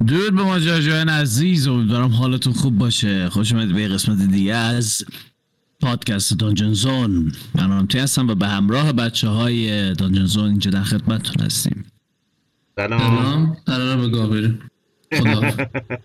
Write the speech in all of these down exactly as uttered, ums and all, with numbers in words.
درود به ماجراجویان عزیز، امیدوارم حالتون خوب باشه. خوش اومدید به قسمت دیگه از پادکست دانجن زون. من آرامتی هستم و به همراه بچه های دانجن زون اینجا در خدمتتون هستیم. سلام. قراره به گاه بریم. خدا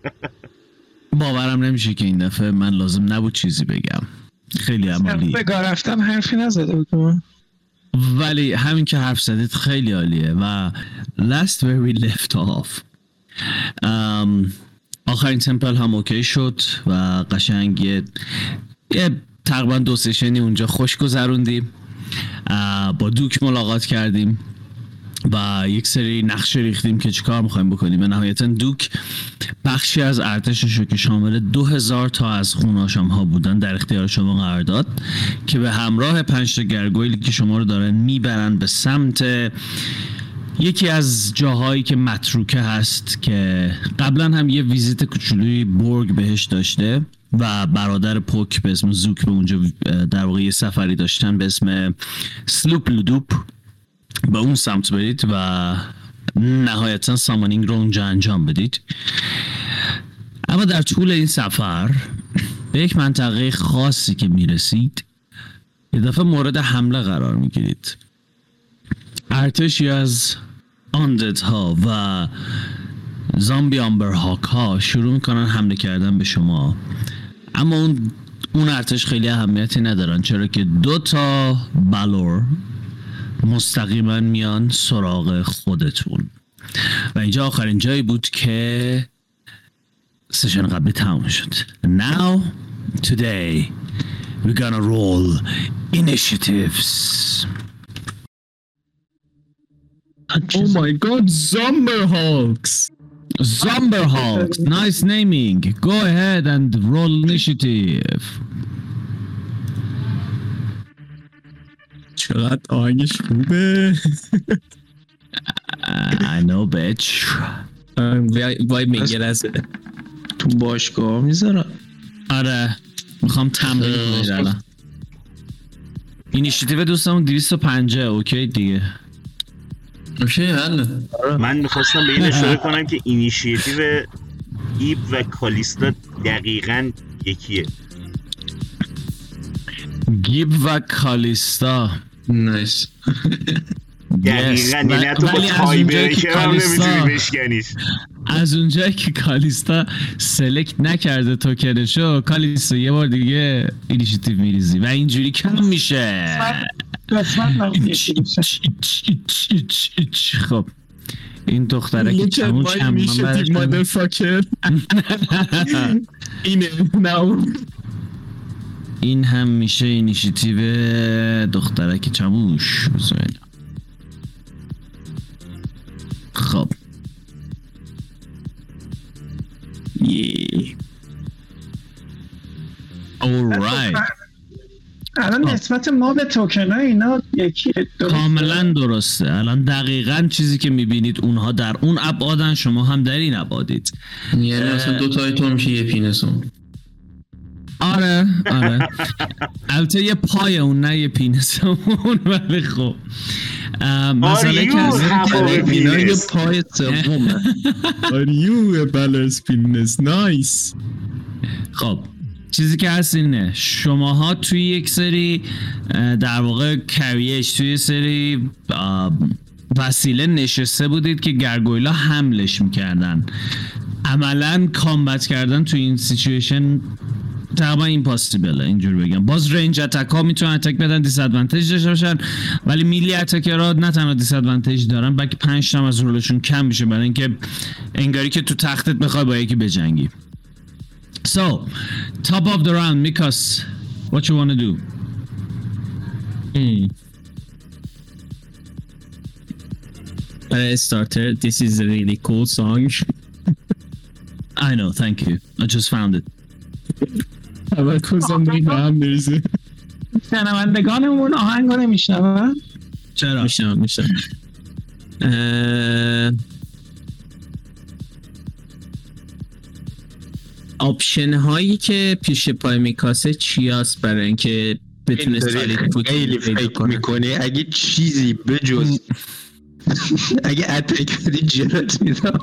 باورم نمیشه که این دفعه من لازم نبود چیزی بگم. خیلی عمالی به گاه رفتم حرفی نزده بودم، ولی همین که حرف زدید خیلی عالیه. و last where we left off um, آخرین تمپل هم اوکی شد و قشنگ یه, یه تقریبا دو سشنی اونجا خوش گذروندیم. با دوک ملاقات کردیم و یک سری نقشه ریختیم که چیکار میخوایم بکنیم. و نهایتا دوک بخشی از ارتششو که شامل دو هزار تا از خوناشام ها بودن در اختیار شما قرار داد که به همراه پنج تا گرگویلی که شما رو دارن میبرن به سمت یکی از جاهایی که متروکه هست که قبلا هم یه ویزیت کوچولوی بورگ بهش داشته و برادر پوک به اسم زوک به اونجا در واقع یه سفری داشتن به اسم سلوپ لودوپ. به اون سمت برید و نهایتا سامانینگ رو اونجا انجام بدید. اما در طول این سفر به یک منطقه خاصی که میرسید یه دفعه مورد حمله قرار میگیرید. ارتشی از آندد ها و زامبی آمبر هاک ها شروع میکنن حمله کردن به شما، اما اون اون ارتش خیلی اهمیتی ندارن چرا که دو تا بالور مستقیما میان سراغ خودتون. و اینجا آخرین جایی بود که سشن قبلی تمام شد. Now today we're gonna roll initiatives. Oh my god, Zomberhawks! Zomberhawks, nice naming. Go ahead and roll initiative. چقدر آهنگش خوبه. I know bitch. وای میگه از تو باشگاه میذارم. آره میخوام تمرین کنید الان. اینیشیتیو دوستمون دویست و پنجاه اوکی دیگه. اوکی حالا من میخواستم به این اشاره کنم که اینیشیتیو ایب و کالیستا دقیقاً یکیه. گیب و کالیستا نایس. دقیقاً یعنی حتی با تای بریکر هم نمیتونی بشکنیش. از اونجایی که کالیستا سلکت نکرده توکنشو، کالیستا یه بار دیگه اینیشیتیو میریزی و اینجوری کم میشه. خب این دختره که چمون چم میشه تی مادر فاکر. اینه نو این هم میشه اینیشیتیو دختره که چموش. خب یه alright. الان نسبت ما به توکن ها اینا یکی کاملا درسته. الان دقیقاً چیزی که میبینید اونها در اون ابعادن، شما هم در این ابعادید. یعنی اصلا دو تای تو میشه یه پینسون. آره آره البته یه پای اون نه یه پینسون. ولی خب مسئله که از اینا یه پای سومه. Are you a balance penis? Nice. خب چیزی که هست اینه، شماها توی یک سری در واقع کریش توی سری وسیله نشسته بودید که گرگویلا حملش میکردن. عملا کامبت کردن توی این سیچویشن تقریبا ایمپاسیبله اینجور بگم. باز رنج اتک ها میتونن اتک بدن، دیس ادوانتیج داشته باشن، ولی میلی اتکرها نه تنها دیس ادوانتیج دارن بلکه پنج تا از رولشون کم میشه برای اینکه انگاری که تو تختت بخوای با یکی بجنگی. So, top of the round, Mikas, what you want to do? Hmm. For a starter, this is a really cool song. I know, thank you. I just found it. اول کوزم دیگه هم میریزه. شنوندگانمون آهنگ رو نمیشنون؟ چرا؟ میشنون میشنون. آپشن هایی که پیش پای میکاسه چی هست برای اینکه بتونه سالیت فوت خیلی فکر میکنه اگه چیزی بجز اگه اتک بدی جرت میدم.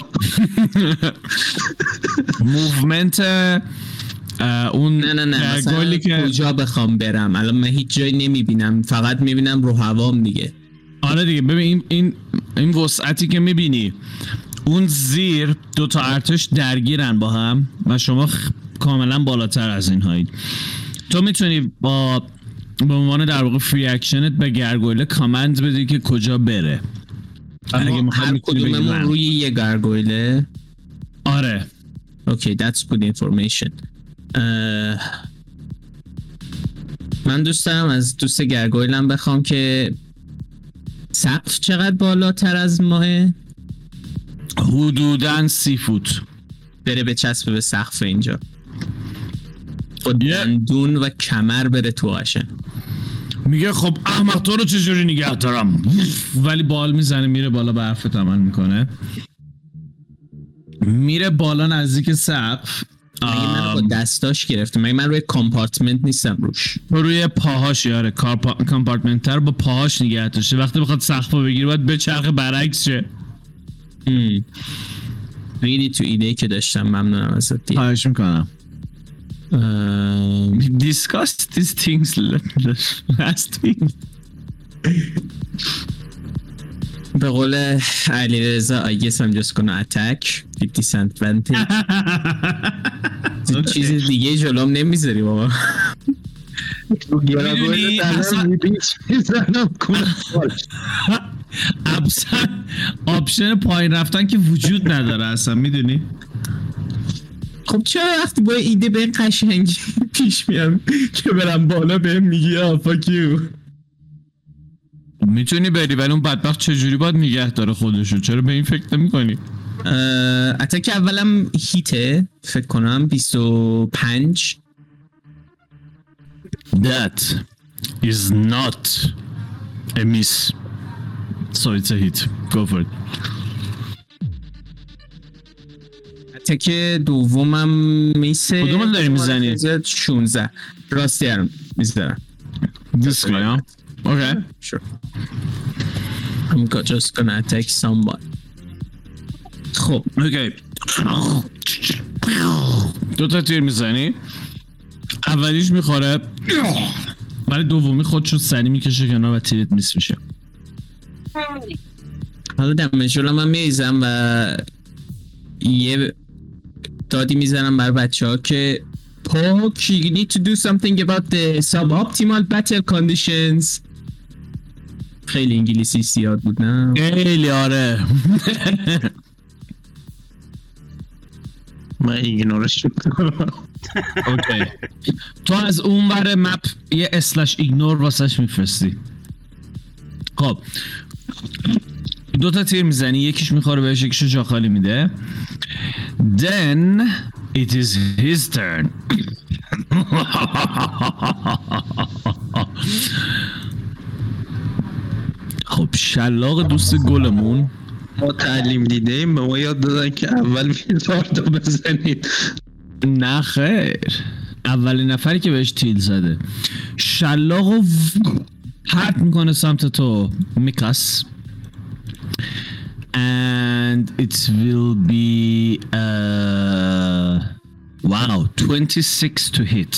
موومنت اون نه نه نه مثلا گلی که کجا بخوام برم الان من هیچ جایی نمیبینم، فقط میبینم رو هوام دیگه. آره دیگه ببین این این این وسعتی که میبینی اون زیر دو تا ارتش درگیرن با هم و شما خ... کاملا بالاتر از این هایید. تو میتونی با به عنوان در واقع فری اکشنت به گرگویله کامند بدی که کجا بره. اما هر کدوممون روی یه گرگویله. آره اوکی that's good information. من دوست دارم از دوست گرگویلم بخوام که سقف چقدر بالاتر از ماه؟ حدوداً سی فوت بره به چسبه به سقف اینجا با دندون و کمر بره تو آشن. میگه خب احمق تو رو چجوری نگه دارم، ولی بال میزنه میره بالا به حرفت عمل میکنه، میره بالا نزدیک سقف. مگه من با دستاش گرفته؟ مگه من روی کامپارتمنت نیستم روش؟ روی پاهاش. یاره کامپارتمنت تر با پاهاش نگه داشته، وقتی بخواد سقف رو بگیره باید به چرخ برعکس شه. ریدی تو ایده که داشتم، ممنونم ازت. خواهش میکنم. um, discuss these things last week. به قول علی رضا I guess I'm just gonna attack fifty cent advantage. چیز دیگه جلوم نمیذاری بابا. میدونی اصلا آپشن پایین رفتن که وجود نداره اصلا، میدونی؟ خب چرا وقتی با ایده به قشنگی پیش میام که برم بالا بهم میگی آه fuck you؟ میتونی بری ولی اون بدبخت چجوری باید نگه داره خودشو؟ چرا به این فکر نمی کنی؟ اتاک اولم هیته فکر کنم بیست و پنج. That is not a miss. So it's a hit. Go for it. اتاک دومم میسه. کدوم داری میزنی؟ شونزده. راستی هم میزنم. This guy, huh? Okay. Sure. I'm just gonna attack someone. خب. Okay. دو تا تیر میزنی. اولیش میخوره ولی دومی خودشو سری میکشه کنار و تیرت میس میشه. حالا دمشولا من میریزم و یه دادی میزنم بر بچه ها که پاک you need to do something about the suboptimal battle conditions. خیلی انگلیسی زیاد بود نه؟ خیلی آره. من ایگنورش میکنم. اوکی. تو از اون ور مپ یه اسلش ایگنور واسش میفرستی. خب دو تا تیر میزنی، یکیش میخوره بهش یکیشو جا خالی میده. Then it is his turn. خب شلاق دوست گلمون ما تعلیم دیده ایم، به ما یاد دادن که اول میزارد رو بزنید. نه خیر، اولین نفری که بهش تیل زده شلاق رو پرت میکنه سمت تو میکاس. And it will be uh, wow twenty-six to hit.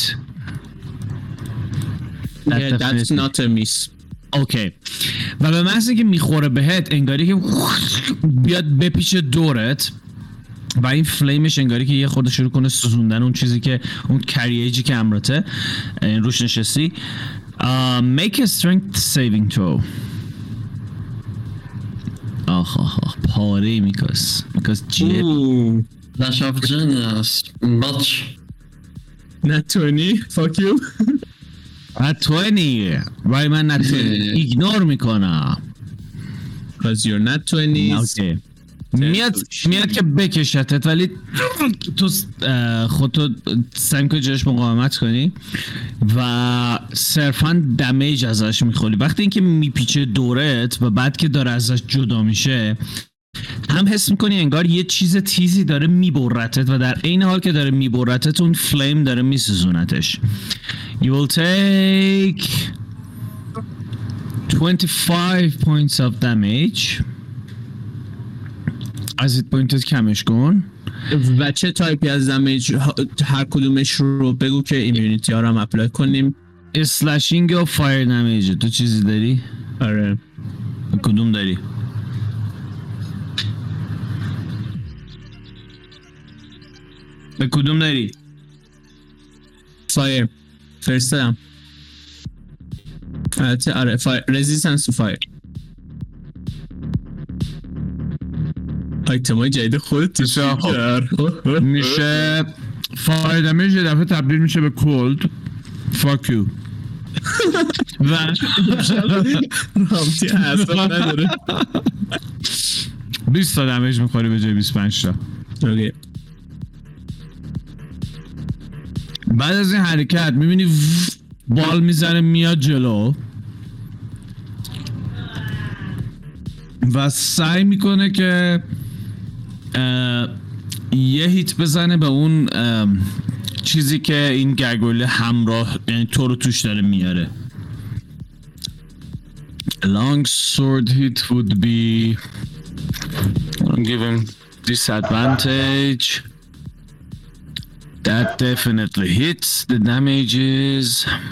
That yeah, that's not a miss. اوکی. و به محض اینکه میخوره بهت انگاری که بیاد بپیچه دورت و این فلیمش انگاری که یه خورده شروع کنه سوزوندن اون چیزی که اون کریجی که امرته روش نشستی. uh, make a strength saving throw. آخ آخ آخ پاره میکاس میکاس جیب Dash of Genius Batch Not twenty fuck you. Not twenty ولی من not twenty ایگنور میکنم Cause you're not twenty. اوکی. میاد میاد که بکشتت ولی تو خودتو سعی کنی جلوش مقاومت کنی و صرفا دمیج ازش میخوری. وقتی اینکه میپیچه دورت و بعد که داره ازش جدا میشه هم حس میکنی انگار یه چیز تیزی داره میبرتت و در عین حال که داره میبرتت اون فلیم داره میسوزونتش. You will take twenty-five points of damage. از ایت پوینتت کمش کن. و چه تایپی از دمیج هر کدومش رو بگو که ایمیونیتی ها رو هم اپلای کنیم. اسلشینگ و فایر دمیج. تو چیزی داری؟ آره. کدوم داری؟ به کدوم داری؟ فایر فرستم. البته آره فایر رزیستنس تو فایر. آیتمای جدید خودت تیشا میشه فایر دمیج یه دفعه تبدیل میشه به کولد. فاک یو. و رامتی حساب نداره. بیست تا دمیج میخوری به جای بیست و پنج تا. اوکی. بعد از این حرکت میبینی بال میزنه میاد جلو و سعی میکنه که یه هیت بزنه به اون چیزی که این گرگوله همراه یعنی تو رو توش داره میاره. Long sword hit would be I'll give him disadvantage. That definitely hits. The damage is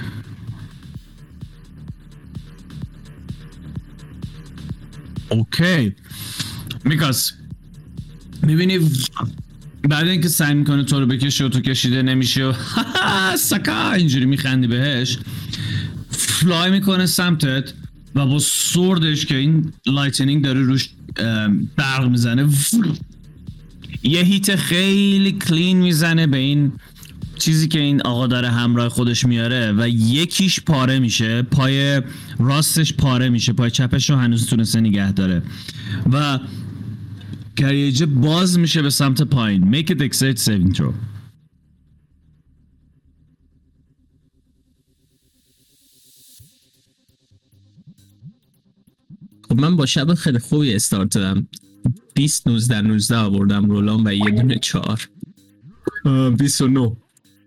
okay. Because میبینی بعد اینکه سعی میکنه تو رو بکشه و تو کشیده نمیشه و سکا اینجوری میخندی بهش، فلای میکنه سمتت و با سوردش که این لایتنینگ داره روش برق میزنه یه هیت خیلی کلین میزنه به این چیزی که این آقا داره همراه خودش میاره و یکیش پاره میشه، پای راستش پاره میشه، پای چپش رو هنوز تونسته نگه داره و کریجه باز میشه به سمت پایین. Make a dexterity saving throw. خب من با شب خیلی خوبی استارت دادم. بیست نوزده نوزده آوردم رولام و یه دونه چهار. بیست و نه.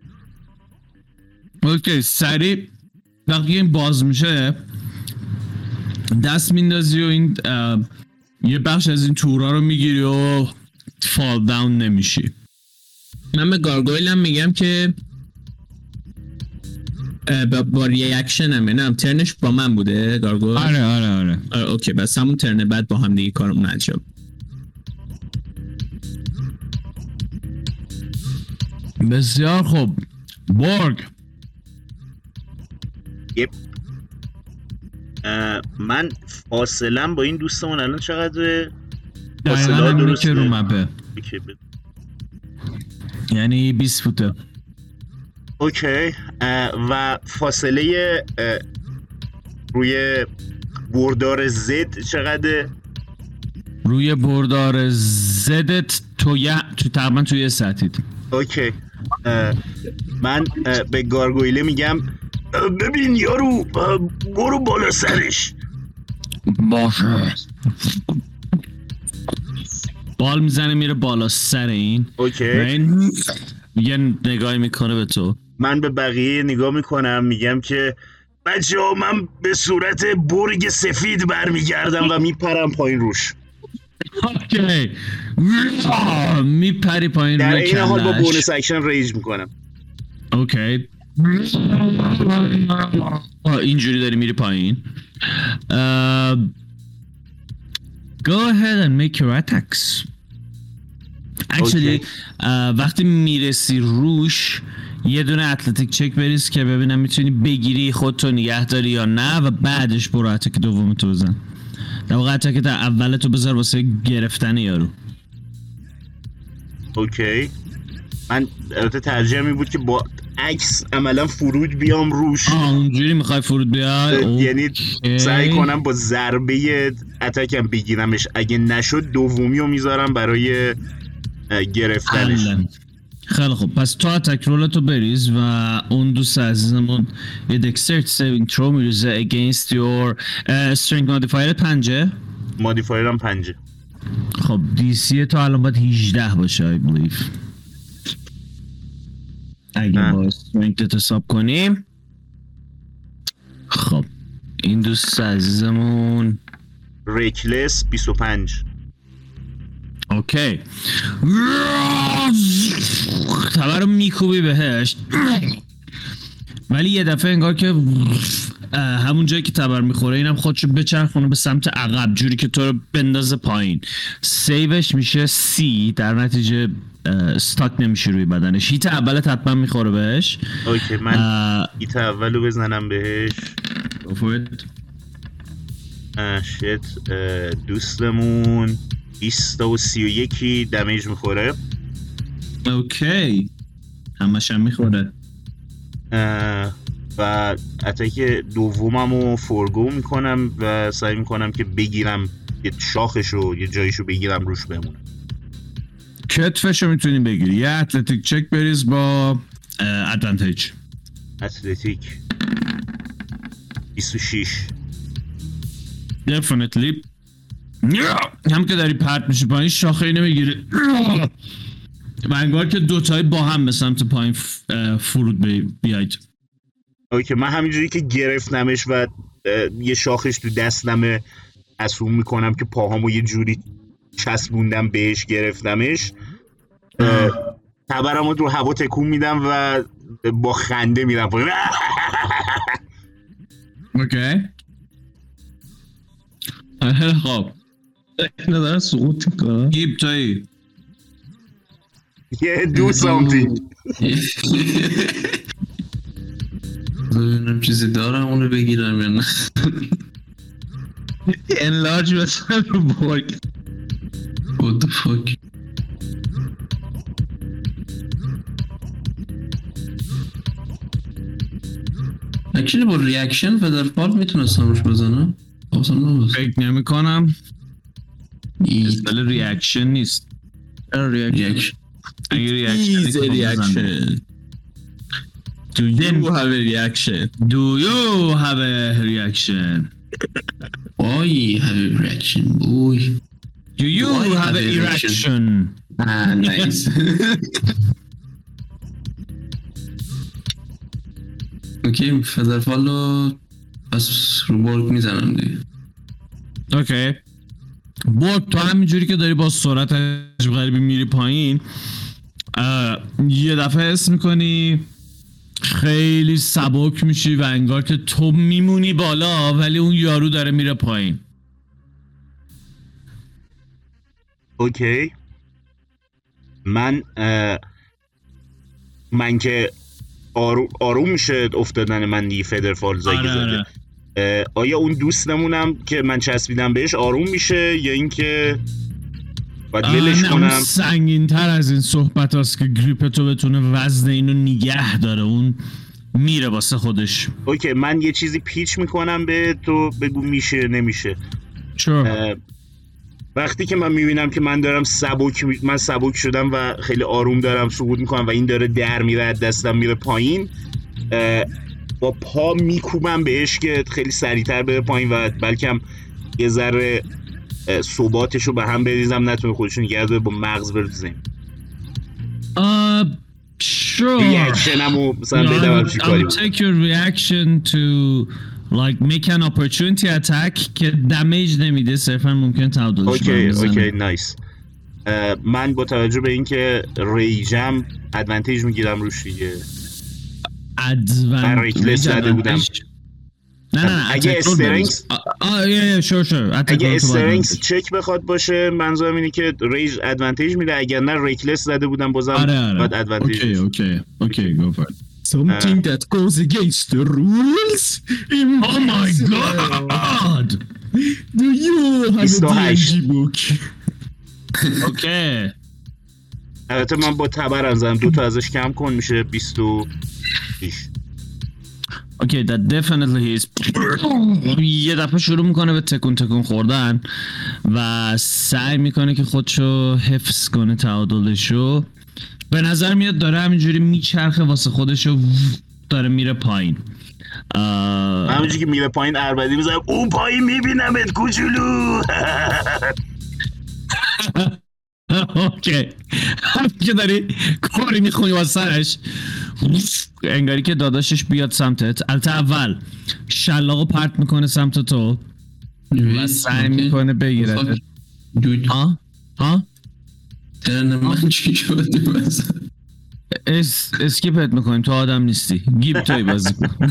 اوکی سریع وقتی این باز میشه دست میندازی و این یه بخش از این تورا رو میگیری و فال داون نمیشی. من به گارگویلم میگم که با, با ریاکشن هم نم ترنش با من بوده گارگویل. آره آره آره, آره اوکی بس همون ترن بعد با هم دیگه کارمون انجام. بسیار خوب. بورگ. یپ من فاصلم با این دوستمون الان چقدره؟ فاصله درسته رو مپه یعنی بیست فوته. اوکی و فاصله روی بردار زد چقدره؟ روی بردار زدت تو یه تو تقریبا توی یه ساعتید. اوکی من به گارگویله میگم ببین یارو برو بالا سرش. باشه. بال میزنه میره بالا سر این. اوکی. این یه نگاهی میکنه به تو. من به بقیه نگاه میکنم میگم که بچه ها من به صورت برگ سفید برمیگردم و میپرم پایین روش. اوکی میپری پایین در روی این حال با کلش. بونس اکشن ریج میکنم. اوکی اینجوری داری میری پایین. uh, Go ahead and make your attacks. Actually okay. uh, وقتی میرسی روش یه دونه اتلتیک چک بریز که ببینم میتونی بگیری خودتو نگه داری یا نه و بعدش برو اتک دومتو بزن. در واقع اتک اولتو بذار واسه گرفتن یارو. اوکی من البته ترجیح می بود که با عکس عملا فرود بیام روش. آه اونجوری میخوای فرود بیای؟ یعنی سعی کنم با ضربه اتکم بگیرمش، اگه نشد دومی رو میذارم برای گرفتنش. خیلی خوب پس تو اتک رولتو بریز و اون دوست عزیزمون یه دکسترتی سیوینگ ترو میریزه against your uh, strength modifier پنجه. مودیفایرم پنجه. خب دی سی تو الان باید هجده باشه I believe اگه با strength حساب کنیم. خب این دوست عزیزمون ریکلس بیست و پنج. اوکی تبر رو میکوبی بهش، ولی یه دفعه انگار که همون جایی که تبر میخوره اینم خودشو بچرخونه به سمت عقب جوری که تو رو بندازه پایین. سیوش میشه سی، در نتیجه استاک نمیشه روی بدنش. هیت اولت حتما میخوره بهش. اوکی من هیت اولو بزنم بهش. شت دوستمون بیست و سی و یکی دمیج میخوره. اوکی همش هم میخوره. و اتک دوممو فورگو میکنم و سعی میکنم که بگیرم یه شاخشو یه جایشو بگیرم روش بمونم. کتفشو میتونی بگیری. یه اتلتیک چک بریز با ادوانتیج. اتلتیک بیست و شش. definitely. هم که داری پرت میشه پایین شاخه اینو میگیری و انگار که دوتایی با هم به سمت پایین فرود بیاید. اوکی من همینجوری که گرفتمش و یه شاخش تو دستمه اسوم میکنم که پاهامو یه جوری چسبوندم بهش گرفتمش، تبرمو رو هوا تکون میدم و با خنده میرم پایین. اوکی خب اینا دارن سقوط میکنن. گیب تایی یه دو سامتینگ ببینم چیزی دارم اونو بگیرم یا نه. انلارج بسن رو بورگ. What the fuck. اکچولی با ریاکشن فدرفال میتونستم روش بزنم. فکر نمی کنم استل ریاکشن نیست. ریاکشن اگه ریاکشن ریاکشن Do you have a reaction? Do you have a reaction? I have a reaction, boy. Do you Do have, have a erection? Ah, nice. اوکی فدرفالو پس رو بورگ میزنم دیگه. اوکی بورگ تو همینجوری که داری با سرعت عجب غریبی میری پایین یه دفعه حس میکنی خیلی سبک میشی و انگار که تو میمونی بالا ولی اون یارو داره میره پایین. اوکی من من که آرو... آروم میشه افتادن من دیگه فدرفال زاگی زده. آیا اون دوستمونم که من چسبیدم بهش آروم میشه یا اینکه باید ولش کنم؟ سنگین تر از این صحبت هست که گریپ تو بتونه وزن اینو نگه داره، اون میره واسه خودش. اوکی من یه چیزی پیچ میکنم به تو بگو میشه نمیشه. چرا؟ وقتی که من میبینم که من دارم سبک می... من سبک شدم و خیلی آروم دارم سقوط میکنم و این داره در میره از دستم میره پایین، با پا میکوبم بهش که خیلی سریعتر بره پایین و بلکم یه ذره ثباتشو به هم بریزم نتونه خودشون نگه داره با مغز بره تو زمین. Uh, sure. ریاکشنمو مثلا بدم چی کاری I'll take your reaction to like make an opportunity attack که دمیج نمیده، صرفا ممکن تعادلش اوکی اوکی نایس. من با توجه به اینکه ریجم ادوانتیج میگیرم روش دیگه. ادوانتیج زده بودم. نه نه نه اگه استرنگز آه یه شور شور اگه استرنگز چک بخواد باشه منظورم اینه که ریج ادوانتیج میده، اگر نه ریکلس زده بودم بازم بعد ادوانتیج. اوکی اوکی اوکی گو فور Something that goes against the rules? Oh my god! Do you have a دی ان جی book? اوکی البته من با تبرم زدم دو تا ازش کم کن میشه بیست و شش. اوکی that definitely is. یه دفعه شروع میکنه به تکون تکون خوردن و سعی میکنه که خودشو حفظ کنه تعادلشو. به نظر میاد داره همینجوری میچرخه واسه خودشو داره میره پایین. همینجوری که میره پایین اربدی میزنم اون پایین میبینمت کوچولو. اوکی هم که داری کاری میخونی واسه سرش انگاری که داداشش بیاد سمتت. البته اول شلاقو پرت میکنه سمت تو و سعی میکنه بگیرت. ها؟ ها؟ قرن من چی شدی بس اس اسکیپت میکنیم، تو آدم نیستی. گیب توی بازی کن.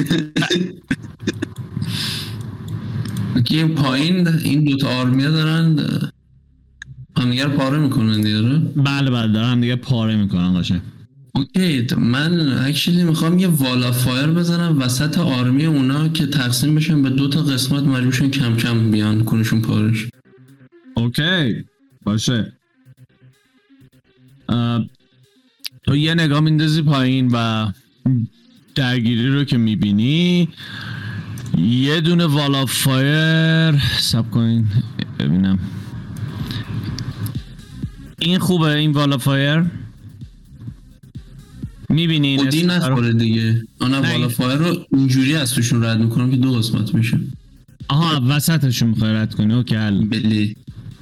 که این پایین این دوتا آرمیا دارن همدیگر پاره میکنن دیاره. بله بله دارن دیگه پاره میکنن قشنگ. اوکی من اکچولی میخوام یه والا فایر بزنم وسط آرمی اونا که تقسیم بشن به دو تا قسمت، مجبورشن کم کم بیان کنشون پارش. اوکی باشه. تو یه نگاه میندازی پایین و درگیری رو که میبینی یه دونه والا فایر. سب کنین ببینم این خوبه. این والا فایر میبینین خودی نخوره دیگه. آنها والا فایر رو اینجوری از توشون رد میکنم که دو قسمت میشه. آها وسطشون میخوای رد کنی. اوکی حل. بله.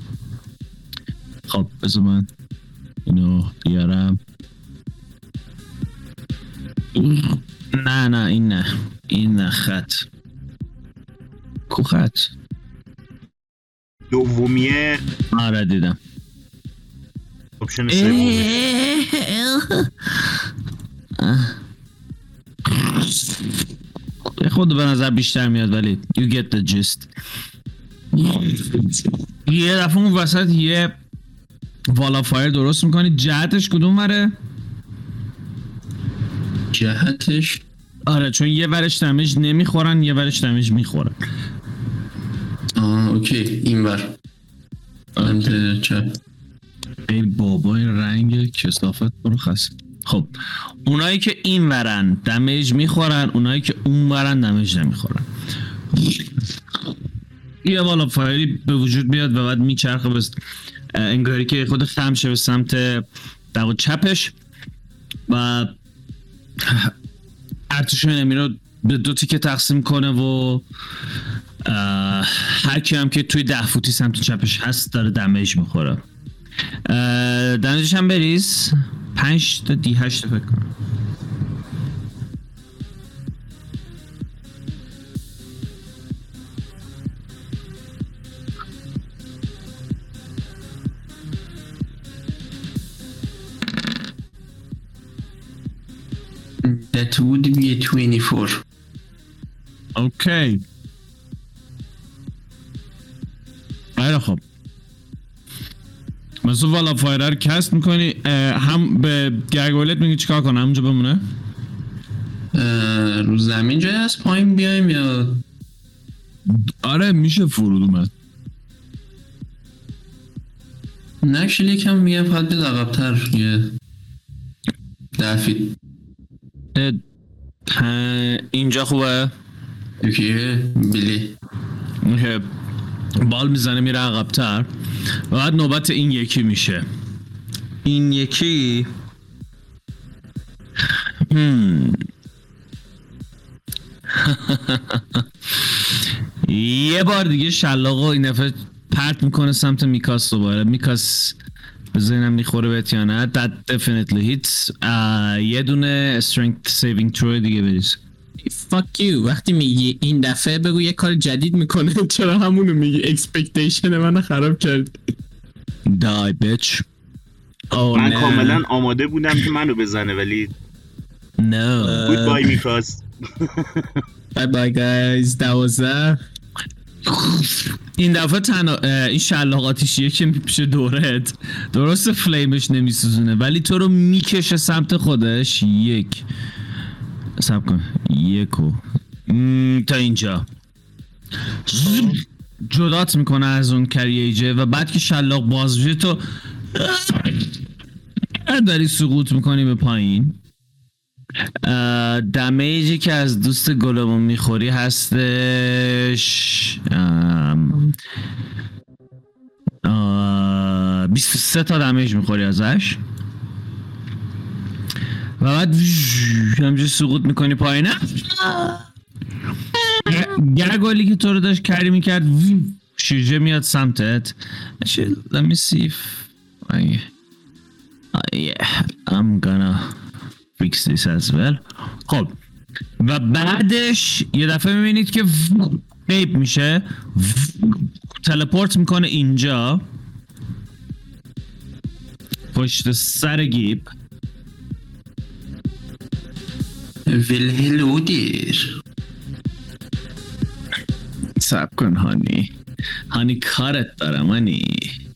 خب بذار من اینو بیارم. نه نه این نه این نه خط کو خط دومیه. آره دیدم. اپشن سوم خود به نظر بیشتر میاد ولی you get the gist. یه دفعه اون وسط یه والا فایر درست میکنی. جهتش کدوم وره؟ جهتش آره چون یه ورش دمیج نمیخورن یه ورش دمیج میخورن. آه اوکی این ور انت چپ. ای بابا این رنگ کثافت برو خست. خب اونایی که این ورن دمیج میخورن، اونایی که اون ورن دمیج نمیخورن. یه والا فایری به وجود بیاد و بعد میچرخه بس انگاری که خود خم شه به سمت در چپش و ارتش انمی رو به دو تیکه تقسیم کنه و هر کی هم که توی ده فوتی سمت چپش هست داره دمیج میخوره. دمیجش هم بریز پنج تا دی هشت فکر کنم. That would be a twenty-four. اوکی. خیلی خب. مثلا والا فایره رو کست میکنی هم به گرگولت میگی چیکار کنم همونجا بمونه؟ رو زمین جایی هست پایین بیایم یا؟ آره میشه فرود اومد. نکشل یکم میگم فقط بید عقبتر یه ده فیت. اینجا خوبه؟ اوکی بلی. بال میزنه میره عقبتر و بعد نوبت این یکی میشه. این یکی یه بار دیگه شلاقو این دفعه پرت میکنه سمت میکاس دوباره. میکاس بزنینم میخوره بهت یا نه. That definitely hits. یه دونه strength saving throw دیگه بریز. Fuck you. وقتی میگی این دفعه بگو یه کار جدید میکنه. چرا همونو میگی؟ expectation منو خراب کرد. Die bitch. Oh, من نه. کاملا آماده بودم که منو بزنه ولی No. Goodbye میکاس. Bye bye guys. دوازده. این دفعه تنها این شلاقاتیشیه که میپیشه دورت. درست فلیمش نمیسوزونه ولی تو رو میکشه سمت خودش. یک سب کن یکو تا اینجا جدات میکنه از اون کرییجه و بعد که شلاق باز بشه تو داری سقوط میکنی به پایین. دمیجی که از دوست گلمون میخوری هستش بیست و سه تا دمیج میخوری ازش و بعد همجور سقوط میکنی پایین. گرگولی که تو رو داشت کری میکرد شیرجه میاد سمتت. Let me see if I... Uh, yeah, I'm gonna fix this as well. خب و بعدش یه دفعه میبینید که غیب میشه تلپورت میکنه اینجا پشت سر گیب. ویل هلو دیر. سب کن هانی هانی کارت دارم هانی.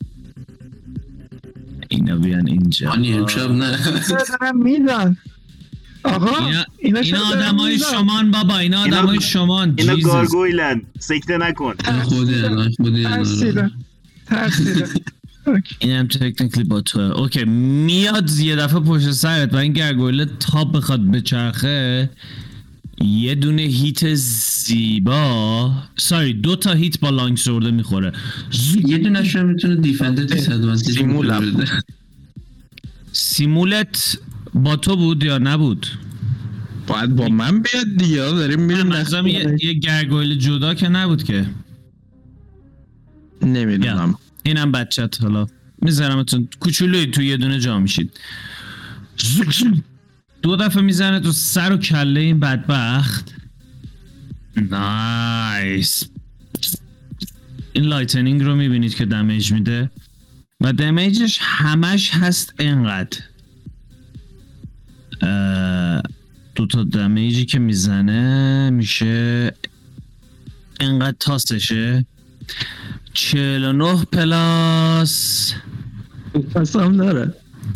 اینا بیان اینجا. هانی امشب نه. دارم میدن آقا اینا, اینا, اینا آدم های شمان بابا. اینا آدم های شمان. اینا گارگویلن. سکته نکن. خودی نه خودی نه. ترسیدم ترسیدم. این هم تکنیکلی با توه. اوکی میاد یه دفعه پشت سرت و این گرگویله تا بخواد بچرخه یه دونه هیت زیبا ساری دو تا هیت با لانگ سورده میخوره. یه دونه شو میتونه دیفنده دیسادوانتیج سیمول سیمولت با تو بود یا نبود؟ باید با من بیاد دیگه. داریم میریم نظرم یه, یه گرگویل جدا که نبود که. نمیدونم. اینم بچت حالا میذارمتون کوچولوی تو یه دونه جا میشید. دو دفعه میزنه تو سر و کله این بدبخت. نایس. این لایتنینگ رو میبینید که دمیج میده و دمیجش همش هست اینقدر. دو تا دمیجی که میزنه میشه اینقدر تاسشه. چهل و نه پلاس پسام داره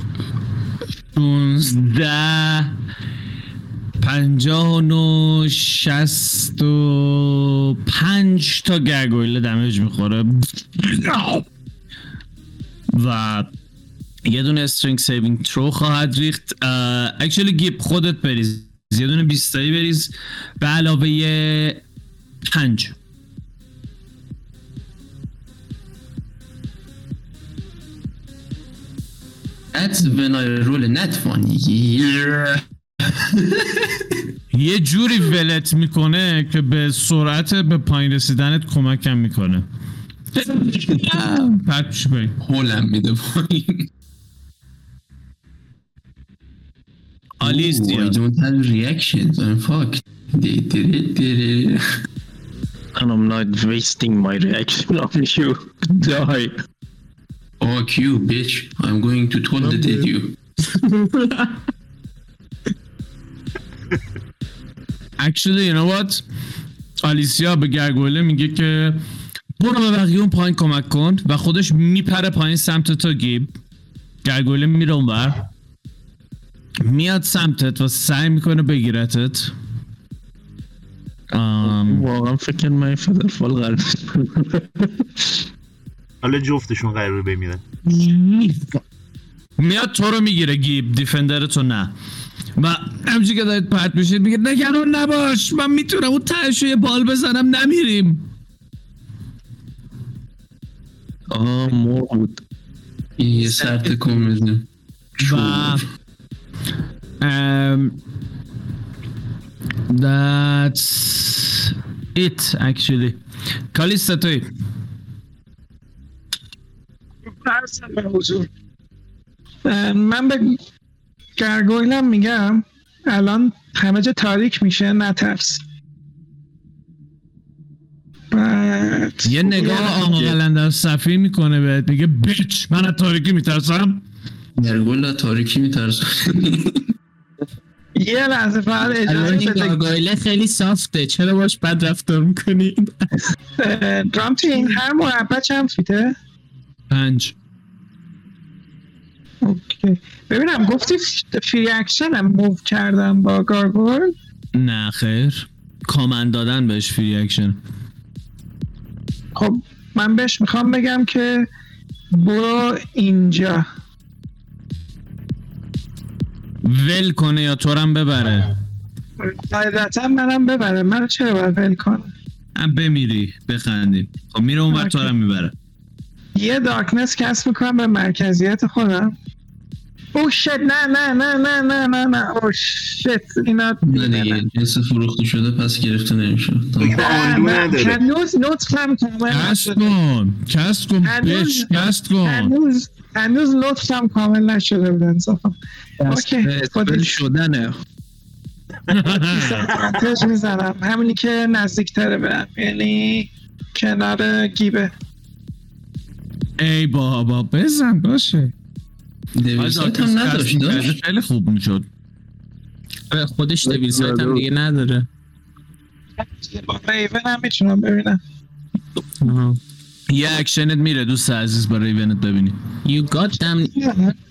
شونزده پنجاه و نو شست و پنج تا گرگویله دمیج میخوره و یه دونه استرینگ سیوینگ ترو خواهد ریخت. اکچولی گیب خودت بریز یه دونه بیستایی بریز به علاوه یه پنج. That's when I roll a net one. Yeah. یه جوری ولت میکنه که به سرعت به پایین رسیدنت کمکم میکنه. پرتش بایی هولم میده پایین. آلیس I don't have reactions. I'm fucked. They did it, did it. And I'm not wasting my reaction on you. Die. Fuck you, bitch. I'm going to toilet you. Actually, you know what? آلیسیا به گرگوله میگه که برو به بقیه اون پایین کمک کن و خودش میپره پایین سمت تو گیب. گرگوله میره اونور میاد سمتت و سعی میکنه بگیرتت. واقعا فکر من فدرفال قرار حالا جفتشون قراره بمیرن. میاد تو رو میگیره گیب دیفندر تو نه و همچی که دارید پرت میشید میگه نگران نباش من میتونم اون تهشو یه بال بزنم نمیریم. آه مرغ بود یه سرت کن بزنیم و um, that's it actually. کالیستا توی من به گرگویلم میگم الان همه جا تاریک میشه نترس. بعد یه نگاه آماغلنده صفی میکنه بهت میگه بیچ من از تاریکی میترسم. گرگویل تاریکی میترسم. یه لحظه فقط اجازه این گارگویله خیلی سافته چرا باش بد رفتار میکنی؟ درامتی این هر مربع چند فیته؟ پنج. اوکی ببینم گفتی فری اکشن هم موو کردم با گارگویل؟ نه خیر کامند دادن بهش فری اکشن. خب من بهش میخوام بگم که برو اینجا ول کنه یا تو رم ببره. قاعدتا منم ببره. منو چرا باید ول کنه؟ هم بمیری بخندیم. خب میره اون وقت تو رم میبره. یه دارکنس کسب میکنم به مرکزیت خودم. او شت نه نه نه نه نه نه نه او شت اینا نه دیگه جنس فروخته شده پس گرفته نمیشه. هنوز لطفم کامل کست کن کست کن بیش کست کن هنوز هنوز لطفم کامل نشده بود انصافا. اوکی اسپل شدنه دیسادوانتیج میزنم همینی که نزدیکتره برم یعنی کنار گیبه. ای بابا بزن باشه دیویل سایت هم نداشت داشت خیلی خوب میشد. خودش دیویل سایت هم دیگه نداره. با ریون هم میتونم ببینم. یه اکشنت میره دوست عزیز با ریونت ببینی. You got them.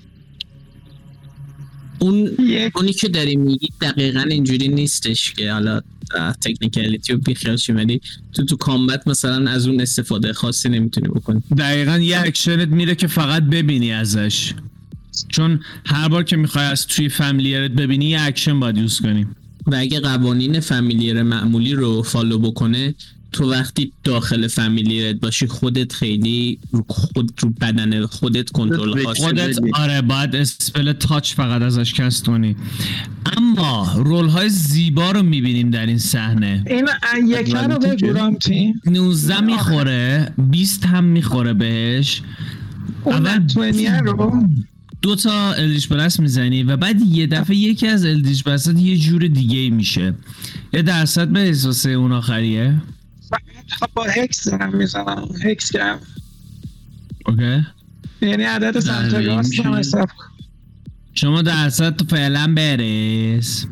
اون اونی که داری میگی دقیقاً اینجوری نیستش که حالا تکنیکالیتی رو بیخیال شی، ولی تو تو کامبت مثلا از اون استفاده خاصی نمیتونی بکنی. دقیقاً یه اکشنت میره که فقط ببینی ازش، چون هر بار که میخوای از توی فامیلیرت ببینی یه اکشن باید یوز کنی و اگه قوانین فامیلیر معمولی رو فالو بکنه، تو وقتی داخل فامیلیت باشی خودت خیلی رو خود رو بدن خودت کنترل خاصی خودت آره باید اسپل تاچ فقط ازش کست کنی. اما رول های زیبا رو میبینیم در این صحنه. این یکی رو بگو رامتی. نوزده میخوره، بیست هم میخوره بهش. اول بیست رو دو تا الدیش بلست میزنی و بعد یه دفعه یکی از الدیش بلست یه جور دیگه میشه. یه درصد به احساس اون آخریه. با هکس دارم میزنم، هکس گرم. اوکی. یعنی عدد سمت راست هم حساب کن. شما درصد تو فعلا برس.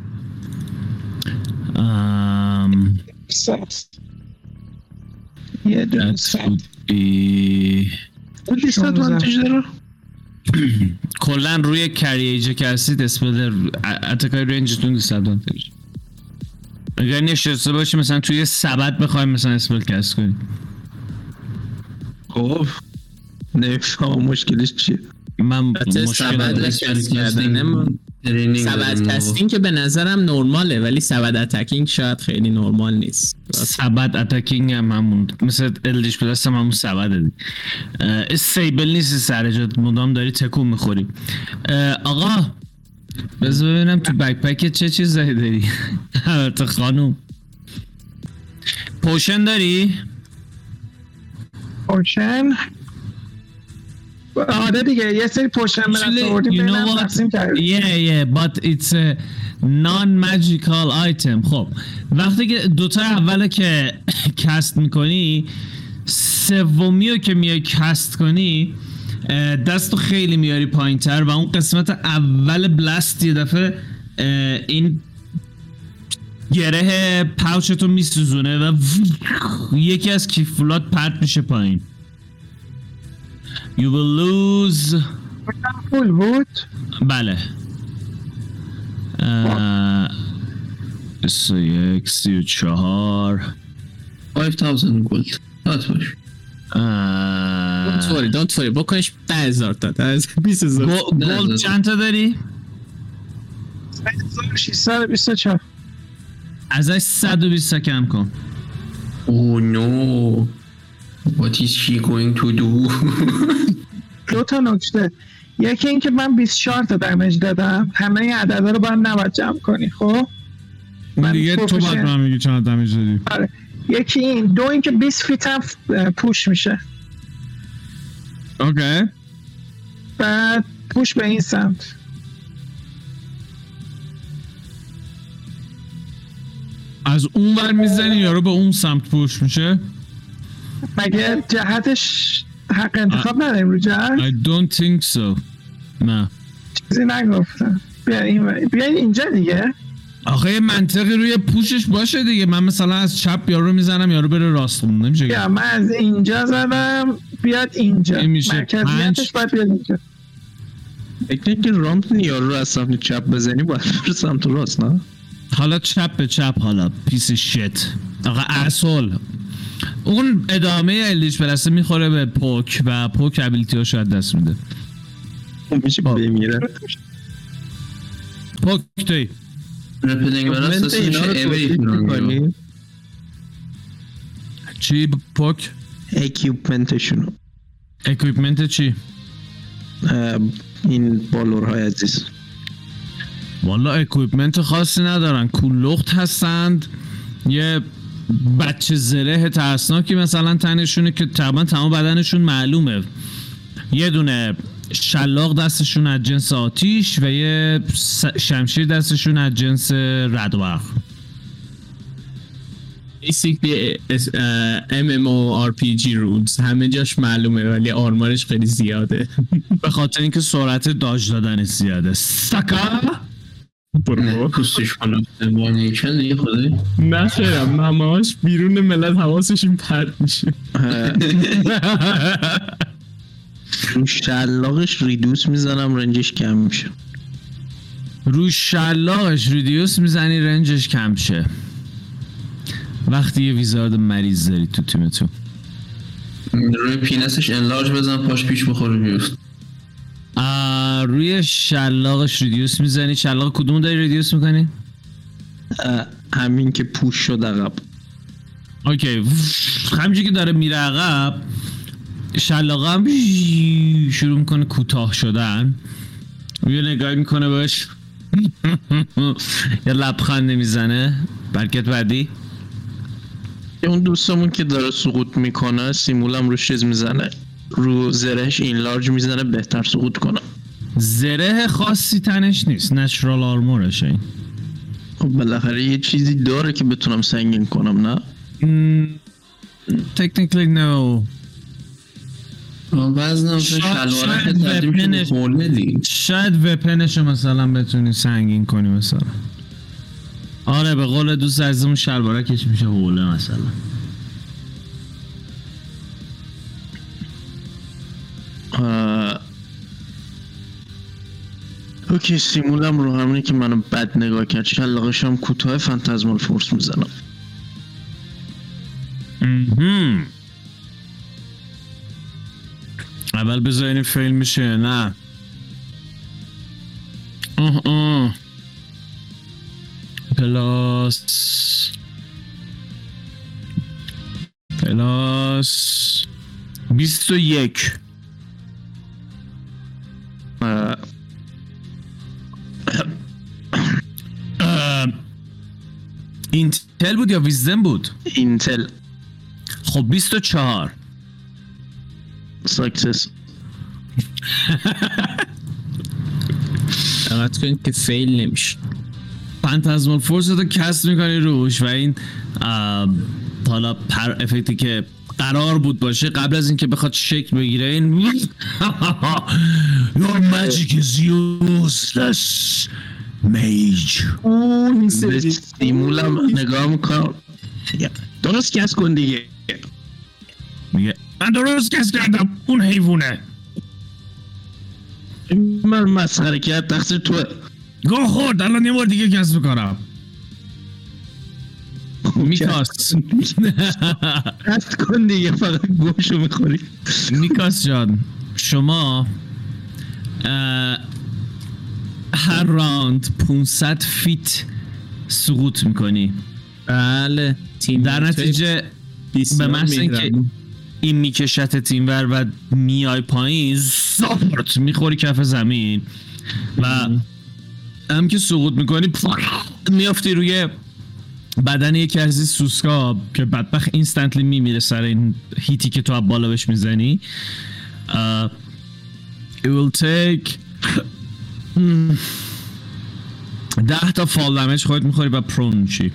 ام ست یه دون ست بی بودی ست وانتیج دارم. کلن روی کریجه که هستید اسپل اتکای رنجتون دیست وانتیج. اگر نشسته باشی مثلا توی سبد بخوایم مثلا اسپل کست کنی. خب نفهم مشکلش چیه؟ من مشکل سبد کست کردنه سبد کستینگ که به نظرم نرماله، ولی سبد اتکینگ شاید خیلی نرمال نیست. سبد اتکینگ هم همون مثل الدیش پلاس هم همون سبده دی. استیبل نیستی سر جات، مدام داری تکون میخوری. آقا بذار ببینم تو بکپک چه چیزایی داری. البته خانوم پوشن داری؟ پوشن؟ آره دیگه یه سری پوشن من آوردیم بینم تقسیم کردیم. Yeah yeah but it's a non-magical item. خب وقتی که دوتا اوله که کست میکنی، سومی رو که میای کست کنی دستو خیلی میاری پایین تر و اون قسمت اول بلاست یه دفعه این گره پاوچتو میسوزونه و یکی از کیفولات پرت میشه پایین. You will lose. فول بود؟ بله. سی و یک سی و چهار پنج هزار گولد داد باش. Don't worry don't worry بکنش ده هزار تا بیست هزار. گولد چند تا داری؟ ششصد و بیست و چهار. ازش صد و بیست کم کن. Oh no What is she going to do? دو تا نکته. یکی این که من بیست و چهار تا دمیج دادم، همه این عددا رو باید نباید جمع کنی. خب من دیگه تو باید من میگی چند دمیج دادی. آره یکی این، دو این که بیست فیت هم پوش میشه. اوکی. بعد پوش به این سمت. از اون ور میزنی یارو به اون سمت پوش میشه؟ مگه جهتش حق انتخاب نداریم رو جهت؟ I don't think so. نه چیزی نگفتم. بیا این بیا اینجا دیگه. آخه یه منطقی روی پوشش باشه دیگه. من مثلا از چپ یارو میزنم یارو بره راست خون نمیشه. بیا من از اینجا زدم بیاد اینجا. مرکزیتش باید بیاد اینجا. فکر که رامپ یارو رو از سمت چپ بزنی باید بر سمت راست نه؟ حالا چپ به چپ حالا پیس شت. آقا اصول اون ادامه الدیش پلسه میخوره به پوک و پوک ابیلیتی ها شاید دست میده. میشه بمیره. پوک توی رپلینگ براست دست میشه اوی. چی پوک؟ اکیوپمنتشونو. اکیوپمنت چی؟ این بالورهای عزیز. والا اکیوپمنت خاصی ندارن، کولخت هستند، یه بچه زره ترسناکی مثلا تنشونه که تقریبا تمام بدنشون معلومه، یه دونه شلاق دستشون از جنس آتیش و یه شمشیر دستشون از جنس ردوغ. basically ام ام او آر پی جی rules همه جاش معلومه ولی آرمارش خیلی زیاده. به خاطر اینکه سرعت داج دادنش زیاده. سکا برو پوستش کنم نیکن دیگه خدایی نه خیرم همهاش بیرون ملت حواسشون پرت میشه. رو شلاقش ریدوس میزنم رنجش کم میشه. رو شلاقش ریدیوس میزنی رنجش کم شه. وقتی یه ویزارد مریض داری تو تیمتون روی پینسش انلارج بزن پاش پیش بخوره بیفت. روی شلاقش ریدیوس میزنی. شلاق کدوم داری ریدیوس میکنی؟ همین که پوش شد عقب. اوکی همینجوری که داره میره عقب شلاق هم شروع میکنه کوتاه شدن. یه نگاه میکنه بهش یه لبخند میزنه. برکت بعدی اون دوستمون که داره سقوط میکنه سیمولم روش چیز میزنه رو زرهش این لارج میزنه بهتر سقوط کنه. زره خاصی تنش نیست نچرال آرمورشه این. خب بالاخره یه چیزی داره که بتونم سنگین کنم نه؟ تکنیکلی نو. وزنم شلواره که تردیم شده خورنه دیگه. شاید وپنشو مثلا بتونی سنگین کنی مثلا. آره به قول دوست عزیزمون شلوارکش میشه حوله مثلا. اوکی سیمولم رو همونی که منو بد نگاه کرد شلاقش هم کوتاه فانتزمال فورس میزنم. اول بذارین فیل میشه نه. آه آه پلاس پلاس بیست و یک. اینتل بود یا ویزدم بود؟ اینتل. خب بیست و چهار. ساکسس. دقت کنید که فیل نمیشه. فانتزمال فورس رو کست میکنی روش و این حالا پر افکتی که قرار بود باشه قبل از اینکه بخواد شکل بگیره این Your magic is useless mage. اون سیمولم نگاه میکنم درست کس کن دیگه. میگه من درست کس کردم اون حیوونه. من مسخره کرد تقصیر توه. گو خورد الان یه بار دیگه کس میکنم. میکاس کست کن دیگه فقط گوشو میخوری. میکاس جان شما هر راند پانصد فیت سقوط میکنی. بله در نتیجه به محض اینکه این میکشت تیمور و میای پایین زارت میخوری کف زمین و هم که سقوط میکنی میافتی روی بدن یکی از این سوسکا که بدبخت اینستنتلی میمیره سر این هیتی که تو از بالا بهش میزنی. uh, It will take ده تا فال دمیج خودت میخوری و پرون میشی.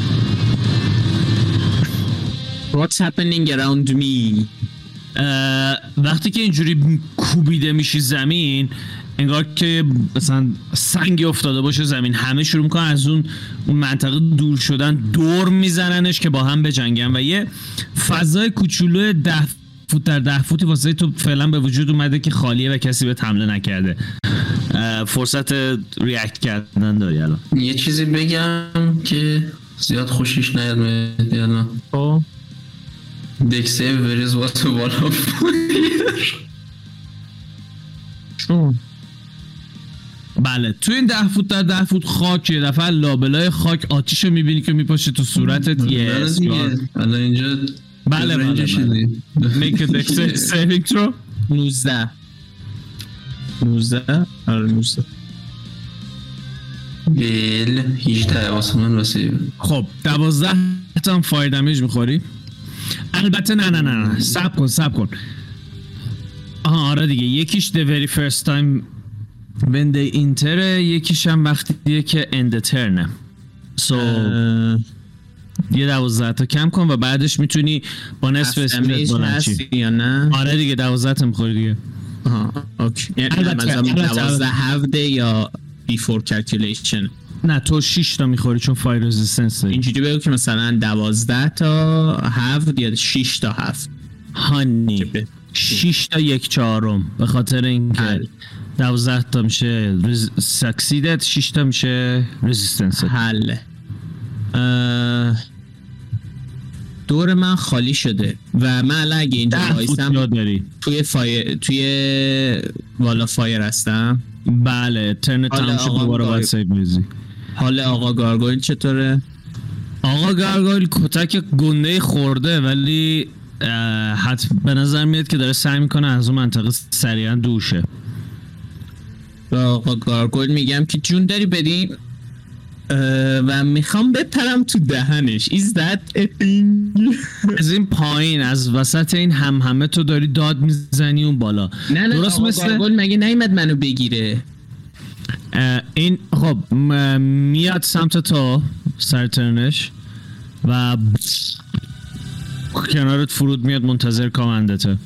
What's happening around me؟ uh, وقتی که اینجوری کوبیده میشی زمین انگار که مثلا سنگی افتاده باشه زمین. همه شروع میکنن از اون اون منطقه دور شدن دور میزننش که با هم بجنگن و یه فضای کوچولو ده فوت در ده فوتی واسه تو فعلا به وجود اومده که خالیه و کسی به حمله نکرده. فرصت ریاکت کردن داری الان. یه چیزی بگم که زیاد خوشش نیاد مهدی الان. خب دیک سیو وریز واسه بالا چون بله تو این ده فوت در ده فوت خاک یه دفعه لابلای خاک آتیش رو میبینی که میپاشه تو صورتت. یه الان اینجا بله بله بله make a dex saving throw. نوزده نوزده آره نوزده بیل هجده واسه من واسه. خب دوازده تا هم فایر دمیج میخوری. البته نه نه نه نه سب کن سب کن آها آره دیگه یکیش the very first time when they enter یکیش هم وقتیه که end turn. so یه دوازده تا کم کن و بعدش میتونی با نصف اسپیدت بلند شی. یا نه؟ آره دیگه دوازده تا میخوری دیگه. آها اوکی. یعنی البته- مثلا البته- دوازده هفته یا بیفور کلکولیشن. نه تو شش تا میخوری چون فایر رزिस्टنس داری. اینجوری بگو که مثلا دوازده تا هفت یا شش تا هفت. هانی به- شش تا یک چهارم به خاطر اینکه حل. دوازده تا میشه ساکسیدت، شش تا میشه رزिस्टنس. حل. اه، دور من خالی شده و من الان اگه اینجا ده فوت وایسم جا داری. توی فایر توی والا فایر هستم. بله ترن حالا تمام شد آقا دوباره باید گار- سیو بریزی. حال آقا گارگویل چطوره؟ آقا گارگویل کتک گنده خورده ولی حتی به نظر میاد که داره سعی میکنه از اون منطقه سریعا دوشه. به آقا گارگویل میگم که جون داری بدیم و میخوام بپرم تو دهنش. Is that a thing؟ از این پایین از وسط این هم همه تو داری داد میزنی اون بالا. نه نه درست آقا مثل گارگویل مگه نیومد منو بگیره؟ این خب م- میاد سمت تو سر ترنش و کنارت فرود میاد منتظر کامندته.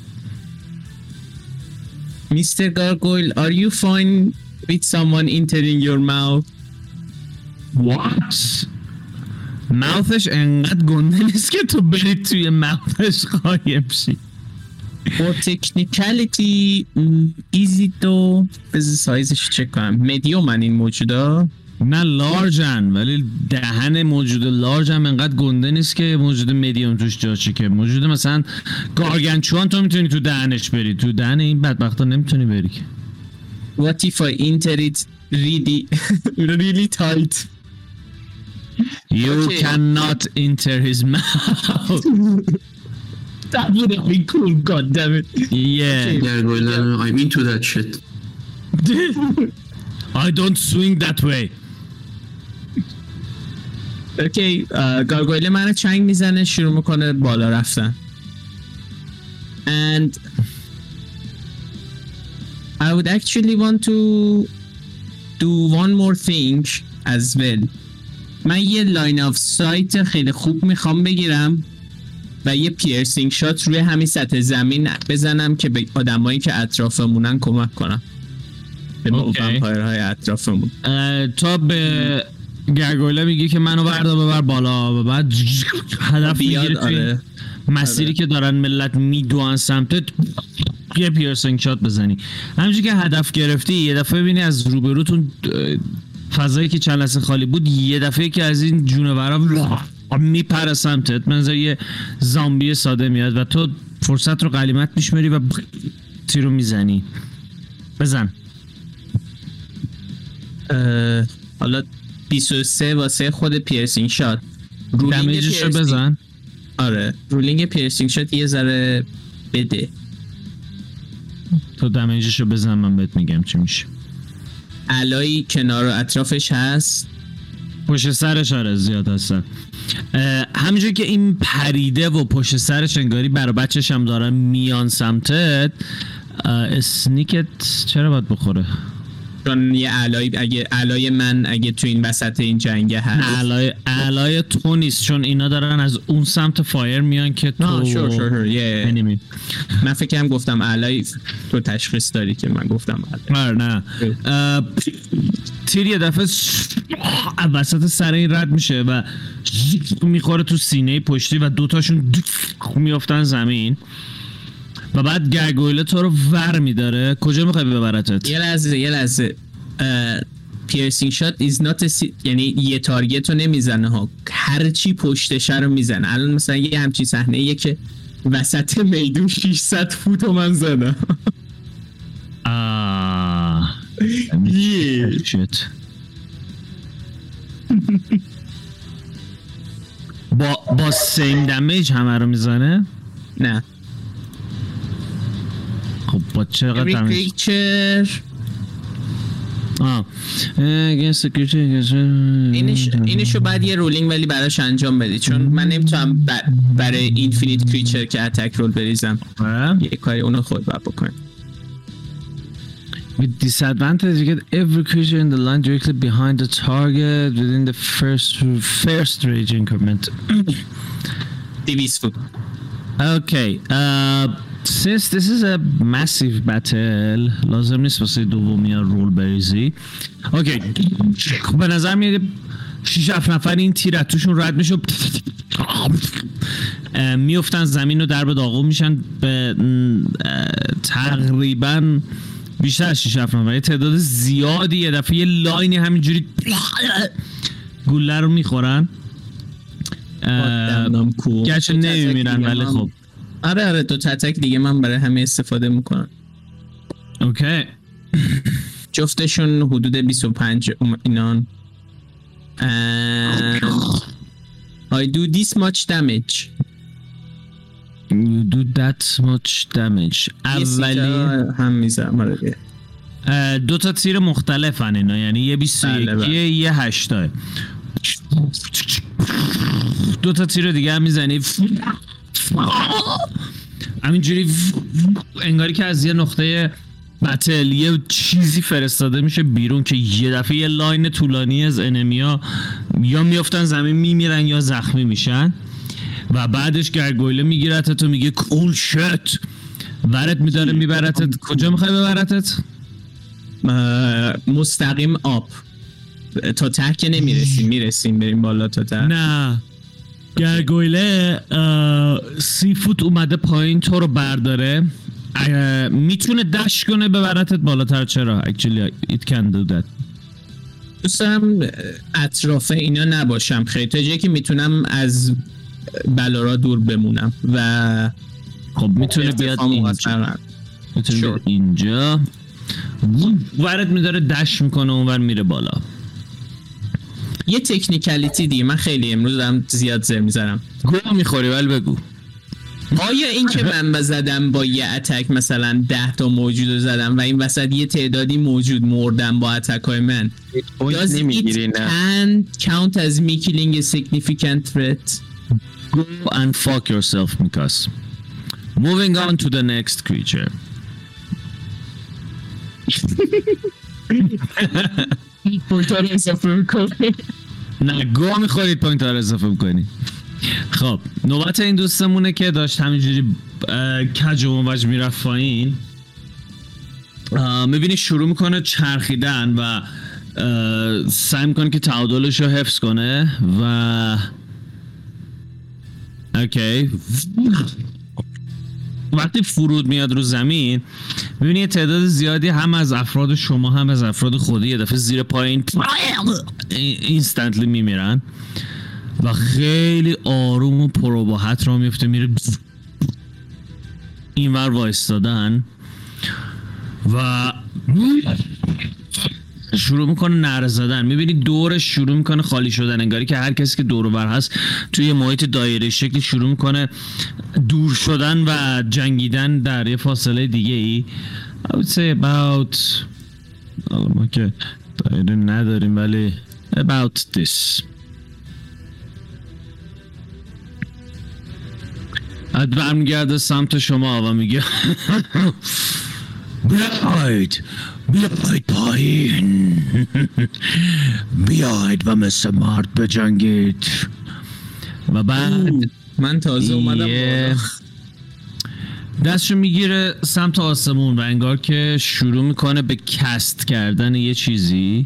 Mister Gargoyle, are you fine with someone entering your mouth? What? ماوثش انقدر گنده نیست که تو بری توی ماوثش قایم شی. For technicality easy تو بذار سایزش چک کنم. مدیوم من این موجودا نه لارجن ولی دهن موجود لارج هم انقدر گنده نیست که موجود مدیوم توش جاشه. که موجود مثلا گارگنچوان تو میتونی تو دهنش بری، تو دهن این بدبختا نمیتونی بری که. What if I enter it really really tight? You Okay. cannot enter his mouth. That would have been cool, god damn it. Yeah. گرگویلن I'm into that shit. I don't swing that way. اوکی گارگویل منو چنگ میزنه شروع میکنه بالا رفتن. And I would actually want to do one more thing as well. من یه لاین آف سایت خیلی خوب میخوام بگیرم و یه پیرسینگ شات روی همین سطح زمین بزنم که به آدمایی که اطرافمونن کمک کنم، به اوکی. ومپایرهای اطرافمون. اه، تو به گرگویله میگی که منو بردا ببر بالا و بعد هدف بیاد. میگیره توی آره مسیری آره. که دارن ملت میدوان سمتت یه پیرسینگ شات بزنی. همینجوری که هدف گرفتی یه دفعه ببینی از روبروتون اه، فضایی که چند لحظه خالی بود یه دفعه که از این جونورا میپره سمتت، منظر یه زامبی ساده میاد و تو فرصت رو غنیمت میشمری و تیرو میزنی. بزن. اه، حالا بیست و سه واسه خود پیرسینگ شات. رولینگ دمیجش رو پیرسینگ- بزن. آره رولینگ پیرسینگ شات یه ذره بده. تو دمیجش رو بزن من بهت میگم چی میشه. علایی کنار و اطرافش هست. پشت سرش آره زیاد هستن. همینجور که این پریده و پشت سرش انگاری برا بچهش هم دارن میان سمتت. اسنیکت چرا باید بخوره؟ چون یه علای اگه علای من اگه تو این وسط این جنگه هست. علای علای تو نیست چون اینا دارن از اون سمت فایر میان که تو آه شور شور شور یه انیمی. من فکر کنم گفتم علای تو تشخیص داری که من گفتم علای. آره نه اه، تیر یه دفعه وسط سر این رد میشه و میخوره تو سینه پشتی و دوتاشون میافتن زمین و بعد گرگویله تو رو ور میداره. کجا میخوای ببرتت؟ یه لحظه یه لحظه پیرسینگ شات is not a si- یعنی یه تارگت رو نمیزنه ها، هر چی پشتش رو میزنه. الان مثلا یه همچین صحنه یه که وسط میدون ششصد فوت رو من زدم. آه یه شت. با با سیم دمیج همه رو میزنه. نه خب با چقدر every دمیج؟ creature آه against the creature اینش اینشو بعد یه رولینگ ولی براش انجام بدی چون من نمیتونم ب... برای اینفینیت کریچر که اتک رول بریزم. آه. یه کاری اونو خود باید بکنم. With disadvantage, you get every creature in the line directly behind the target within the first first rage increment. دویست فوت. Okay. Uh, since this is a massive battle, لازم نیست واسه دومی رول بریزی. اوکی. Okay. به نظر میاد شش هفت نفر این تیر توشون رد میشه. میافتن زمین رو در به داغون میشن به تقریبا بیشتر از شش هفت نفر، تعداد زیادی یه دفعه یه لاینی همینجوری گوله رو میخورن. گرچه نمیمیرن ولی خب آره آره دو تتک دیگه من برای همه استفاده میکنم. اوکی. جفتشون حدود بیست و پنج اینان. I do this much damage. You do that much damage. اولی هم میزم دو تا تیر مختلفن اینا، یعنی یه بیست و یکی یه هشتای. دو تا تیر دیگه هم میزنی همینجوری انگاری که از یه نقطه بتل یه چیزی فرستاده میشه بیرون که یه دفعه یه لاین طولانی از انمیا یا میافتن زمین میمیرن یا زخمی میشن و بعدش گرگویله میگیرتت تو میگه کول شت ورت میداره میبرتت. کجا میخوای ببرتت؟ مستقیم آب تا ته که نمیرسیم، میرسیم بریم بالا تا ته. نه گرگویله سی فوت اومده پایین تو رو برداره، میتونه دش کنه ببرتت بالاتر. چرا؟ actually it can do that. دوست دارم اطراف اینا نباشم خیلی، تا جایی که میتونم از بلارا دور بمونم و خب میتونه بیاد اینجا، میتونه بیاد اینجا ورد میداره دش میکنه اونور میره بالا. یه تکنیکالیتی دیگه من خیلی امروز دارم زیاد زر میزنم. گوه میخوری ولی بگو. آیا این که من بزدم با یه اتک مثلا ده تا موجود رو زدم و این وسط یه تعدادی موجود مردم با اتک های من، does it can count as me killing a significant threat? Go and fuck yourself, Mikas. Moving on to the next creature. پوینت ها رو اضافه میکنی؟ نه گوه میخورید پوینت ها رو اضافه میکنی. خب نوبت این دوستمونه که داشت همینجوری کج و موج میرفت پایین. میبینی شروع میکنه چرخیدن و سعی میکنه که تعادلش رو حفظ کنه و اوکی وقتی فرود میاد رو زمین میبینی یه تعداد زیادی هم از افراد شما هم از افراد خودی یه دفعه زیر پایین اینستنتلی میمیرن و خیلی آروم و پروباحت را میفته میره این ور وایستادن و شروع میکنه نعره زدن. میبینی دورش شروع میکنه خالی شدن، انگاری که هر کسی که دور و بر هست توی محیط دایره شکلی شروع میکنه دور شدن و جنگیدن در یه فاصله دیگه ای. I would say about ما که دایره نداریم ولی about this. اد برمیگرده سمت شما و میگه بیاید بیاید پایین بیاید و مثل مرد بجنگید. و بعد من تازه اومدم دستشو میگیره سمت آسمون و انگار که شروع میکنه به کست کردن یه چیزی.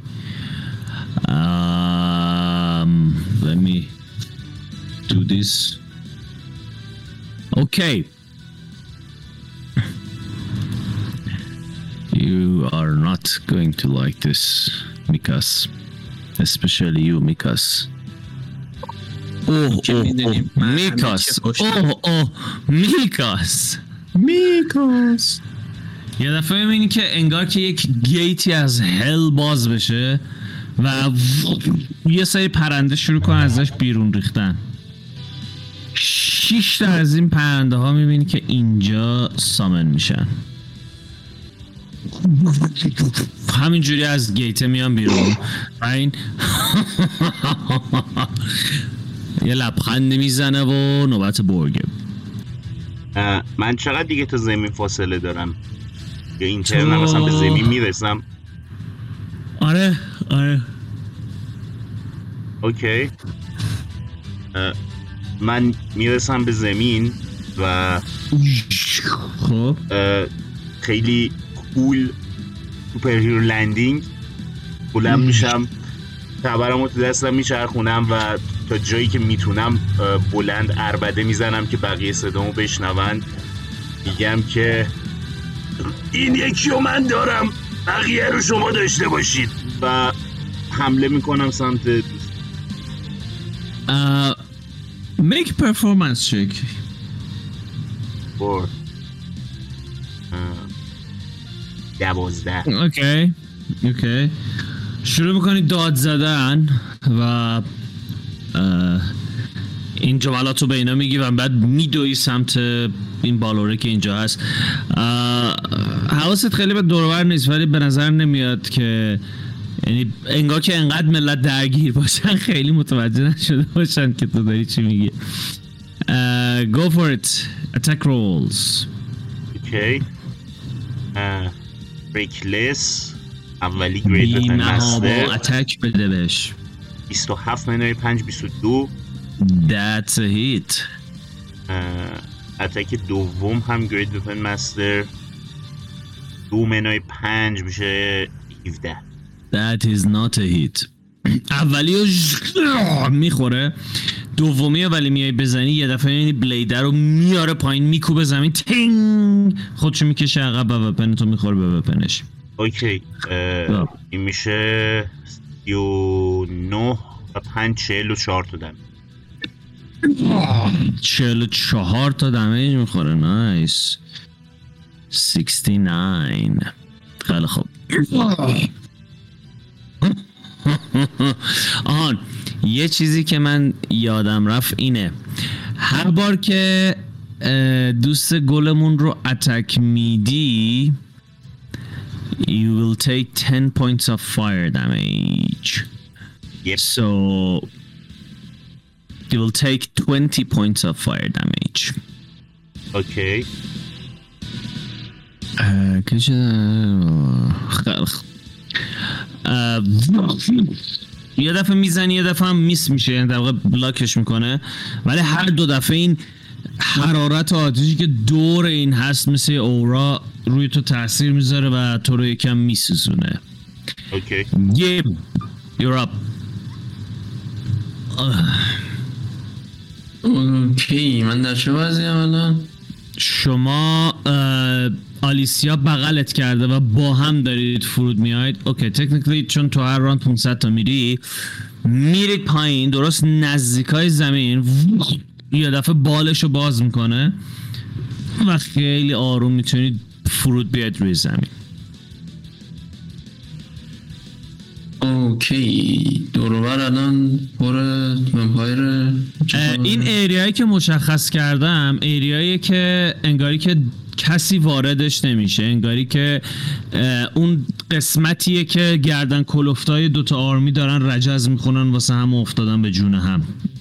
um, let me do this. Okay. You are not going to like this, Mikas. Especially you, Mikas. Oh, oh, oh, Mikas. Oh, oh, Mikas. Mikas. یه دفعه میبینی که انگار که یک گیتی از هل باز بشه و یه سری پرنده شروع کنن ازش بیرون ریختن. شش تا از این پرنده ها میبینی که اینجا سامن میشن، همینجوری از گیت میان بیرون و این یه لبخند میزنه و نوبت برگه. من چقدر دیگه تا زمین فاصله دارم؟ یا اینترنم مثلا به زمین میرسم؟ آره آره اوکی. من میرسم به زمین و خب خیلی کول سوپر هیرو لندینگ بلند میشم، تبرم رو تو دستم میچرخونم و تا جایی که میتونم بلند عربده میزنم که بقیه صدامو بشنون. میگم که این یکی رو من دارم، بقیه رو شما داشته باشید و حمله میکنم سمت Uh, make performance check. فور دوازده. اوکی اوکی شروع میکنی داد زدن و این جملات رو به اینا میگی و بعد میدوی سمت این بالوره که اینجا هست. حواست خیلی به دورور نیست ولی به نظر نمیاد که یعنی انگار که انقدر ملت درگیر باشن خیلی متوجه نشده باشن که تو داری چی میگی. uh, Go for it. Attack rolls. اوکی. ریکلس اولی گرید وپن مستر. اتک بده بهش. بیست و هفت منوی پنج بیست و دو. That's a hit. اتک دوم هم گرید وپن مستر دو منوی پنج میشه هفده. That is not a hit. اولی رو میخوره، دومی ولی میای بزنی یه دفعه یعنی بلیدر رو میاره پایین میکوبه زمین، تینگ خودشو میکشه عقب و وپنتو میخوره به وپنش. اوکی. این میشه سی و نه و پنج چهل و چهار تا دمیج. چهل و چهار تا دمیج میخوره. نایس. شصت و نه. خیلی خوب. آهان یه چیزی که من یادم رفت اینه، هر بار که دوست گلمون رو اتک میدی you will take ten points of fire damage. Yep. So you will take twenty points of fire damage. اوکی. کجا خیلی خوب. یه دفعه میزنی یه دفعه هم میس میشه، یعنی در واقع بلاکش میکنه، ولی هر دو دفعه این حرارت آتشی که دور این هست مثل اورا روی تو تاثیر میذاره و تو رو یکم میسوزونه. اوکی. یه you're up. اوکی من در چه وضعیم الان؟ شما آلیسیا بغلت کرده و با هم دارید فرود میاید. اوکی تکنیکلی چون تو هر راند پانصد تا میری میرید پایین درست نزدیکای زمین یه دفعه بالشو باز میکنه و خیلی آروم میتونید فرود بیاید روی زمین. اوکی دوروبر الان پر ومپایر. این ایریایی که مشخص کردم ایریایی که انگاری که کسی واردش نمیشه، انگاری که اون قسمتیه که گردن کلفتای دوتا آرمی دارن رجز میخونن واسه هم افتادن به جون هم.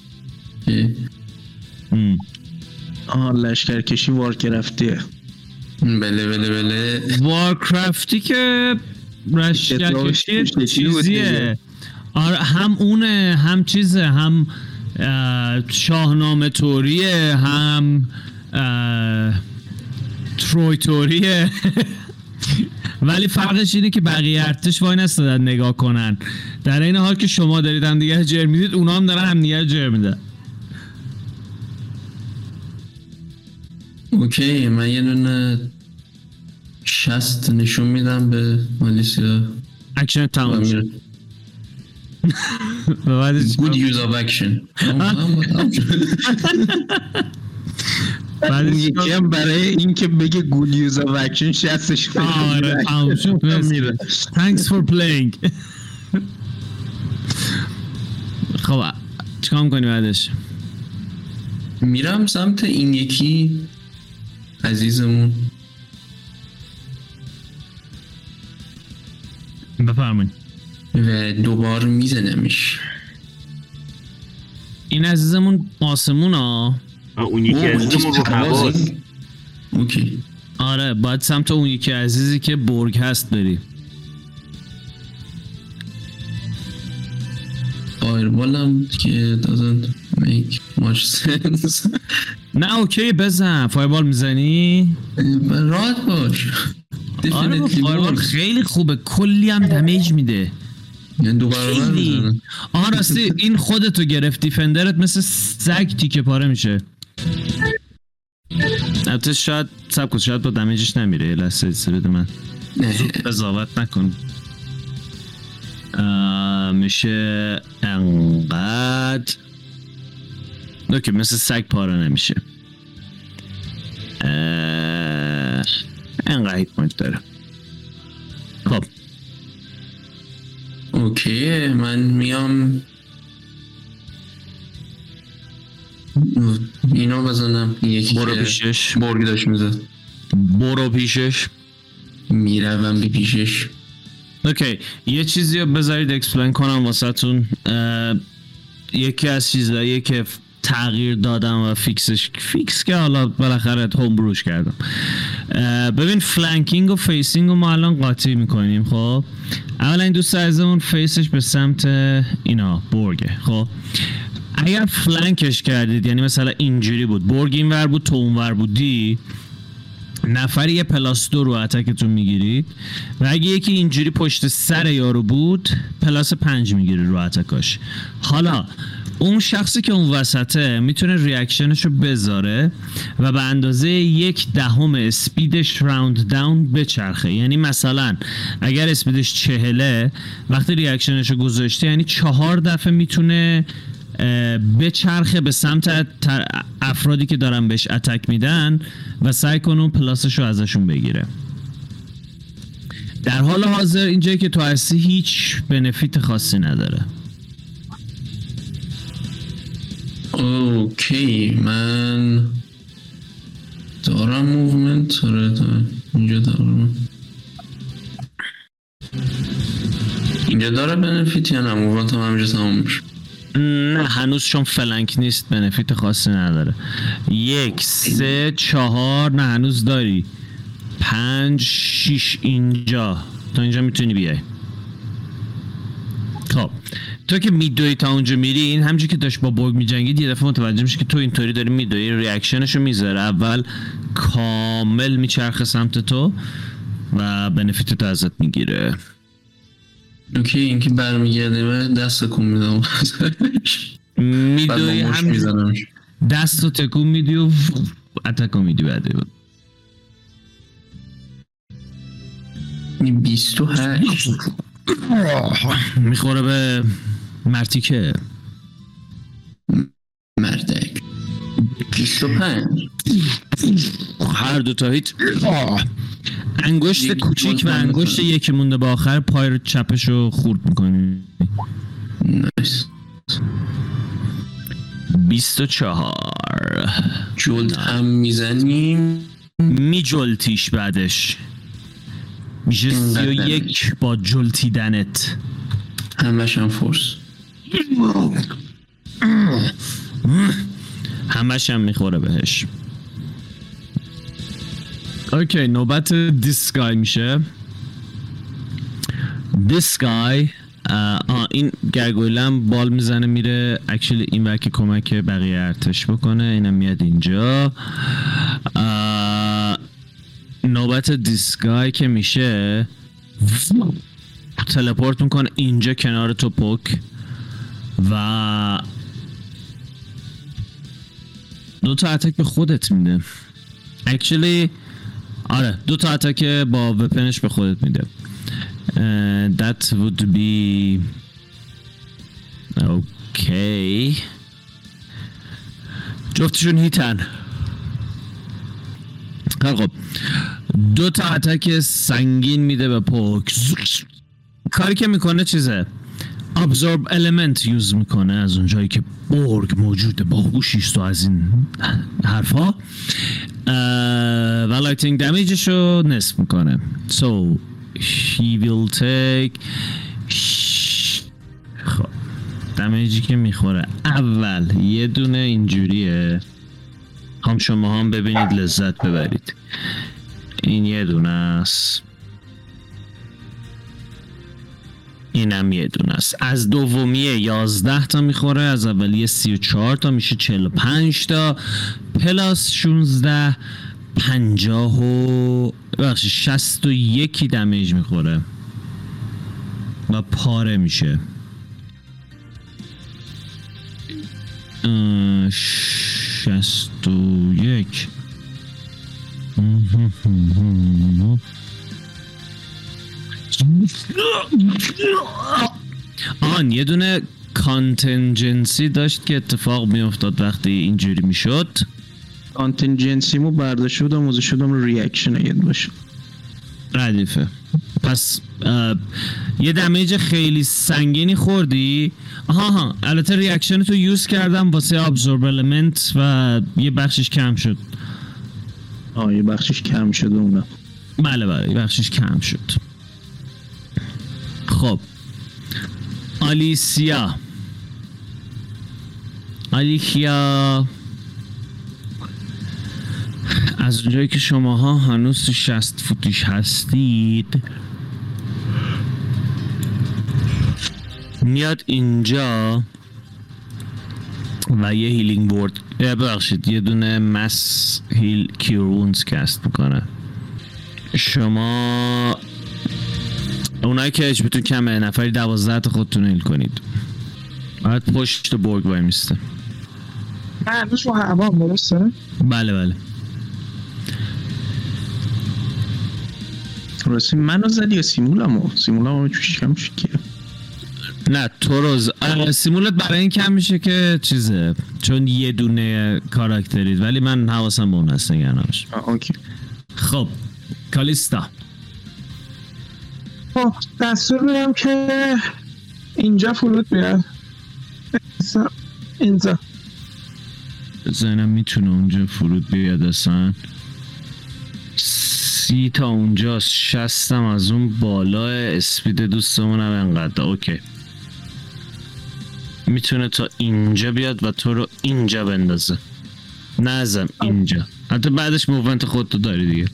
آها لشکرکشی وارکرافتیه. بله بله بله وارکرافتی که لشکرکشی چیزیه. آره هم اونه هم چیزه، هم شاهنامه توریه هم تروی توریه ولی فرقش اینه که بقیه ارتش وای نستادن نگاه کنن، در این حال که شما دارید هم دیگه جر میدید اونا هم دارن هم دیگه جر میدن. اوکی من یه دونه شست نشون میدم به آلیسیا. اکشن تمام شد. Good use of action. بعد یکی هم برای این که بگه good use of action شستش آره تمام شد. میره. Thanks for playing. خب چیکار میکنی بعدش؟ میرم سمت این یکی عزیزمون. بفرمایید. و دوبار میزنمش. این عزیزمون آسمون ها. اون یکی عزیزمون رو هواست. اوکی آره باید سمت اون یکی عزیزی که برگ هست بری. فایربال هم که doesn't make much sense. نه اوکی بزن. فایربال میزنی؟ راحت باش. آره با Definitely فایربال works. خیلی خوبه، کلی هم دمیج میده. یعنی دو برابر خیلی. میزنه. آها راستی این خودتو گرفتی، فندرت مثل سگ تیکه پاره میشه. البته شاید سب کن، شاید با دمیجش نمیره. یه لحظه ایسته بده من قضاوت نکن. آه، میشه انقدر اوکی، مثل سگ پاره نمیشه. اه، انقدر هیت پوینت داره. خب اوکی من میام اینو بزنم. یکی برو که پیشش. برگ داشت میزد. برو پیشش. میروم بی پیشش. اوکی یه چیزی رو بذارید اکسپلین کنم واسه تون. یکی از چیزایی که تغییر دادم و فیکسش فیکس که حالا بالاخره هوم بروش کردم. ببین فلانکینگ و فیسینگ رو ما الان قاطی میکنیم. خب اولا این دوست عزیزمون فیسش به سمت اینا برگه. خب اگر فلانکش کردید یعنی مثلا اینجوری بود، برگ این ور بود تو اون ور بودی، نفری یه پلاس دو رو اتکتون میگیرید و اگه یکی اینجوری پشت سر یارو بود پلاس پنج میگیری رو اتکاش. حالا اون شخصی که اون وسطه میتونه ریاکشنشو بذاره و به اندازه یک دهم اسپیدش راوند داون بچرخه. یعنی مثلا اگر اسپیدش چهله وقتی ریاکشنشو گذاشته یعنی چهار دفعه میتونه بچرخه به سمت افرادی که دارن بهش اتک میدن و سعی کنه اون پلاسشو ازشون بگیره. در حال حاضر اینجایی که تو هستی هیچ بنفیت خاصی نداره. اوکی من دارم موومنت. آره دارم. اینجا دارم. اینجا داره بنفیت یا نه؟ موومنت هم همینجا تمام میشه. نه هنوز چون فلنک نیست بنفیت خاصی نداره. یک سه چهار نه هنوز داری. پنج شیش اینجا تا اینجا میتونی بیای. خب تو که میدوی تا اونجا میری این همچون که داشت با برگ میجنگید یه دفعه متوجه میشه که تو اینطوری داری میدوی. ریاکشنشو میذاره اول کامل میچرخه سمت تو و بنفیت تو ازت میگیره. اوکی این که برمیگرده دست تکون میدم. میدوی هم میزنم دست رو تکون میدی و اتکو میدی بعده. این بیست و هشت میخوره به مرتیکه. مردک. بیست و پنج هر دو تا هیت. انگشت کوچیک و انگشت یکی مونده به آخر پای چپشو خورد میکنی. نایس. بیست و چهار جلد هم میزنیم. میجلتیش بعدش میشه سی و یک با جلتیدنت. همش هم فورس. همش هم میخوره بهش. اوکی نوبت دیسکای میشه. دیسکای آه این گرگویلم بال میزنه میره اکچولی این وکی کمک بقیه ارتش بکنه. اینم میاد اینجا. نوبت دیسکای که میشه تلپورت میکنه اینجا کنار تو پوک و دو تا اتک به خودت میده. اکچولی آره دو تا اتک با وپنش به خودت میده. Uh, that would be okay. جفتشون هیتن. خب دو تا اتک سنگین میده به پوک. کاری که میکنه چیزه ابزورب المنت یوز میکنه از اونجایی که برگ موجوده با هوشیست و از این حرفا و لایتینگ دمیجش رو نصف میکنه. so he will take خب دمیجی که میخوره اول یه دونه اینجوریه هم شما هم ببینید لذت ببرید. این یه دونه است، اینم یه دونه است. از دومیه یازده تا میخوره، از اولیه سی و چهار تا میشه چهل و پنج تا، پلاس شونزده پنجاه و بخشی شست و یکی دمیج میخوره و پاره میشه. شست و یک آن یه دونه کانتنجنسی داشت که اتفاق میافتاد وقتی اینجوری میشد. کانتنجنسیمو برداشت بودم موزه شدم رو ریاکشن اگه باشه ردیفه. پس یه دمیج خیلی سنگینی خوردی. آها ها البته ریاکشن تو یوز کردم واسه ابزورب المنت و یه بخشش کم شد. آه یه بخشش کم شد اونم. بله بله یه بخشش کم شد. خب آلیسیا آلیسیا از اونجایی که شماها هنوز تو شصت فوتیش هستید میاد اینجا و یه هیلینگ ورد ببخشید یه دونه مس هیل کیرونز کست میکنه. شما اونایی که اچ بیتون کمه نفری دوازده تا خودتون هیل کنید. باید پشت برگ وای میسته. هنوز رو هوام درسته؟ بله بله راستی منو زدی یا سیمولمو؟ سیمولمو چوش کم شد که نه تو روز سیمولت برای این کم میشه که چیزه چون یه دونه کاراکترید، ولی من حواسم به اون هست نگرانش. اوکی. خب کالیستا خب دستور میدم که اینجا فرود بیاد. اینجا بزنم میتونه اونجا فرود بیاد اصلا. سی تا اونجاست، شستم از اون بالا اسپید دوستمونم انقدر. اوکی میتونه تا اینجا بیاد و تو رو اینجا بندازه. نزم اینجا، حتی بعدش موومنت خودتو داری دیگه.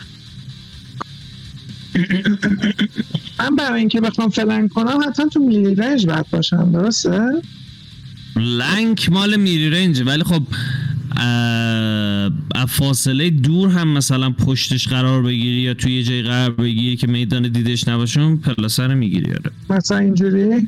من برای اینکه بخوام فلنگ کنم حتما تو میلی رنج باید باشم درسته؟ لنک مال میری رنج، ولی خب اه فاصله دور هم مثلا پشتش قرار بگیری یا توی یه جای قرار بگیری که میدان دیدش نباشون پلاسه رو میگیری. آره مثلا اینجوری؟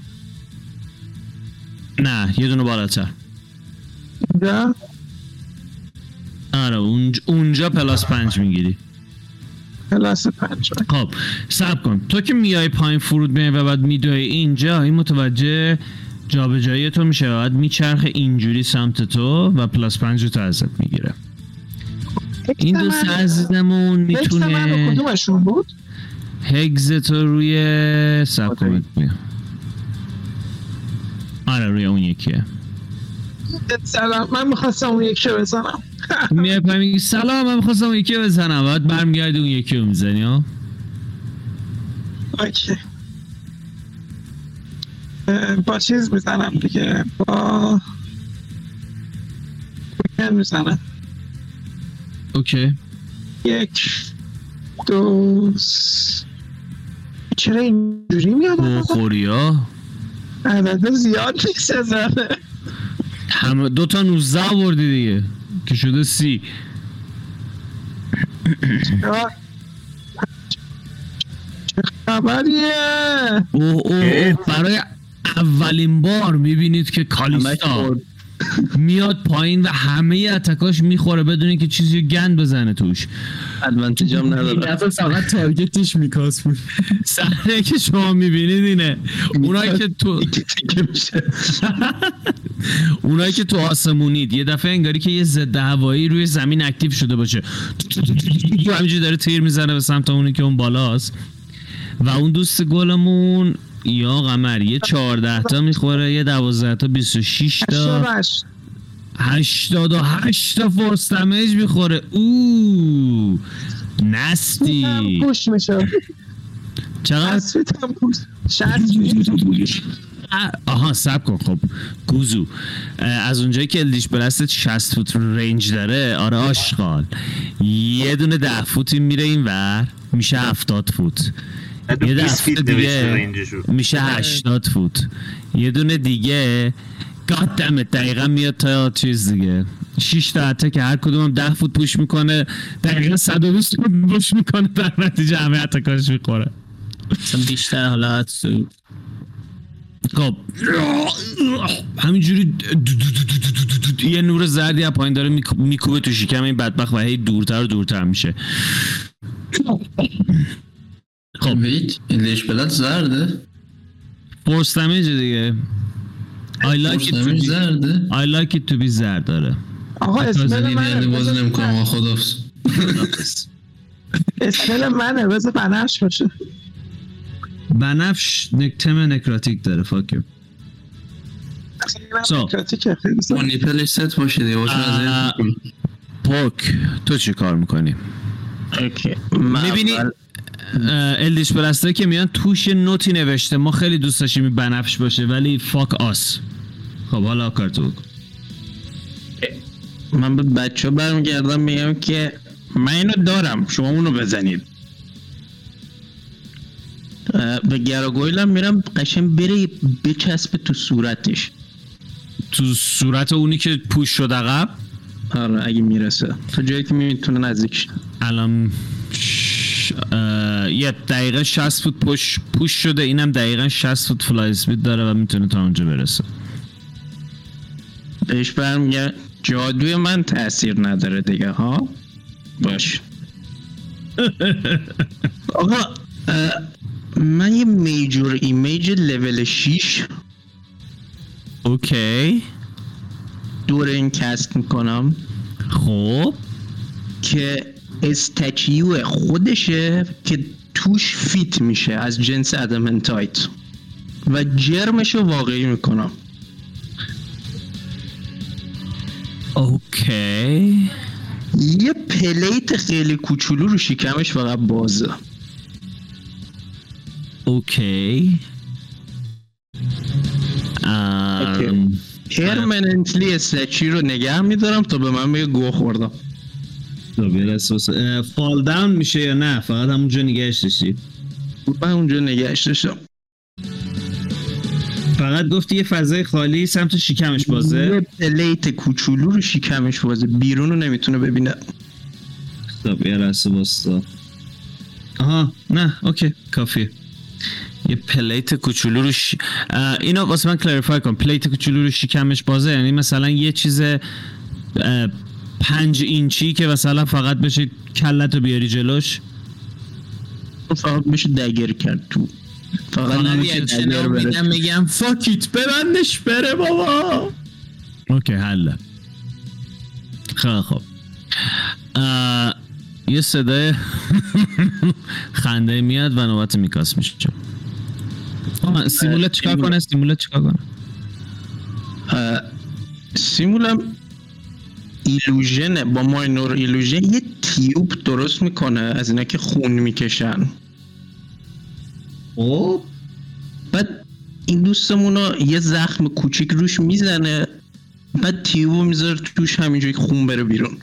نه یه دونه بالاتر. اینجا؟ آره اونج... اونجا پلاس پنج میگیری. پلاس پنج. خب صبر کن، تو که میای پایین فرود میای و بعد میدوی اینجا، این متوجه جابجایی تو میشه و بعد میچرخه اینجوری سمت تو و پلاس پنج رو تو ازت میگیره. این دوست عزیزمون میتونه هگز من کدومشون بود؟ هگز تو روی صبر کن میاد. آره روی اون یکیه. سلام من میخواستم اون یکی رو بزنم. میای پایین میگی سلام من میخواستم اون یکی رو بزنم، بعد برمیگردی اون یکی رو میزنی. ها اوکی با چیز میزنم دیگه، با کوکن میزنم. اوکی یک دو س... چرا اینجوری میاد؟ بخوری ها عدد زیاد نیست زده. همه دو تا نوزده آوردی دیگه که شده سی. چه خبریه؟ اوه اوه اوه برای اولین بار میبینید که کالیستا میاد پایین و همه اتکاش میخوره بدون اینکه چیزی گند بزنه توش. ادوانتیج هم نداره. دفعه فقط تارگتش میکاس بود. صحنه که شما میبینید اینه. اونایی که تو اونایی که تو آسمونید یه دفعه انگاری که یه ضد هوایی روی زمین اکتیو شده باشه، همینجوری داره تیر میزنه به سمت اونی که اون بالاست و اون دوست گلمون یا قمر یه چهارده تا میخوره، یه دوازده تا بیست و شش تا هشتاد و هشت تا فورس دمیج میخوره. اوه نستی پوش میشه. چقدر؟ شصت آها سب کن. خب گوزو از اونجایی که الدیش بلست شصت فوت رنج داره، آره آشغال، یه دونه ده فوتی میره این ور میشه هفتاد فوت، یه ده فوت دیگه میشه هشتاد فوت، یه دونه دیگه گادمت دقیقا میاد تا چیز دیگه شش تا حتی که هر کدوم ده فوت پوش میکنه، دقیقا صد و بیست فوت پوش میکنه، در نتیجه همه حتی کارش میخوره مثلا بیشتر حالات سود. خب همینجوری یه نور زردی از پایین داره میکوبه تو شکم این بدبخت و هی دورتر و دورتر میشه. خب ویت ایلش بلد زرده فورس دمیج دیگه. I like it to be زرده I like it to be زرد داره. آقا اسمل منه بازی نمی کنم خدافز. اسمل منه بذار بنفش باشه. بنفش نکتم نکراتیک داره. فاکیو سو مانیپلش ست باشه دیگه باشون از پوک تو چی کار میکنی؟ اوکی میبینی الدیش پرسته که میان توش نوتی نوشته ما خیلی دوست داشتیم بنفش باشه ولی فاک آس. خب حالا کارتو بکن. من به بچه ها برمیگردم میگم که من اینو دارم شما اونو بزنید. به گراگویلم میرم قشن بره بچسبه تو صورتش، تو صورت اونی که پوش شد عقب. آره اگه میرسه تو جایی که میتونه نزدیکش. الان ش... یه دقیقه شصت فوت پوش پوش شده، اینم دقیقا شصت فوت فلای اسپید داره و میتونه تا اونجا برسه. بهش برمیگه جادوی من تأثیر نداره دیگه ها. باش آقا من یه میجور ایمیج لول شش اوکی دور این کست میکنم. خب که استچیو خودشه که توش فیت میشه از جنس ادامنتایت و جرمشو واقعی میکنم. اوکی یه پلیت خیلی کوچولو رو شکمش فقط بازه. اوکی ام... پرمننتلی استچی رو نگه میدارم تا به من بگه گوه خوردم. فال داون میشه یا نه فقط همونجا نگهش داشتی؟ من اونجا نگهش داشتم. فقط گفتی یه فضای خالی سمت شکمش بازه؟ یه پلیت کوچولو رو شکمش بازه، بیرون رو نمیتونه ببینه. خب یه رسه باستا. آها نه اوکی کافیه. یه پلیت کوچولو رو ش... اینو واسه من کلاریفای کن. پلیت کوچولو رو شکمش بازه یعنی مثلا یه چیز پنج اینچی که مثلا فقط بشه کلت رو بیاری جلوش، فقط بشه دگر کرد تو، فقط نمیشه دگر بره. میگم فاکیت ببندش بره بابا. اوکی حله. خیلی خوب یه صدای خنده میاد و نوبت میکاس میشه. سیمولت چیکار کنه؟ سیمولت چیکار کنه؟ سیمولم ایلوژنه، با ماینور ایلوژن یه تیوب درست میکنه از اینا که خون میکشن. او بعد این دوستمونو یه زخم کوچیک روش میزنه، بعد تیوبو میذاره توش همینجوری خون بره بیرون.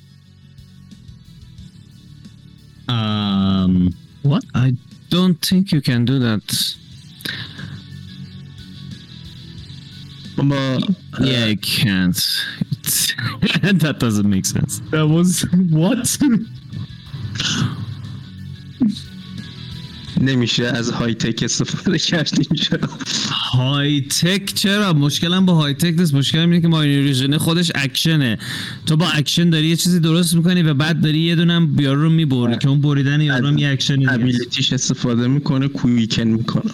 Um, what? I don't think you can do that. با Yeah, I can't. That doesn't make sense. That was what? نمیشه از های تک استفاده کرد اینجا. های تک چرا؟ مشکلم با های تک نیست، مشکلم اینه که ماینوریژن خودش اکشنه. تو با اکشن داری یه چیزی درست میکنی و بعد داری یه دونم بیارو رو میبری که اون بریدن یارو هم یه اکشنی نیست. ابیلیتیش استفاده میکنه، کویکن میکنه.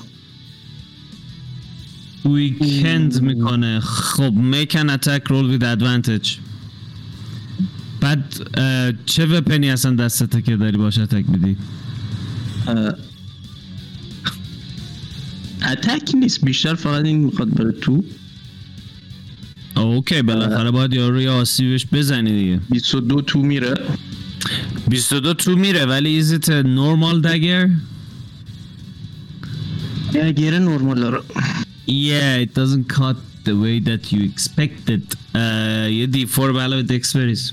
ویکند میکنه. خب make an attack roll with advantage. بعد چه وپنی اصلا دستته که داری باشه اتک میدی؟ اتک نیست، بیشتر فقط این میخواد بره تو. اوکی بالاخره باید یارو رو یه آسیبش بزنی دیگه. بیست و دو تو میره. بیست و دو تو میره ولی is it a normal dagger؟ دگر نورمال داره. Yeah, it doesn't cut the way that you expected. Uh, یه دی فور به علاوه دکس بریز.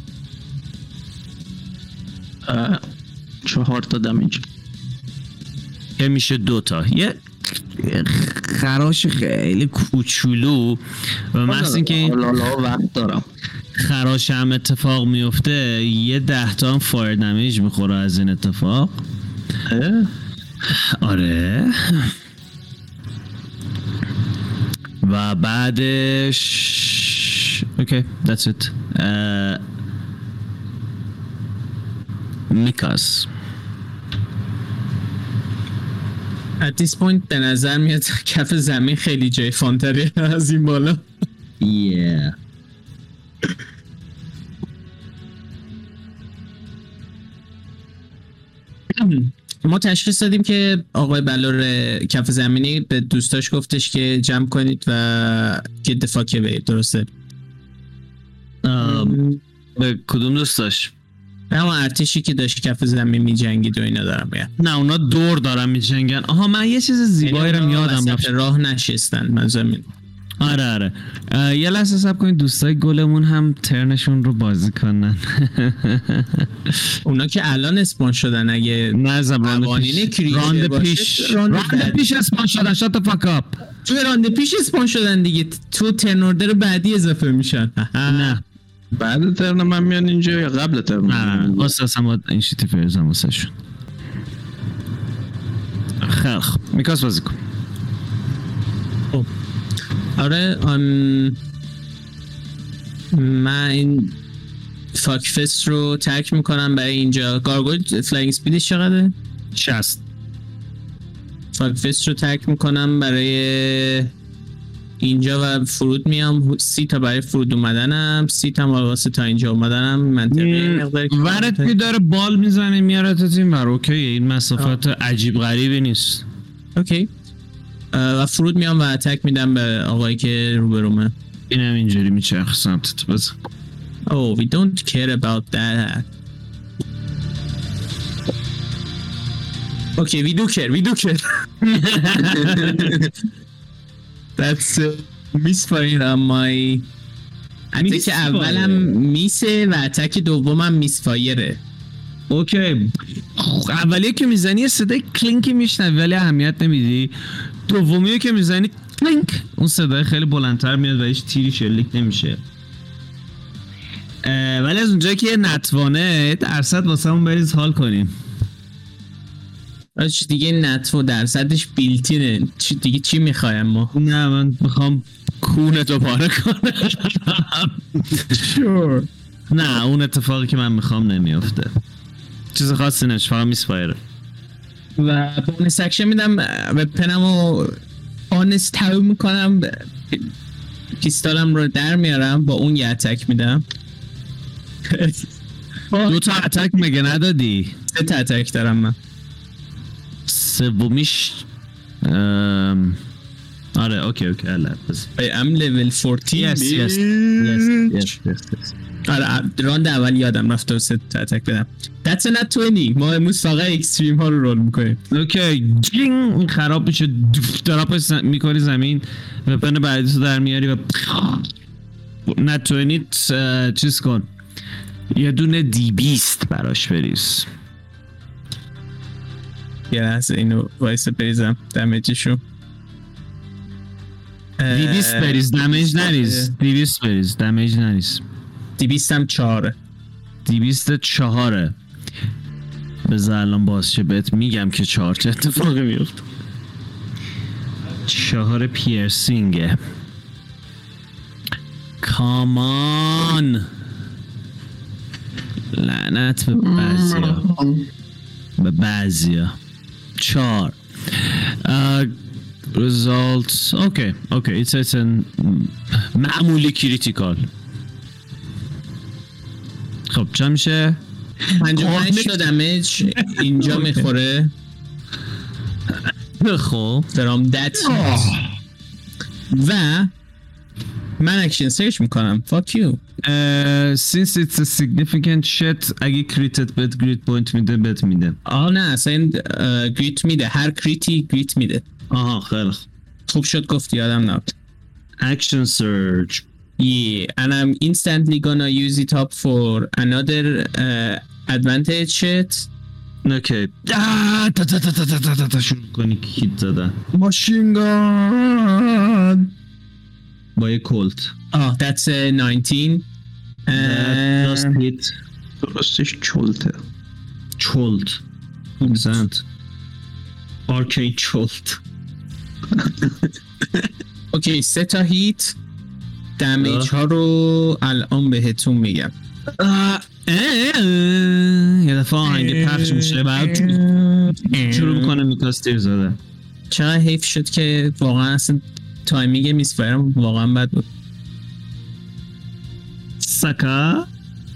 چهار تا دمیج که میشه دوتا. یه خراش خیلی کوچولو و محض اینکه لالا وقت دارم خراش هم اتفاق میفته یه ده تا هم فایر دمیج میخوره از این اتفاق. آره و بعدش اوکی that's it. میکاس at this point به نظر میاد کف زمین خیلی جای فانتری از این بالا. yeah ما تشخیص دادیم که آقای بلور کف زمینی به دوستاش گفتش که جمع کنید و get the fuck away. درسته؟ به کدوم دوستاش؟ اما ارتشی که داشت کف زمین می جنگید و اینا دارم میگم. نه اونا دور دارن می جنگن. آها من یه چیز زیبایی رو یادم رفت. راه نشستن من زمین. آره آره یه لحظه صبر کنید دوستای گلمون هم ترنشون رو بازی کنن. اونا که الان اسپان شدن اگه نه زبان پیش راند پیش راند پیش اسپان شدن. شات فاک اپ. تو راند پیش اسپان شدن دیگه. تو ترن اوردر بعدی اضافه میشن. نه بعد ترن من میان اینجا یا قبل ترن؟ نه نه اساسا باید این شیتی فرزم واسه شون. خیلی خوب میکاس بازی کن. آره آن من این فاک فست رو ترک میکنم برای اینجا. گارگویل فلاینگ سپیدش چقدره؟ شصت. فاک فست رو ترک میکنم برای اینجا و فرود میام. سی تا برای فرود اومدنم، سی تا واسه تا اینجا اومدنم. منطقی مقداری ورت که داره بال میزنه میاره تا این ور. اوکی این مسافت عجیب غریبی نیست. اوکی و فرود میام و اتک میدم به آقایی که روبرومه. اینم اینجوری میچرخ سمتت. بزن. Oh, we don't care about that. Okay, we do care, we do care. That's uh, misfire on my... اتک اولم میسه و اتک دومم میسفایره. اوکی اولیه که میزنی صدای کلینکی میشنوی ولی اهمیت نمیدی. دومیه که میزنی کلینک اون صدای خیلی بلندتر میاد و هیچ تیری شلیک نمیشه. ولی از اونجایی که یه نتوانه درصد واسه همون بریز حال کنیم. چی دیگه نتو درصدش بیلتینه. چی دیگه چی میخوایم ما؟ نه من میخوام کونتو پاره کنم. sure. نه اون اتفاقی که من میخوام نمیفته. چیز خاصی نش فقط میسپایره. و بونس اکشن میدم به پنمو آنست تاو میکنم. پیستالم رو در میارم با اون یه اتک میدم. دو تا اتک مگه ندادی؟ سه تا اتک دارم من. سومیش ام... آره اوکی اوکی الان بس I am level fourteen. yes yes yes yes yes yes آره راند اول یادم رفت و سه تا اتک بدم. That's a nat twenty. ما امروز فقط اکستریم ها رو رول میکنیم. اوکی جینگ خراب میشه. دراپش میکنی زمین و پن بعدی تو در میاری و نت بیست چیز کن. یه دونه دی بیست براش بریز. یه لحظه اینو وایسه بریزم دمیجشو. دی بیست بریز دمیج نریز. دی بیست بریز دمیج نریز. دی بیست هم چهاره. دی بیست چهاره. بذار الان باز چه بهت میگم که چهار چه اتفاقی میفته. چهار پیرسینگه. کامان لعنت به بعضیا به بعضیا. چهار results اوکی اوکی it's it's an معمولی کریتیکال. خب چه میشه؟ پنجاه و پنج تا دمیج اینجا میخوره. خب from that و من اکشن سرچ میکنم. fuck you uh, since it's a significant shit اگه کریتت بهت گریت پوینت میده بهت میده. آه نه اصلا گریت میده. هر کریتی گریت میده. آها خیلی خوب خوب شد گفتی یادم نبود. Action surge. Yeah, and I'm instantly gonna use it up for another uh, advantage shit. اوکی. آه، تا تا تا تا تا تا تا تا شروع کنی که هیت زدن. Machine gun. با یه کلت. Oh, that's a nineteen. That just Uh, hit. درستش چلته. چولت. Excellent. Arcane چولت. okay, سه تا هیت. دمیج ها رو الان بهتون میگم. آه، اه، یه دفعه آهنگ پخش میشه بعد شروع میکنه میکاس تیر زده. چقدر حیف شد که واقعا اصلا تایمینگ میسفرم واقعا بد بود. سکا.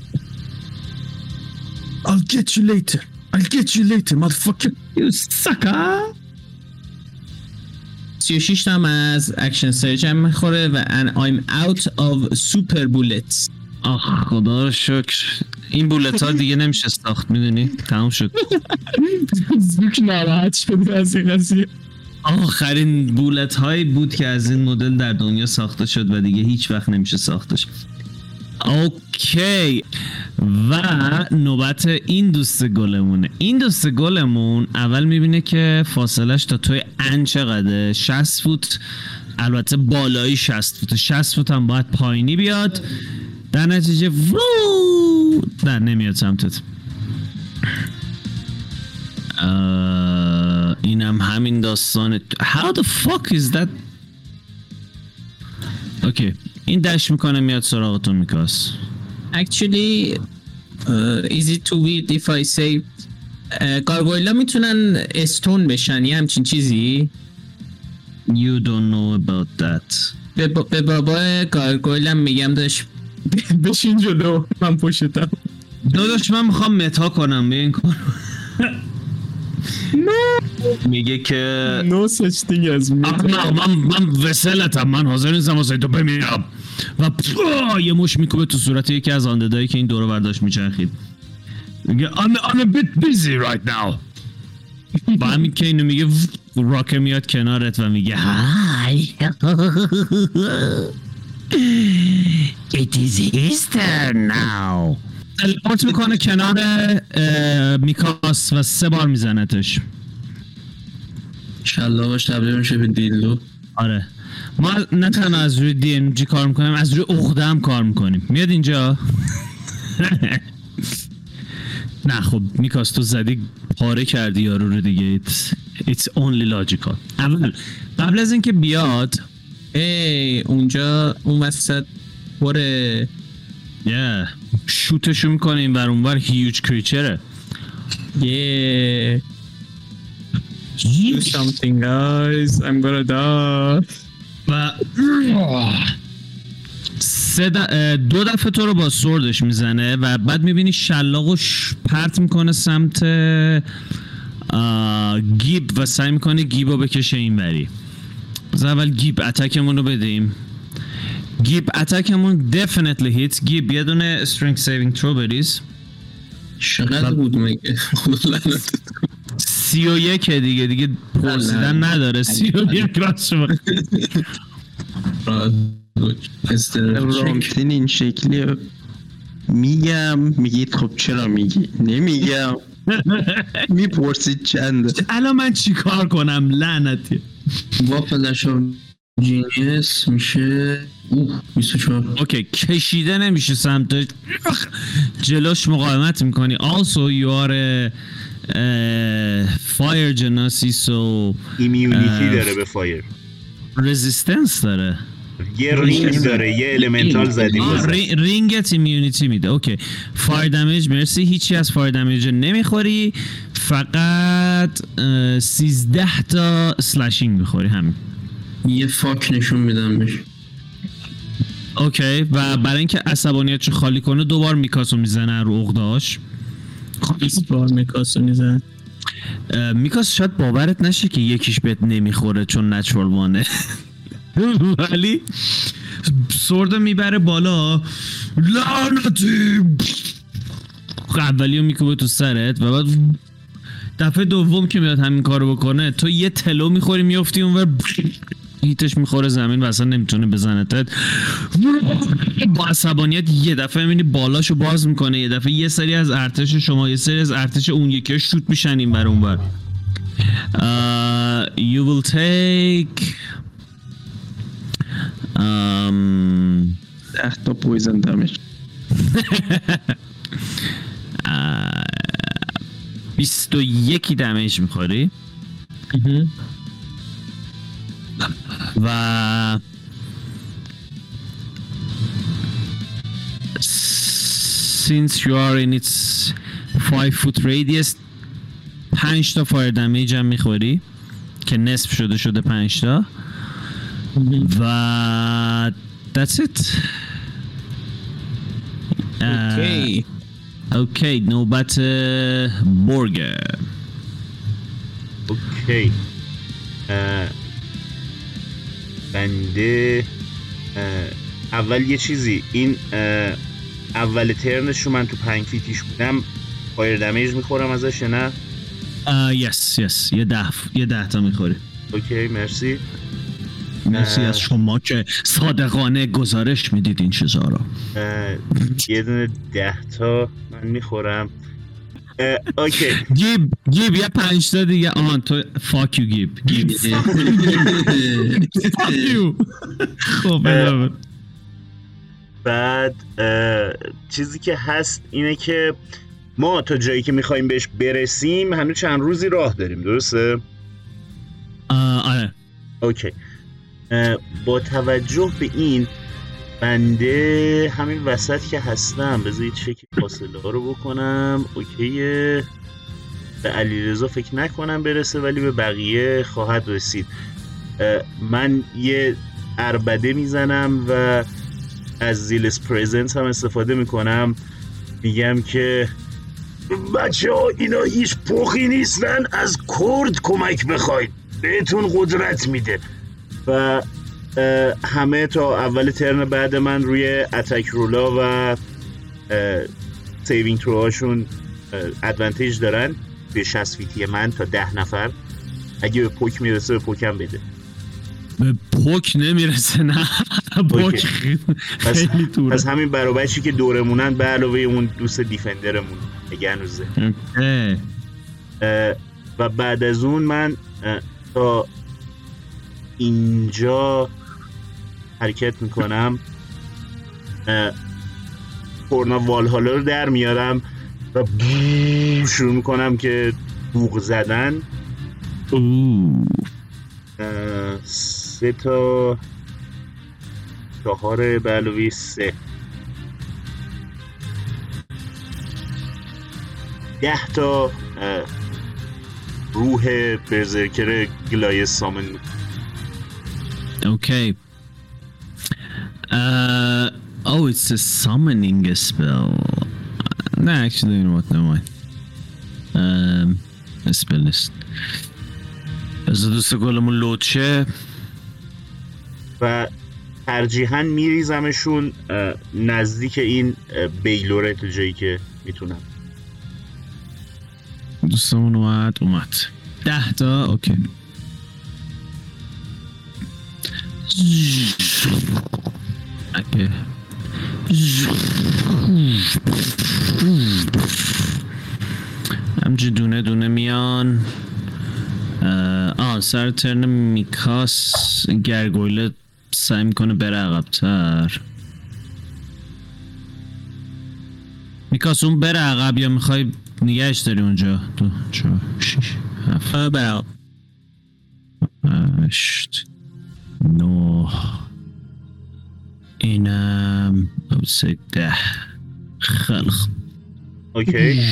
I'll get you later. I'll get you later, motherfucker. You sucker. سی و شش تا از اکشن سرج هم میخوره و and I'm out of super bullets. آخ خدا رو شکر. این بولت ها دیگه نمیشه ساخت میدونی؟ تموم شد. زوک ناراحت شد از این قضیه. آخرین بولت هایی بود که از این مدل در دنیا ساخته شد و دیگه هیچ وقت نمیشه ساختش. اوکی و نوبت این دوست گلمونه. این دوست گلمون اول میبینه که فاصلش تا توی ان چقدره؟ شصت فوت. البته بالایی شصت فوت. شصت فوت هم باید پایینی بیاد. در نتیجه ورو در نمیاد سمتت. اینم همین داستان. How the fuck is that؟ اوکی این دش میکنه میاد سراغتون میکاس. Actually uh, is it too weird if I say گارگویلا uh, میتونن استون بشن یه همچین چیزی؟ You don't know about that. به, با به بابا گارگویلا میگم داشت بشین جلو من پشتم. داداش من میخوام متا کنم به این کار. میگه که no such thing as me. من من وسلتم من حاضر نیستم واسه تو بمیرم و یه مش میکوبه تو صورت یکی از آنددایی که این دورو برداشت میچرخید. میگه I'm, I'm a bit busy right now. با همین که اینو میگه راکه میاد کنارت و میگه Hi. It is Easter now. تلپورت میکنه کنار میکاس و سه بار میزنتش. شلاقش تبدیل میشه به دیلدو. آره ما نه تنها از روی دی ان جی کار میکنیم از روی عقده هم کار میکنیم. میاد اینجا. نه خب میکاس تو زدی پاره کردی یارو رو دیگه. It's, it's only logical. اول قبل از اینکه بیاد ای اونجا اون وسط بره yeah. شوتشو میکنه این ور اون ور. هیوج کریچره. yeah. Do something guys. I'm gonna die. و سه د... دو دفعه تو رو با سوردش میزنه و بعد میبینی شلاقش پرت میکنه سمت گیب و سعی میکنه گیب رو بکشه این وری. از اول گیب اتکمون رو بدیم. گیب اتکمون definitely hits. گیب یه دونه strength saving throw بریز. چقدر بود مگه؟ سی و یک دیگه دیگه پرسیدن نداره. سی و یک راست شما رامتین این شکلی میگم میگید خب چرا میگی نمیگم میپرسید چنده. الان من چی کار کنم لعنتی. با فلش آف جینیس میشه اوه بیست و چهار. اوکی کشیده نمیشه سمتش جلوش مقاومت میکنی. also you are a fire genasi so ایمیونیتی داره به فایر. رزیستنس داره. یه رینگ داره یه المنتال زدیم. رینگت ایمیونیتی میده. اوکی فایر دمیج مرسی. هیچی از فایر دمیج نمیخوری فقط سیزده تا سلاشینگ میخوری همین. یه فاک نشون میدم بهش. اوکی و برای اینکه عصبانیتشو خالی کنه دوبار میکاسو میزنه رو عقده‌اش. دوبار میکاسو میزنه. میکاس شاید باورت نشه که یکیش بهت نمیخوره چون نچرال وانه ولی سورد میبره بالا لعنتی اولیو میکوبه تو سرت و بعد دفعه دوم که میاد همین کارو بکنه تو یه تلو میخوری میافتی اونور هیتش میخوره زمین و اصلا نمیتونه بزنتت. با عصبانیت یه دفعه میبینی بالاشو باز میکنه، یه دفعه یه سری از ارتش شما یه سری از ارتش اون یکی شوت میشن این بر اون بر. uh, you will take um, ده تا پویزن دمیج. بیست و یکی دمیج میخوری و since you are in its five foot radius پنج تا فایر دمیج هم میخوری که نصف شده شده پنج تا و that's it. اوکی اوکی نوبت بورگر. اوکی بنده اول یه چیزی این اول ترنشو من تو پنج فیتیش بودم فایر دمیج میخورم ازش یا نه؟ یس یس یه ده یه ده تا میخوری. اوکی مرسی. مرسی از شما که صادقانه گزارش میدید این چیزا رو. یه دونه ده تا من میخورم. اوکی گیب گیب یه پنج تا دیگه. آهان تو فاک یو گیب گیب فاک یو. خب بله. بعد چیزی که هست اینه که ما تا جایی که میخوایم بهش برسیم هنوز چند روزی راه داریم، درسته؟ آره. اوکی با توجه به این بنده همین وسط که هستم بذارید چک فاصله ها رو بکنم. اوکیه به علیرضا فکر نکنم برسه ولی به بقیه خواهد رسید. من یه عربده میزنم و از زیلس پریزنس هم استفاده میکنم، میگم که بچه ها اینا هیچ پخی نیستن، از کرد کمک بخواید بهتون قدرت میده. و همه تا اول ترن بعد من روی اتک رولا و سیوینگ تروهاشون ادوانتیج دارن به شصت فیتی من تا ده نفر. اگه به پوک میرسه به پوکم بده. به پوک نمیرسه نه پوک خیلی دوره. پس همین برابرشی که دورمونن به علاوه اون دوست دیفندرمون اگه هنوزه. و بعد از اون من تا اینجا حرکت میکنم، کورنا والهالا رو در میارم و شروع میکنم که بوق زدن. سه تا چهار به علاوه سه ده تا روح برزرکر گلایه سامن. Okay. Uh, oh, it's a summoning spell. No, actually, you know what? Never mind. Um, a spell list. از دوست گلمون لود شه و ترجیحاً میریزمشون نزدیک این بیلوره تا جایی که میتونم. دوستمون اومد اومد ده تا. اوکی اوکی همچه دونه دونه میان. آه سر ترن میکاس گرگویله سعی میکنه بره عقب‌تر. میکاس اون بره عقب یا میخوای نگهش داری اونجا؟ دو چهار شیش هفت بره عقب. هشت نه اینم اوسه ده. خلق اوکی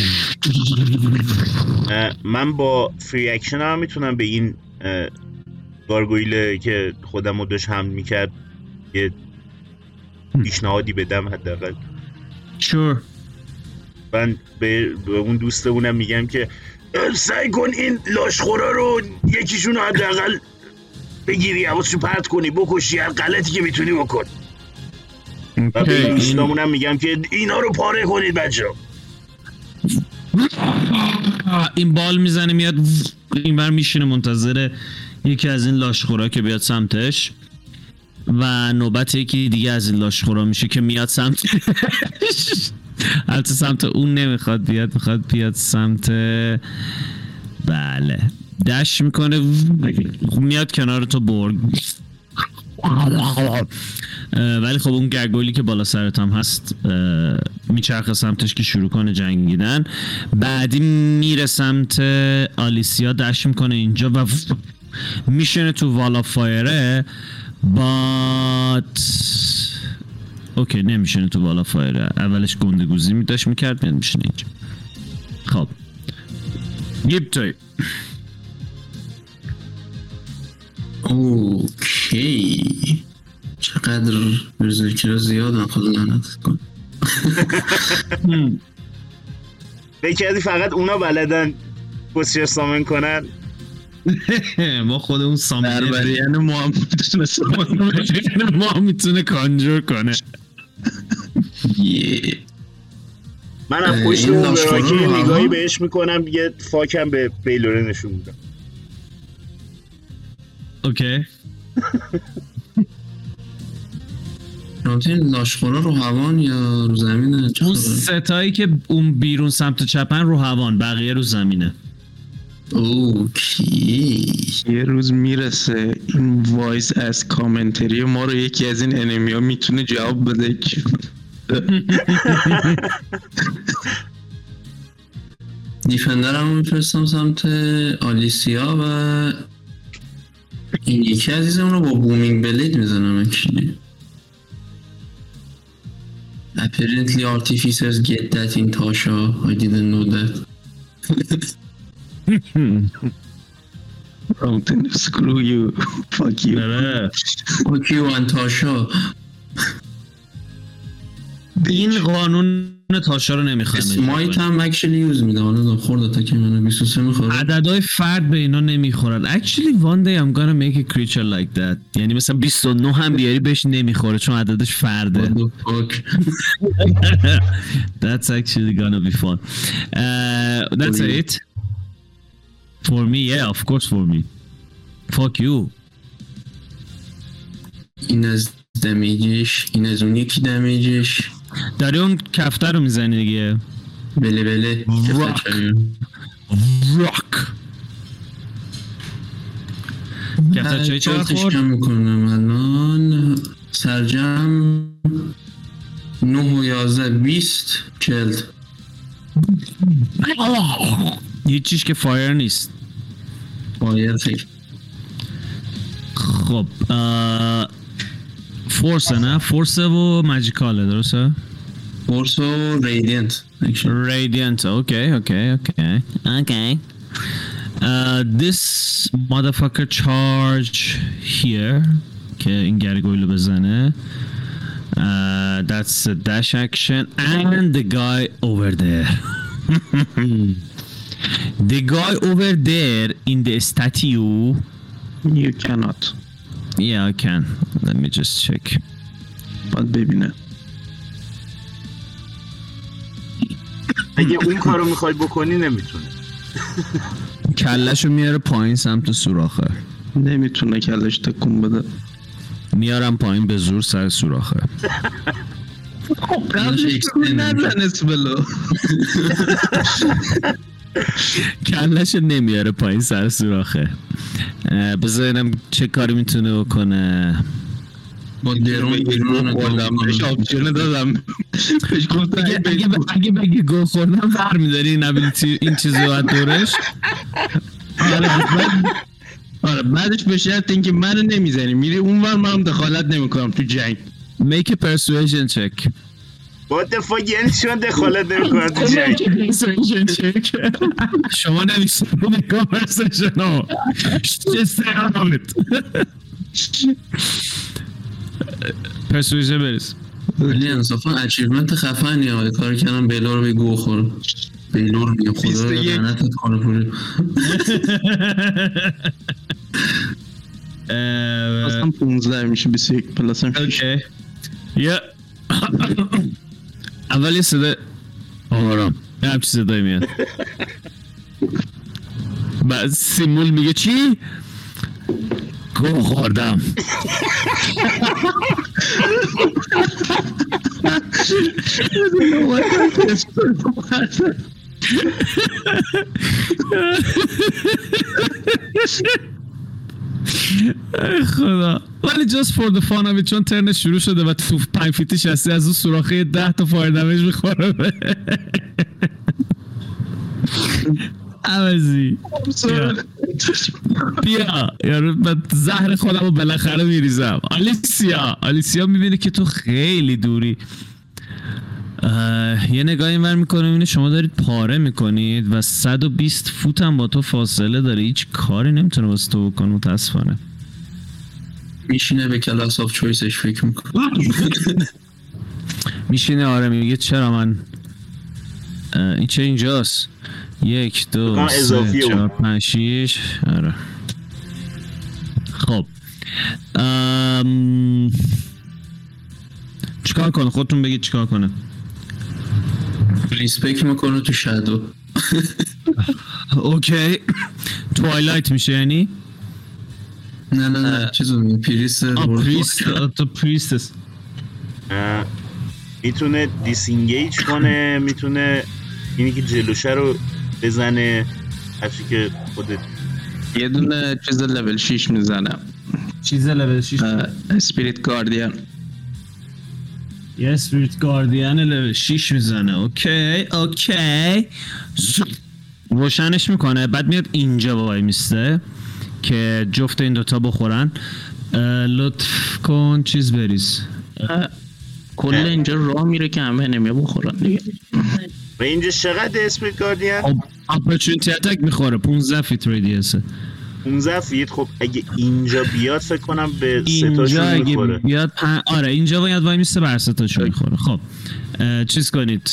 من با فری اکشن هم میتونم به این گارگویله که خودم رو داشت حمل میکرد یه پیشنهادی بدم حداقل. شور. من به, به اون دوستمونم میگم که سعی کن این لاشخورا رو یکیشون رو حداقل بگیری، حواسشو پرت کنی، بکشی، هر غلطی که میتونی بکن. و به این دوستمونم میگم که اینا رو پاره کنید بچه‌ها. این بال میزنه میاد این بر میشینه منتظر یکی از این لاشخورا که بیاد سمتش و نوبت یکی دیگه از این لاشخورا میشه که میاد سمتش. البته سمت اون نمیخواد بیاد، میخواد بیاد سمت بله دش میکنه میاد کنار تو برگ. ولی خب اون گرگولی که بالا سرت هم هست میچرخه سمتش که شروع کنه جنگیدن. بعدی میره سمت آلیسیا دش میکنه اینجا و میشنه تو والا فایره. بات اوکی نمیشنه تو والا فایره، اولش گندگوزی میداشت میکرد میاد میشنه اینجا. خب گیب توی اوکی چقدر ریزوکی رو زیادن خدا لعنت کن. بکردی فقط اونا بلدن بسیار سامن کنن. ما خودمون سامن بربریان ما هم میتونه سامن کنه. ما هم میتونه کانجور کنه. من هم پشت اون براکی نگاهی بهش میکنم یه فاکم به بیلوره نشون میدم. اوکی رابطه این لاشخورا رو هوان یا رو زمینه؟ اون ستایی که اون بیرون سمت چپن رو هوان، بقیه رو زمینه. اوکی یه روز میرسه این وایس از کامنتری ما رو یکی از این انمی ها میتونه جواب بده که دیفندر هم میفرستم سمت آلیسیا و این یکی عزیزم رو با بومینگ بلید میزنم. اکشلی apparently artificers get that in Tasha. I didn't know that. Mountain, screw you. Fuck you. Fuck you and Tasha. این قانون تاشا رو نمیخوام. اسمایت هم اکچولی یوز میده. آنه خورده تا که منو بیست و سه میخوره. عددهای فرد به اینا نمیخورن. Actually one day I'm gonna make a creature like that. یعنی مثلا بیست و نه هم بیاری بهش نمیخوره چون عددش فرده. What the fuck. That's actually gonna be fun. Uh, that's it. For me, yeah, of course for me. Fuck you. این از دمیجش، این از اون یکی دمیجش. داری اون کفتر رو میزنی دیگه. بله بله. راک راک کفتر چایی چرا خورد؟ کم میکنم الان سرجم نه و یازده بیست چلد. هیچیش که فایر نیست. فایر فکر. خب فورسه نه؟ فورسه و ماجیکاله درسته؟ فورس و ریدینت. Radiant, okay, okay, okay, okay. Uh, this motherfucker charge here. که این گرگویلو بزنه. Uh, that's a dash action. And the guy over there. The guy over there in the statue. You cannot. Yeah, I can. Let me just check. باید ببینه. اگه اون کارو میخوای بکنی نمیتونه. کلشو میاره پایین سمت سوراخه. نمیتونه کلش تکون بده. میارم پایین به زور سر سوراخه. خب قبلش نزن اسبلو. کلشو نمیاره پایین سر سوراخه. بذارینم چه کاری میتونه بکنه. با درون بیرون بردم بهش آپشن دادم. بهش گفتم اگه بگی گل خوردم فر میداری این ابیلیتی این چیزو باید دورش. آره بعدش به شرط اینکه منو نمیزنی میری اونور منم دخالت نمیکنم تو جنگ. Make a persuasion check. What the fuck یعنی چون دخالت نمیکنم تو جنگ؟ Persuasion check. شما نمیشونید conversation ها. Just say out of it. Persuasion بریز. ولی انصافا اچیومنت خفنی ها. کار کردم بیلور به گو خور. بیلور میگه خدا لعنتت کنه پوری. اصلا پونزده میشه بیست و یک پلاس هم شیش. اوکی. یا اول یه صدا آرام یه همچی صدایی میاد. بعد سیمول میگه چی؟ گو خوردم. خدا. ولی just for the fun of it چون ترن شروع شده و تو پنج فیتی شستی از اون سوراخه ده تا فایر دمیج میخوره. عوضی بیا یارو من زهر خودم رو بالاخره میریزم. آلیسیا آلیسیا میبینه که تو خیلی دوری. یه نگاهی اینور میکنه میبینه شما دارید پاره میکنید و صد و بیست فوت هم با تو فاصله داره. هیچ کاری نمیتونه واسه تو بکنه متاسفانه. میشینه به کلاس آف چویسش فکر میکنه. میشینه آره میگه چرا من این چه اینجاست. یک دو سه چهار پنج شیش. آره خب ام... چیکار کنه خودتون بگید چیکار کنه. ریسپکت میکنه تو شادو. اوکی توایلایت میشه یعنی نه نه نه چیزو میگه پریست. آه پریست تو پریستس. میتونه دیسینگیج کنه میتونه اینی که جلوشه رو بزنه هرچی که خودت. یه دونه چیز لول شیش میزنم. چیز لول شیش اسپریت گاردین. یه اسپریت گاردین لول شیش میزنه. اوکی اوکی روشنش میکنه بعد میاد اینجا وای میسته که جفت این دوتا بخورن. لطف کن چیز بریز. کل اینجا راه میره که همه نمیه بخورن دیگه. و اینجا چقدر اسپریت گاردین؟ اپورتونتی اتک میخوره پونزده فیت ریدیسه. پونزده فیت. خب اگه اینجا بیاد فکر کنم به سه تاشون میخوره. اینجا بیاد پن... آره اینجا باید وای میسته بر سه تاشون میخوره. خب چیز کنید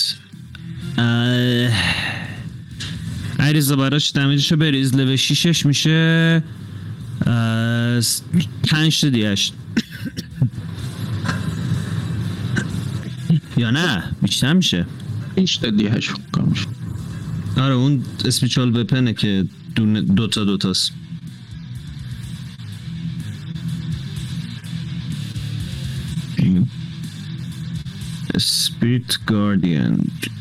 عریضه براش دمیجشو بریز. لول شیشش میشه پنج تا دیهشت یا نه بیشتر میشه. هیچ تا دیهشت کام میشه. آره اون اسپیچال وپنه که دوتا دوتاست. Spirit Guardian.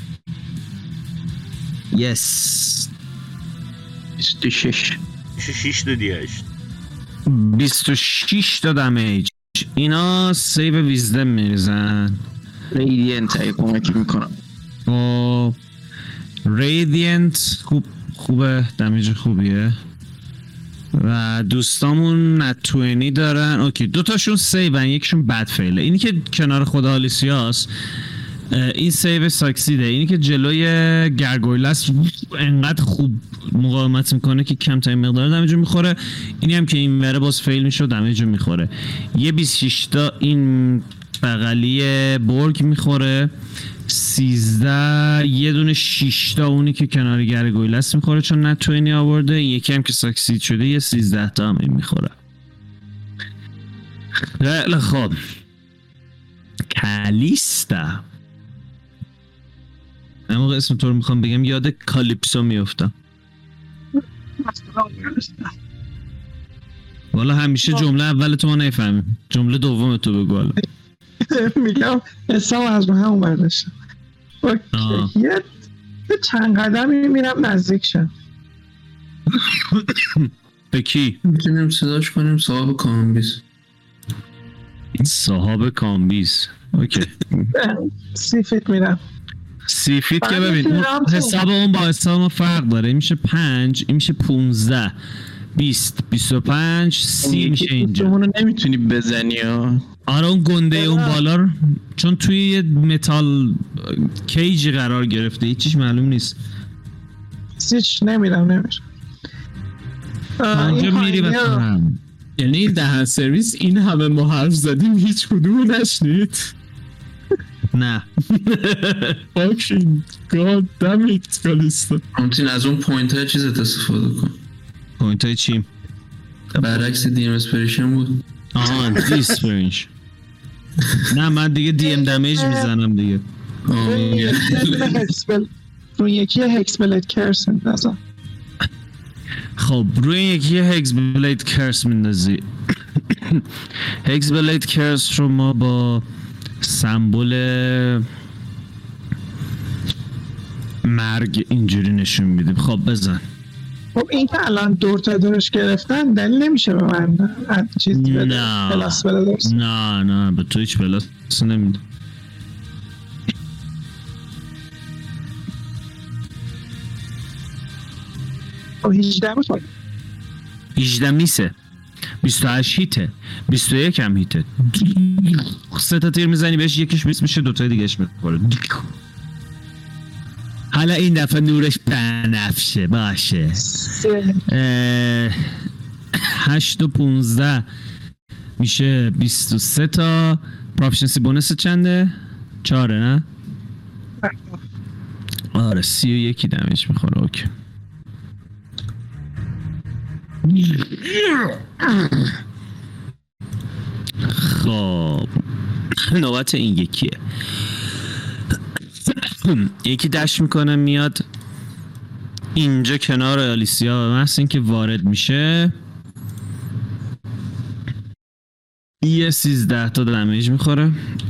Yes. بیست و شش. شش تا دیهشت. بیست و شش تا دمیج. اینا سیو ویزدم میریزن. ریدینت ای کمکی میکنم. و ریدینت خوب خوبه دمیج خوبیه و دوستامون نتوینی دارن. اوکی دوتاشون سیون یکشون بد فیله. اینی که کنار خود آلیسیاست این سیو ساکسیده. اینی که جلوی گرگویلس انقدر خوب مقاومت میکنه که کمترین مقدار دمیجو میخوره. اینی هم که این وره باز فیل میشه و دمیجو میخوره. یه بیست و شش تا این بغلی برگ میخوره. سیزده یه دونه شش تا اونی که کنار گرگویلس میخوره چون نتوینی آورده. یکی هم که ساکسید شده یه سیزده تا هم این میخوره. خیلی خوب کالیستا. این موقع اسم تو رو میخوام بگم یاد کالیپسو میفتم. والا همیشه جمله اول تو ما نفهمیم. جمله دوم تو بگو. میگم حساب از رو هم برداشتم. اوکی یه چند قدمی میرم نزدیک شم. به کی؟ میتونیم صداش کنیم صاحب کامبیز. صاحب کامبیز اوکی. سی فیت میرم. سی فیت که ببین اون حساب اون با حساب ما فرق داره. این میشه پنج این میشه پونزده بیست بیست و پنج سی میشه اینجا. اونو نمیتونی بزنی ها. آره اون گنده اون بالا رو چون توی یه متال کیجی قرار گرفته هیچیش معلوم نیست. هیچ نمیرم نمیرم. آنجا میری و هم یعنی دهن سرویس این همه ما حرف زدیم هیچ کدوم نشنید. نه fucking god damn it کالیستا. همچنین از اون پوینت های چیزت استفاده کن. پوینت های چی؟ برعکس دی ام اسپریشن بود. آها دیسپرینش. نه من دیگه دی ام دمیج میزنم دیگه. روی یکی هکس بلید کرس میندازم. خب روی یکی هکس بلید کرس میندازی. هکس بلید کرس رو ما با سمبل مرگ اینجوری نشون میدیم. خب بزن. خب این که الان دور تا دورش گرفتن دلیل نمیشه به من چیز بده نه پلاس بده درست. نه نه به تو هیچ پلاس نمیده. خب هجده بود هجده میسه، بیست و هشت هیته، بیست و یک هم هیته. سه تا تیر میزنی بهش، یکیش بیست میشه، دوتای دیگهش میخوره. حالا این دفعه نورش بنفشه باشه. هشت و پونزده میشه بیست و سه تا. پروفیشنسی بونس چنده؟ چاره نه؟ آره سی و یکی دمیج میخوره. اوکی خب نوبت این یکیه. یکی دشت میکنه میاد اینجا کنار آلیسیا، مثل این که وارد میشه یه سیزده تا دمیج میخوره.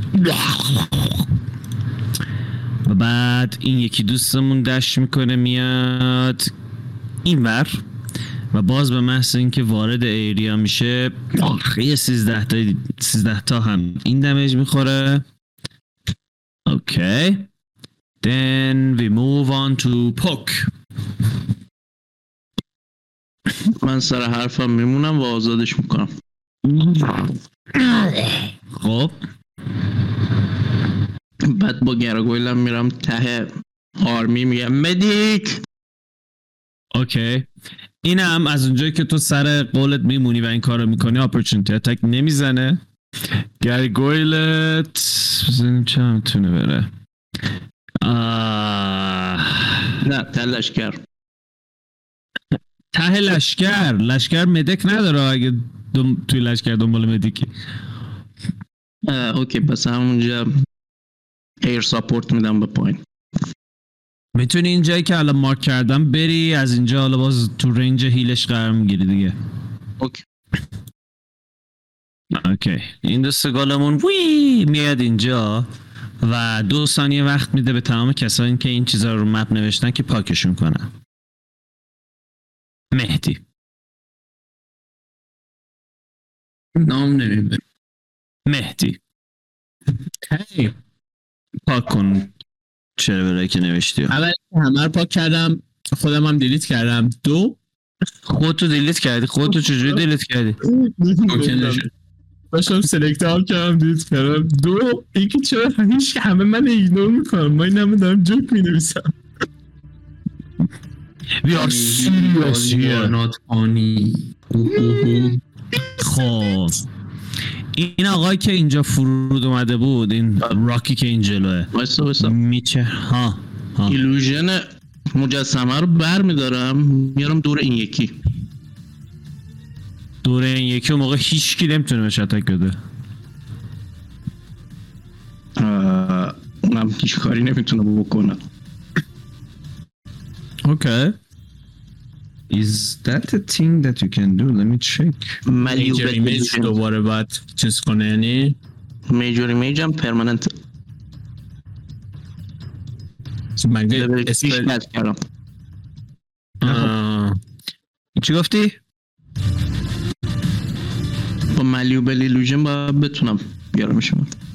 و بعد این یکی دوستمون دشت میکنه میاد این ور و باز به محض اینکه وارد ایریا میشه یه سیزده تا سیزده تا هم این دمیج میخوره. اوکی then we move on to poke. من سر حرفم میمونم و آزادش میکنم. خب بعد با گراگویلم میرم ته آرمی میگم مدیک. اوکی اینم از اونجایی که تو سر قولت میمونی و این کار رو میکنی اپورتونتی اتک نمیزنه. گرگویلت بزنیم چه هم تونه بره. آه... نه ته لشکر. ته لشکر لشکر مدک نداره اگه دم... توی لشکر دنبال مدیکی. اوکی پس همونجا ایر ساپورت میدم به پایین. میتونی اینجایی که الان مارک کردم بری، از اینجا حالا باز تو رنج هیلش قرار میگیری دیگه. اوکی اوکی این دو سگالمون وی میاد اینجا و دو ثانیه وقت میده به تمام کسایی که این چیزا رو مپ نوشتن که پاکشون کنن. مهدی نام نمیبه. مهدی هی پاک کن چرا برای که نوشتی. اول همه رو پاک کردم، خودم هم دیلیت کردم. دو خودتو دیلیت کردی؟ خودتو چجوری دیلیت کردی؟ باشم سلکت ها کردم دیلیت کردم. دو اینکه چرا همیشه همه من ایگنور میکنم، من این همه دارم جوک مینویسم. We are serious here. not funny. خب این آقایی که اینجا فرود اومده بود، این راکی که این جلوه وایسا وایسا میچه ها ها ایلوژن مجسمه رو بر میدارم میارم دور این یکی. دور این یکی اون موقع هیچ کی نمیتونه بهش اتک بده. اونم هیچ کاری نمیتونه بکنه. Okay. Is that a thing that you can do? Let me check. Major image دوباره باید چیز کنه یعنی میجور ایمیج هم پرمننت. مگه پیش اسپل نت کردم. چی گفتی؟ با ملیوبل ایلوژن باید بتونم بیارمش.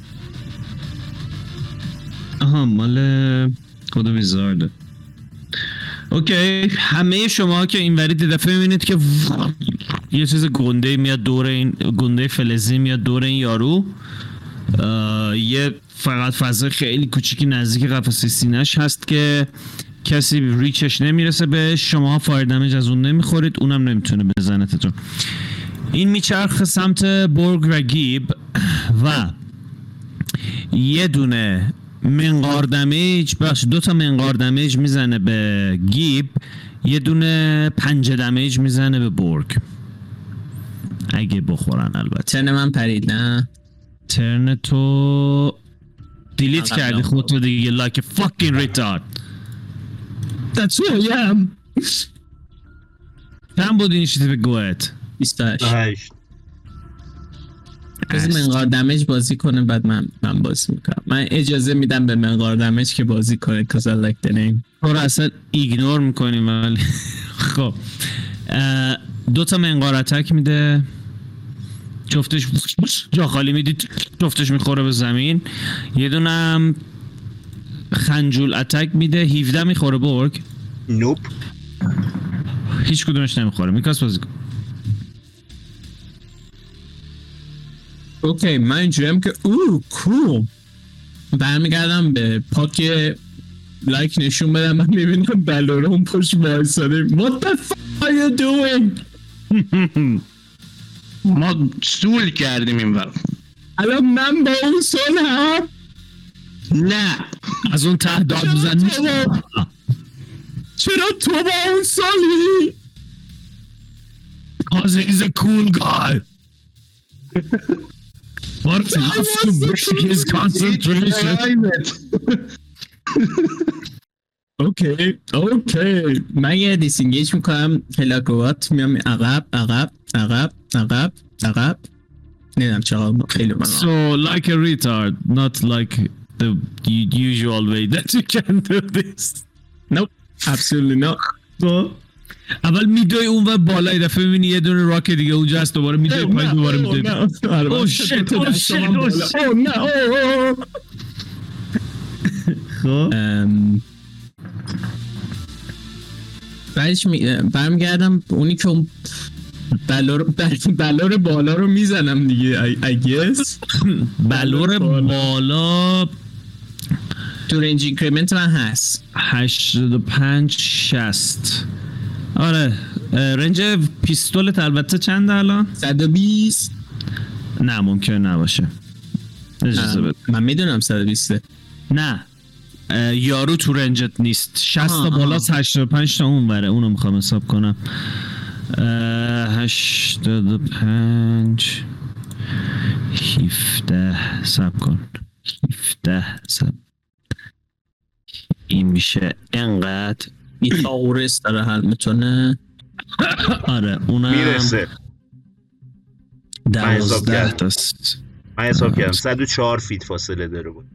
آها مال خود ویزارده. اوکی همه شما که این وری دفعه میبینید که یه چیز گنده میاد دور این گنده فلزی میاد دور این یارو. یه فقط فضا خیلی کوچیکی نزدیک قفسه سینه‌اش هست که کسی ریچش نمیرسه بهش. شما فایر دمیج از اون نمیخورید، اونم نمیتونه بزنتتون. این میچرخه سمت بورگ و گیب و یه دونه منقار دمیج باش دو تا منقار دمیج میزنه به گیب، یه دونه پنجه دمیج میزنه به بورگ اگه بخورن. البته ترن من پرید نه؟ ترن تو دیلیت کردی خودتو دیگه like a fucking retard. That's who I am. چند بود اینیشیتیو گوهت؟ بیست و هشت. هشت از منقار دمیج بازی کنه بعد من من بازی میکنم. من اجازه میدم به منقار دمیج که بازی کنه cause I like the name. تو رو اصلا ایگنور میکنیم ولی خب دو تا منقار اتک میده، جفتش جا خالی میدید، جفتش میخوره به زمین. یه دونه هم خنجول اتک میده، هفده میخوره برگ. نوپ هیچ کدومش نمیخوره. میکاس بازی کن. اوکی من اینجوریم که اوه کول برمیگردم به پاک لایک نشون بدم. من میبینم بلوره اون پشت وایساده. What the fuck are you doing؟ ما سول کردیم این وقت. الان من با اون سال هم نه از اون ته داد بزن. چرا تو با اون سالی؟ Cause he's a cool guy. What has to break his concentration. اوکی اوکی من یه دیسینگیج میکنم. هلاکوات میام عقب عقب عقب عقب عقب. نمیدونم چقدر خیلی من So like a retard, not like the usual way that you can do this. Nope, absolutely not. So اول میدوی اون و بالا دفعه میبینی یه دونه راک دیگه اونجا هست، دوباره میدوی پایین، دوباره میدوی. Oh shit, oh shit, oh shit. Oh no. خب بعدش برمیگردم اونی که اون بلور بلور بالا رو میزنم دیگه. I guess بلور بالا تو رنج اینکریمنت من هست هشتاد و پنج شصت. آره رنج پیستولت البته چنده الان؟ صد و بیست. نه ممکن نباشه. اجازه بده. من میدونم صد و بیست. نه یارو تو رنجت نیست. شصت تا بالاست، هشتاد و پنج تا اون وره. اونو میخوام حساب کنم. هشتاد و پنج هفده سب کن. هفده سب این میشه انقدر. بیتاورس داره حل میتونه. آره اونم میرسه. دوازده تاست. من حساب کردم صد و چهار فیت فاصله داره بود.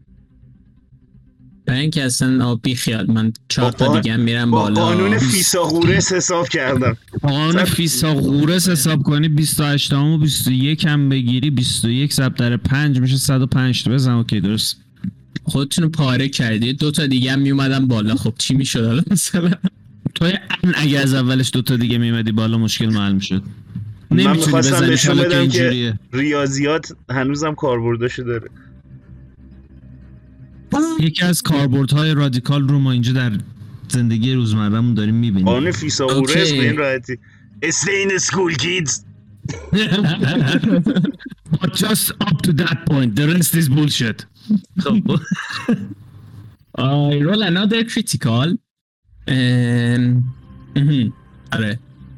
برای اینکه اصلا بی خیال من چهار تا دیگه میرم بالا. با قانون فیثاغورس حساب کردم. قانون فیثاغورس حساب کنی بیست و هشت و بیست و یک هم بگیری بیست و یک ضرب در پنج میشه صد و پنج تا. بزن اوکی درست. خودتون رو پاره کردی. دو تا دیگه هم میومدن بالا. خب چی میشد الان مثلا؟ تو اگه از اولش دو تا دیگه میومدی بالا مشکل حل میشد. من میخواستم نشون بدم که ریاضیات هنوزم کاربرداشو داره. یکی از کاربردهای رادیکال رو ما اینجا در زندگی روزمره‌مون داریم میبینیم. قانون فیثاغورس به این راحتی. Stay in school kids. But just up to that point, the rest is bullshit. I roll another critical. آره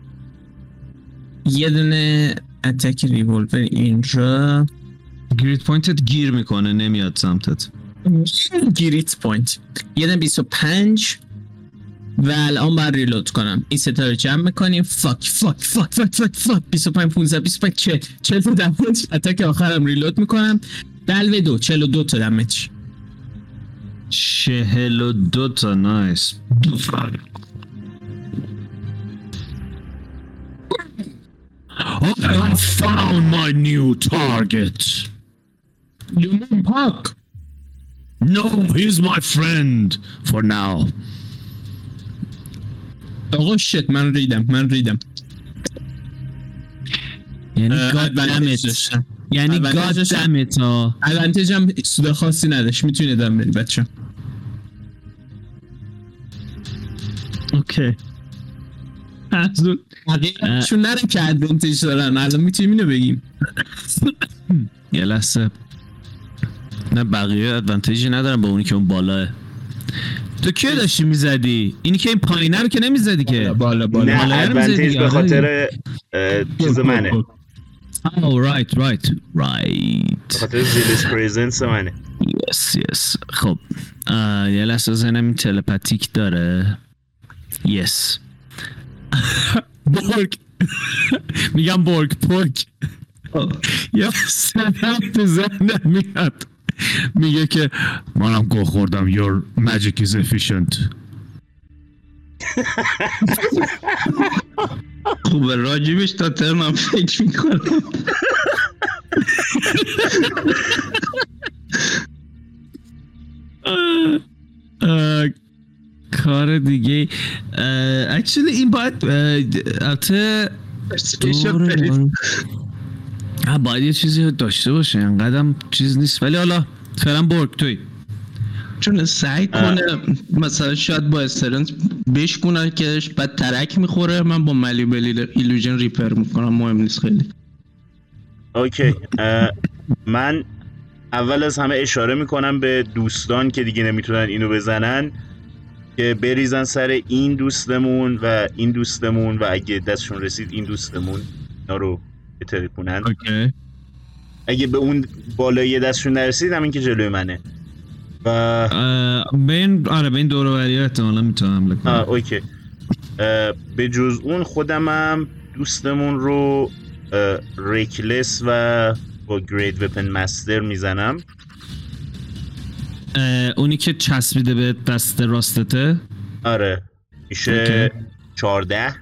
یه دونه اتک ریولور اینجا. گریت پوینتت گیر میکنه نمیاد سمتت. گریت پوینت یه دونه بیست و پنج و الان باید ریلود کنم. این ستا رو جمع میکنیم. فاک فاک فاک فاک فاک فاک بیست و پنج پونزده بیست و پنج چهل چهل تا دمیج. اتک آخرم ریلود میکنم. دلوه دو چهل و دو تا دمیج. چهل و دو تا نایس. I have found my new target. You mean Puck? No, he's my friend for now. آقا شت من ریدم من ریدم. یعنی God damn it. یعنی God damn it ها. ادوانتیج هم سود خاصی نداشت. میتونید ادام برید بچه. اوکی. ازون چون نره که ادوانتیج دارن. الان میتونیم اینو بگیم. یه لحظه. نه بقیه ادوانتیجی ندارن با اونی که اون بالاه. تو کیه داشتی میزدی؟ اینی که این پایینه رو که نمیزدی که. بالا بالا. نه ادوانتیج به خاطر چیز منه. Oh right right right. به خاطر زیلس پریزنس منه. Yes yes. خب یه لحظه زنم این تلپاتیک داره. Yes. بورگ. میگم بورگ پورک. یا سنم تو ذهنم میاد میگه که منم گوه خوردم your magic is efficient. خوبه راجبش تا ترمم فکر میکنم. کار دیگه اکچولی این باید البته باید یه چیزی داشته باشه، اینقدر چیز نیست، ولی حالا فعلا برگ توی چون سعی کنه مثلا شاید با استرنس بشکنه که بعد ترک میخوره، من با مالیبل ایلوژن ریپر میکنم، مهم نیست خیلی. اوکی من اول از همه اشاره میکنم به دوستان که دیگه نمیتونن اینو بزنن که بریزن سر این دوستمون و این دوستمون و اگه دستشون رسید این دوستمون اینا رو بتره کنن. اوکی. اگه به اون بالایی دستشون نرسید همین که جلوی منه و بین آره بین دور و بری احتمالاً میتونم حمله کنم. اوکی. به جز اون خودمم دوستمون رو ریکلس و با گرید وپن مستر میزنم. اونی که چسبیده به دست راستته؟ آره میشه okay. چارده.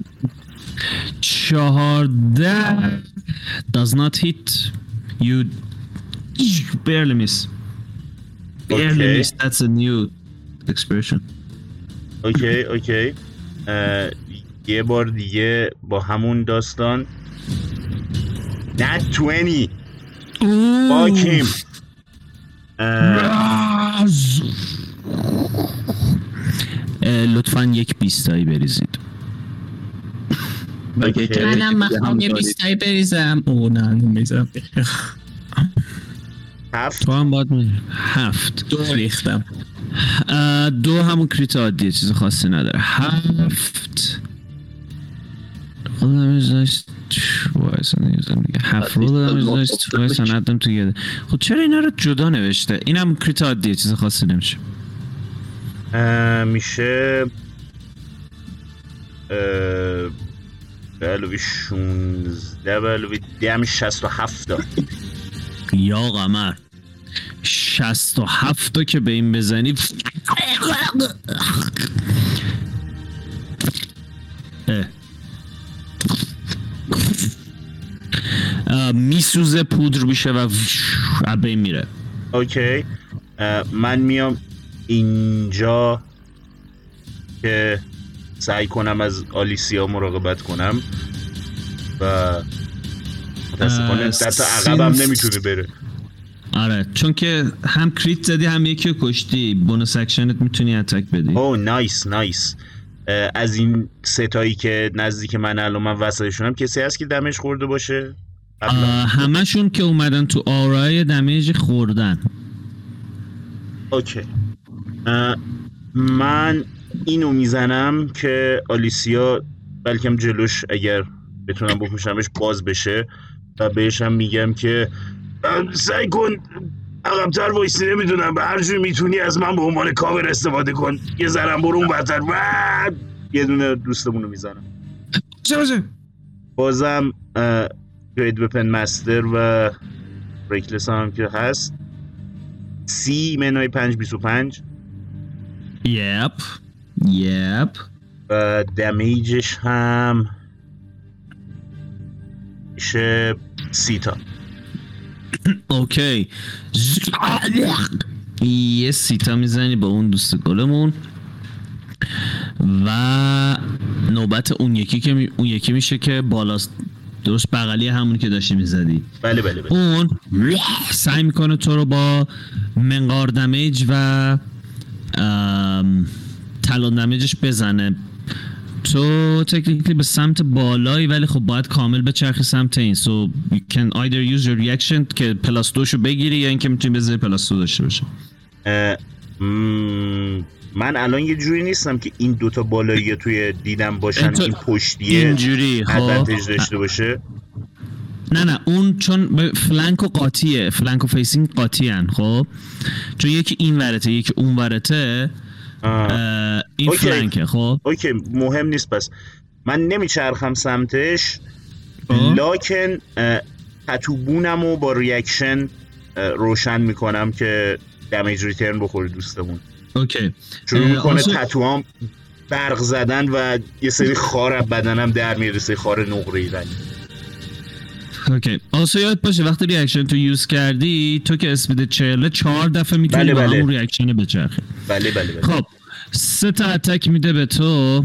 چهارده does not hit you barely miss. Barely okay. miss. That's a new expression. اوکی اوکی. یه بار دیگه با همون داستان Nat twenty. Fuck him. لطفاً یک بیستایی بریزید. منم مخوام یه بیستایی بریزم. او نه نمیزم. هفت. تو هم باید میری. هفت. دو ریختم. دو همون کریت عادیه، چیز خاصی نداره. هفت. خودم ازداشت وایسا نیزم دیگه. هفت رو دادم ازداشت وایسا ندم تو گده. خود چرا اینا رو جدا نوشته؟ این هم کریت عادیه، چیز خاصی نمیشه. میشه بلوی شونزده بلوی دم شست و هفت دار. یا قمر شست و هفت که به این بزنی میسوزه، پودر میشه و به این میره. اوکی. من میام اینجا که سعی کنم از آلیسیا مراقبت کنم و متاسفانه دست عقبم نمیتونه بره. آره چون که هم کریت زدی هم یکی رو کشتی، بونوس اکشنت میتونی اتک بدی. اوه نایس نایس. از این ستایی که نزدیک من الان من وسطشونم کسی هست که دمیج خورده باشه؟ همشون که اومدن تو آرای دمیج خوردن. اوکی. من اینو میزنم که آلیسیا بلکم جلوش اگر بتونم بکشمش باز بشه و بهشم میگم که سعی کن عقب‌تر وایسی، نمیدونم به هر جور میتونی از من به عنوان کاور استفاده کن، یه ذرم برو اون برتر و یه دونه دوستمونو میزنم. چه بازم گرید وپن مستر و ریکلس هم که هست. سی منهای پنج بیس و پنج. یپ یپ. و دمیجش هم میشه سی تا. اوکی. یه سی تا میزنی با اون دوست گلمون و نوبت اون یکی که می... اون یکی میشه که بالاست، درست بغلی همون که داشتی میزدی. بله بله بله. اون سعی میکنه تو رو با منقار دمیج و تلون دمیجش بزنه. تو تکنیکلی به سمت بالایی ولی خب باید کامل به چرخی سمت این. So you can either use your reaction که پلاس دوشو بگیری یا اینکه میتونی بذاری پلاس دو داشته باشه. من الان یه جوری نیستم که این دوتا بالایی توی دیدم باشن، این پشتیه اینجوری ادوانتیج داشته باشه. نه نه اون چون فلانک و قاطیه، فلانک و فیسینگ قاطی هن. خب چون یکی این ورته یکی اون ورته این اوکی. فلانکه. خب اوکی مهم نیست. پس من نمیچرخم سمتش، لاکن تتوبونم و با ریاکشن روشن میکنم که دمیج ریترن بخوره دوستمون. اوکی. شروع میکنه آسو... تتوام برق زدن و یه سری خار از بدنم در میره، سری خار نقره‌ای رنگ. اوکی. آسو یاد باشه وقتی ریاکشن تو یوز کردی تو که اسپید چهل چهار دفعه میتونی بله با بله. همون ریاکشن بچرخی. بله بله بله. خب سه تا اتک میده به تو.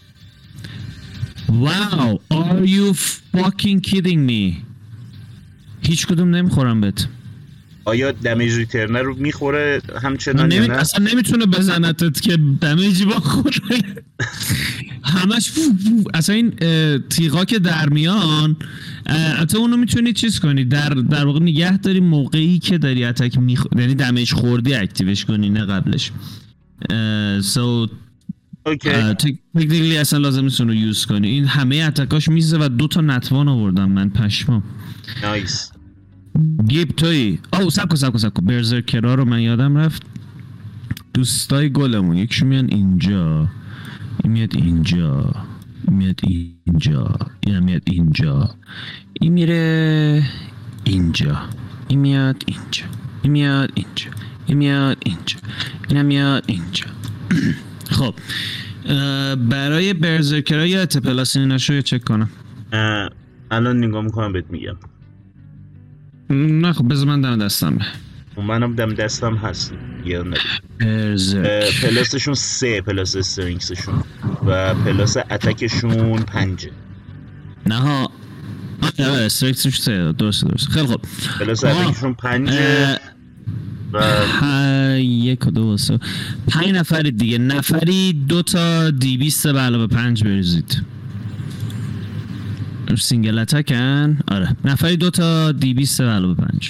واو are you fucking kidding me. هیچ کدوم نمیخورم بهت. آیا دمیج ریترن رو میخوره همچنان نمی... یا نه؟ اصلا نمیتونه بزنتت که دمیجی بخوره. همش فو فو. اصلا این تیغا که در میان حتی اونو میتونی چیز کنی در در واقع نگه داری موقعی که داری اتک میخ... یعنی دمیج خوردی اکتیوش کنی نه قبلش. سو اوکی. تکنیکلی اصلا لازم نیست اونو یوز کنی. این همه اتکاش میزه و دو تا نتوان آوردم من پشمام. نایس. گیب توی او سب کن سب کن سب کن برزرکرها رو من یادم رفت. دوستای گلمون یکشون میان اینجا، این میاد اینجا، این میاد اینجا، این میاد اینجا، این میره اینجا، این میاد اینجا، این میاد اینجا، این میاد اینجا، این میاد اینجا. خب برای برزرکرها یه پلاس ایناشو یه چک کنم. الان نگاه میکنم بهت میگم. نه خب بذار من دم دستم. منم دم دستم هست. یه ندارم. برزرک پلاسشون سه، پلاس استرینگسشون و پلاس اتکشون پنجه. نه ها استرینگسشون سه. درست درست. خیلی خوب. پلاس اتکشون پنجه و یک و دو و سه. پنج نفر دیگه. نفری دو تا دی بیست به علاوه پنج بریزید. سینگل اتکن. آره نفری دو تا دی بیست به علاوه پنج.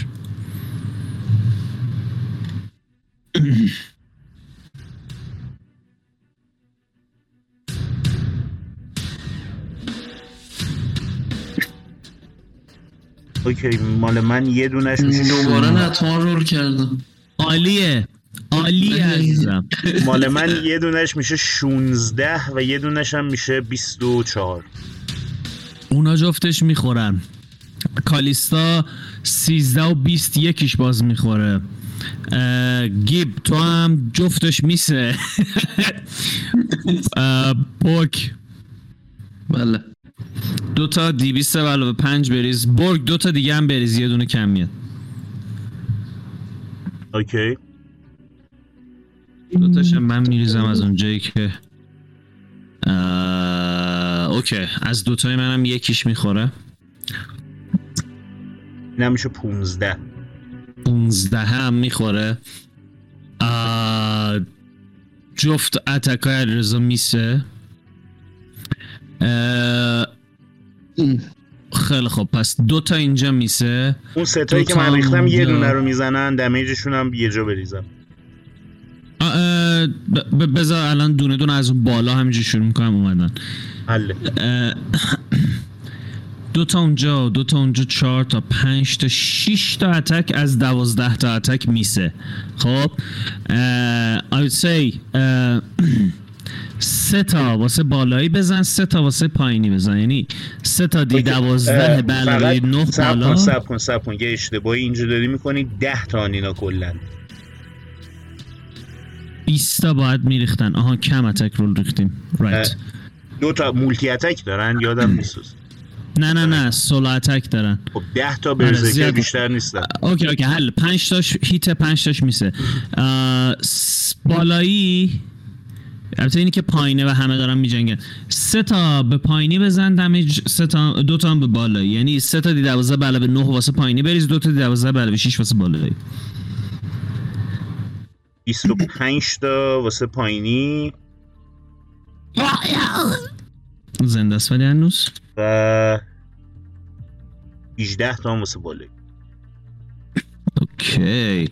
اوکی مال من یه دونش میشه دوباره نتوان رول کردم. عالیه عالیه عزیزم. مال من یه دونش میشه شونزده و یه دونش هم میشه بیست و چهار. اونا جفتش میخورن. کالیستا سیزده و بیست یکیش باز میخوره. گیب تو هم جفتش میسه. برگ بله دو تا دی بیست و علاوه پنج بریز. برگ دو تا دیگه هم بریز یه دونه کم میاد. اوکی دو تاشم من میریزم از اونجایی که اوکی از دوتای منم یکیش میخوره. اینم میشه پونزده. پونزده هم میخوره. جفت اتکای علیرضا میسه. خیلی خب پس دو تا اینجا میسه. اون سه تایی که من ریختم یه دونه رو میزنن. دمیجشون هم یه جا بریزم. بذار الان دونه دونه از اون بالا همینجا شروع میکنم اومدن. حله. دو تا اونجا، دو تا اونجا، چهار تا، پنج تا، شش تا اتک از دوازده تا اتک میسه. خب I would say سه تا واسه بالایی بزن، سه تا واسه پایینی بزن. یعنی سه تا دی دوازده به علاوه نه بالا. سب کن سب کن یه اشتباهی اینجا داری میکنی. ده تا اینا کلا بیست تا باید میریختن. آها کم اتک رول ریختیم. رایت. دو تا مولتی اتک دارن یادم نیست. نه نه نه سولو اتک دارن. خب ده تا برزرکر بیشتر نیستن. اوکی اوکی حل. پنج تاش هیت، پنج تاش میسه. بالایی البته اینی که پایینه و همه دارن میجنگن. سه تا به پایینی بزن دمیج، سه تا دو تا هم به بالایی. یعنی سه تا دی دوازده به علاوه نه واسه پایینی بریز، دو تا دی دوازده به علاوه شش واسه بالایی. بیست و پنج تا واسه پایینی زنده است ولی هنوز. و هجده تا هم واسه بالایی. اوکی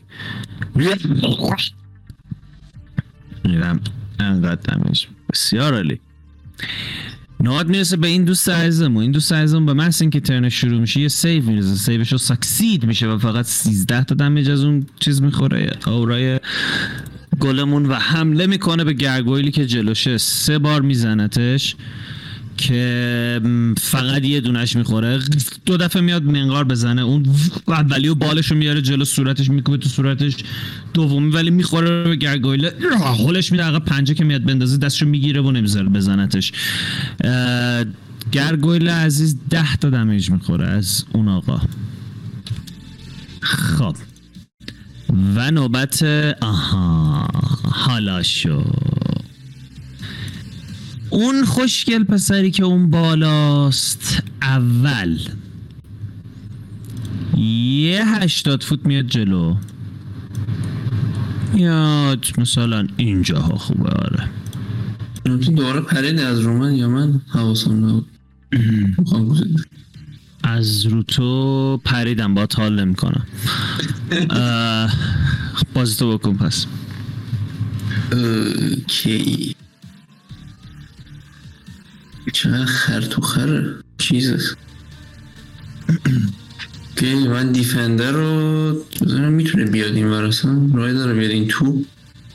میرم انقدر دمیج. بسیار عالی. نهاد میرسه به این دوست عزیزمون. این دوست عزیزمون به محض اینکه ترن شروع میشه یه سیو میرسه. سیوش رو ساکسید میشه و فقط سیزده تا دمیج از اون چیز میخوره، آورای گلمون، و حمله میکنه به گرگویلی که جلوشه. سه بار میزنتش. که فقط یه دونش میخوره، دو دفعه میاد منقار بزنه، اون اولی و بالشو میاره جلو صورتش میکوبه تو صورتش، دومی ولی میخوره به گرگویله، هولش میده عقب، پنجه که میاد بندازه دستشو میگیره و نمیذاره بزنتش. گرگویله عزیز ده تا دمیج میخوره از اون آقا. خب و نوبت آها حالا شو اون خوشگل پسری که اون بالاست اول یه هشتاد فوت میاد جلو، میاد مثلا اینجاها. خوبه آره. تو دوباره پرید از رو من یا من حواسم نبود؟ از رو تو پریدم، با حال نمی کنم. بازی تو بکن پس. اوکی چقدر خر تو خره چیزست. اوکی من دیفندر رو بزنم میتونه بیاد این ورسن، رای داره بیاد این تو.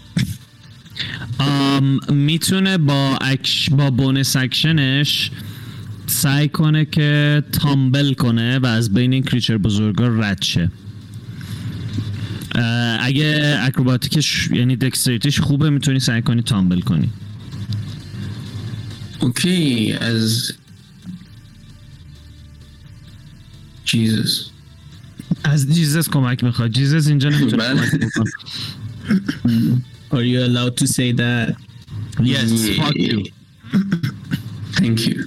میتونه با اکش با بونس اکشنش سعی کنه که تامبل کنه و از بین این کریچر بزرگا رد شه. اگه اکروباتیکش یعنی دکستریتیش خوبه میتونی سعی کنی تامبل کنی. اوکی از جیزس از جیزس کمک میخواد. جیزس اینجا نمیتونه کمک میکنه. Are you allowed to say that? Yes, yeah. fuck you. Thank you.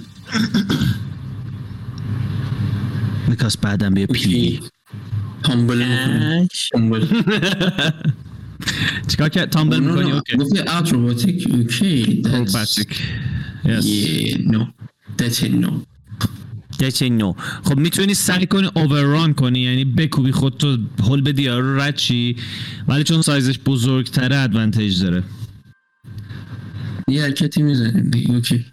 Because بعدم بیا پی تامبل میکنی. تامبل چیکار که تامبل میکنی؟ اوکی گفتی اکروباتیک. اوکی اکروباتیک. Yes. Yeah, no. That's it, no. That's it, no. خب میتونی سعی کنی اوورران کنی، یعنی بکوبی خودتو هول بدی یارو رد چی، ولی چون سایزش بزرگتره ادوانتیج داره. یه حرکتی میزنیم دیگه. اوکی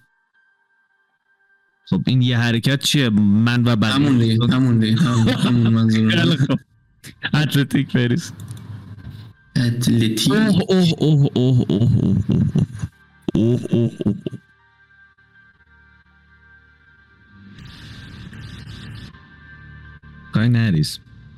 خب این یه حرکت چیه؟ من و بعد همون دیگه همون دیگه همون منظورم. اتلتیک بریز. اتلتیک. اوه اوه اوه اوه اوه اوه اوه اوه کاری نریز.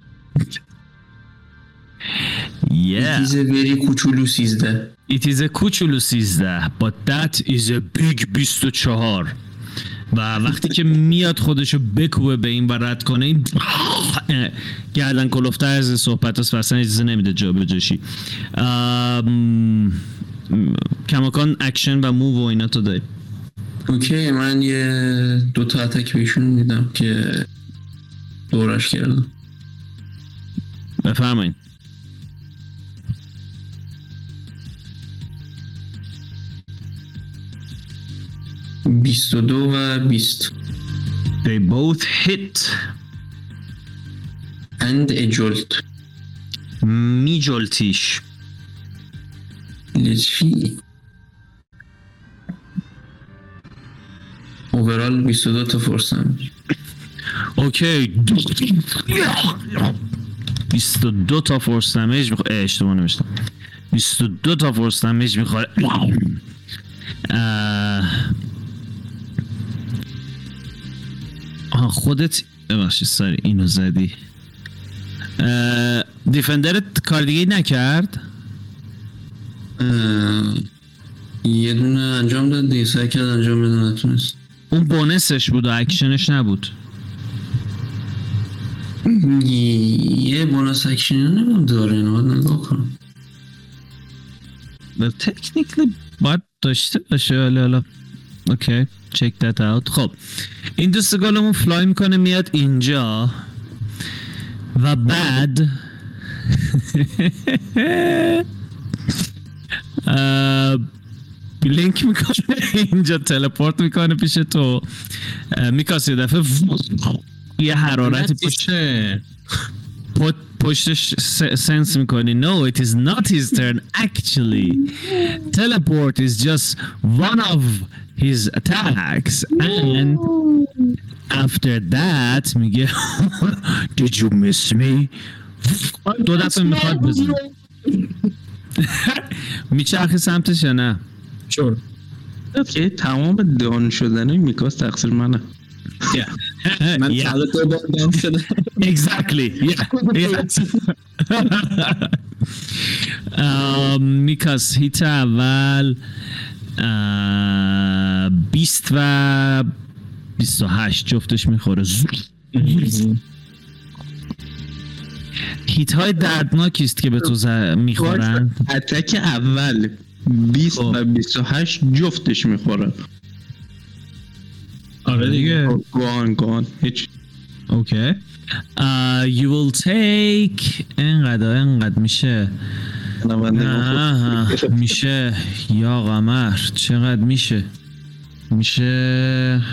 Yeah. It is a very کوچولو سیزده. It is a کوچولو سیزده but that is a big بیست و چهار. و وقتی که میاد خودشو بکوبه به این و رد کنه، این گردن کلفته از صحبت هست و اصلا اجازه نمیده جا به جاشی. کماکان اکشن و موو و اینا تو داری. اوکی من یه دوتا اتک بهشون میدم که دورش کردم. بفرمایید. بیست و دو و بیست. They both hit. And a jolt. می جلتیش. Let's see. اوورال بیست و دو تا فورس دمیج. اوکی بیست و دو تا فورس دمیج میخواد. اشتباه نوشتم. بیست و دو تا فورس دمیج میخواد. آه خودت ببخشید ساری اینو زدی. دیفندرت کار دیگه نکرد؟ یه دونه انجام داد دیگه، سعی کرد انجام بده نتونست. اون بونسش بود و اکشنش نبود. یه بونس اکشنی نمیم داره، اینو باید نگاه کنم. تکنیکلی باید داشته باشه. حالا حالا اوکی check that out. خب این دوستگالمون فلای میکنه میاد اینجا و بعد بلینک میکنه اینجا، تلپورت میکنه پیش تو. میکاسی دفعه یه حرارتی پشت پشتش سنس میکنی. No, it is not his turn actually. Teleport is just one of his attacks and after that میگه Did you miss me? دو دفعه میخواد بزن. میچرخی سمتش یا نه؟ Sure. که تمام دان شدن میکاس تقصیر منه. من Yeah. فقط دو بار دام شده. Exactly. Yeah. yeah. میکاس هیت اول بیست و بیست و هشت جفتش میخوره. هیت های دردناکی است که به تو ز- میخورن. اتک اول بیست و بیست و هشت جفتش میخوره. آره دیگه. گوان گوان هیچ. اوکی. You will take انقدر انقدر میشه آه، میشه یا قمر چقدر میشه میشه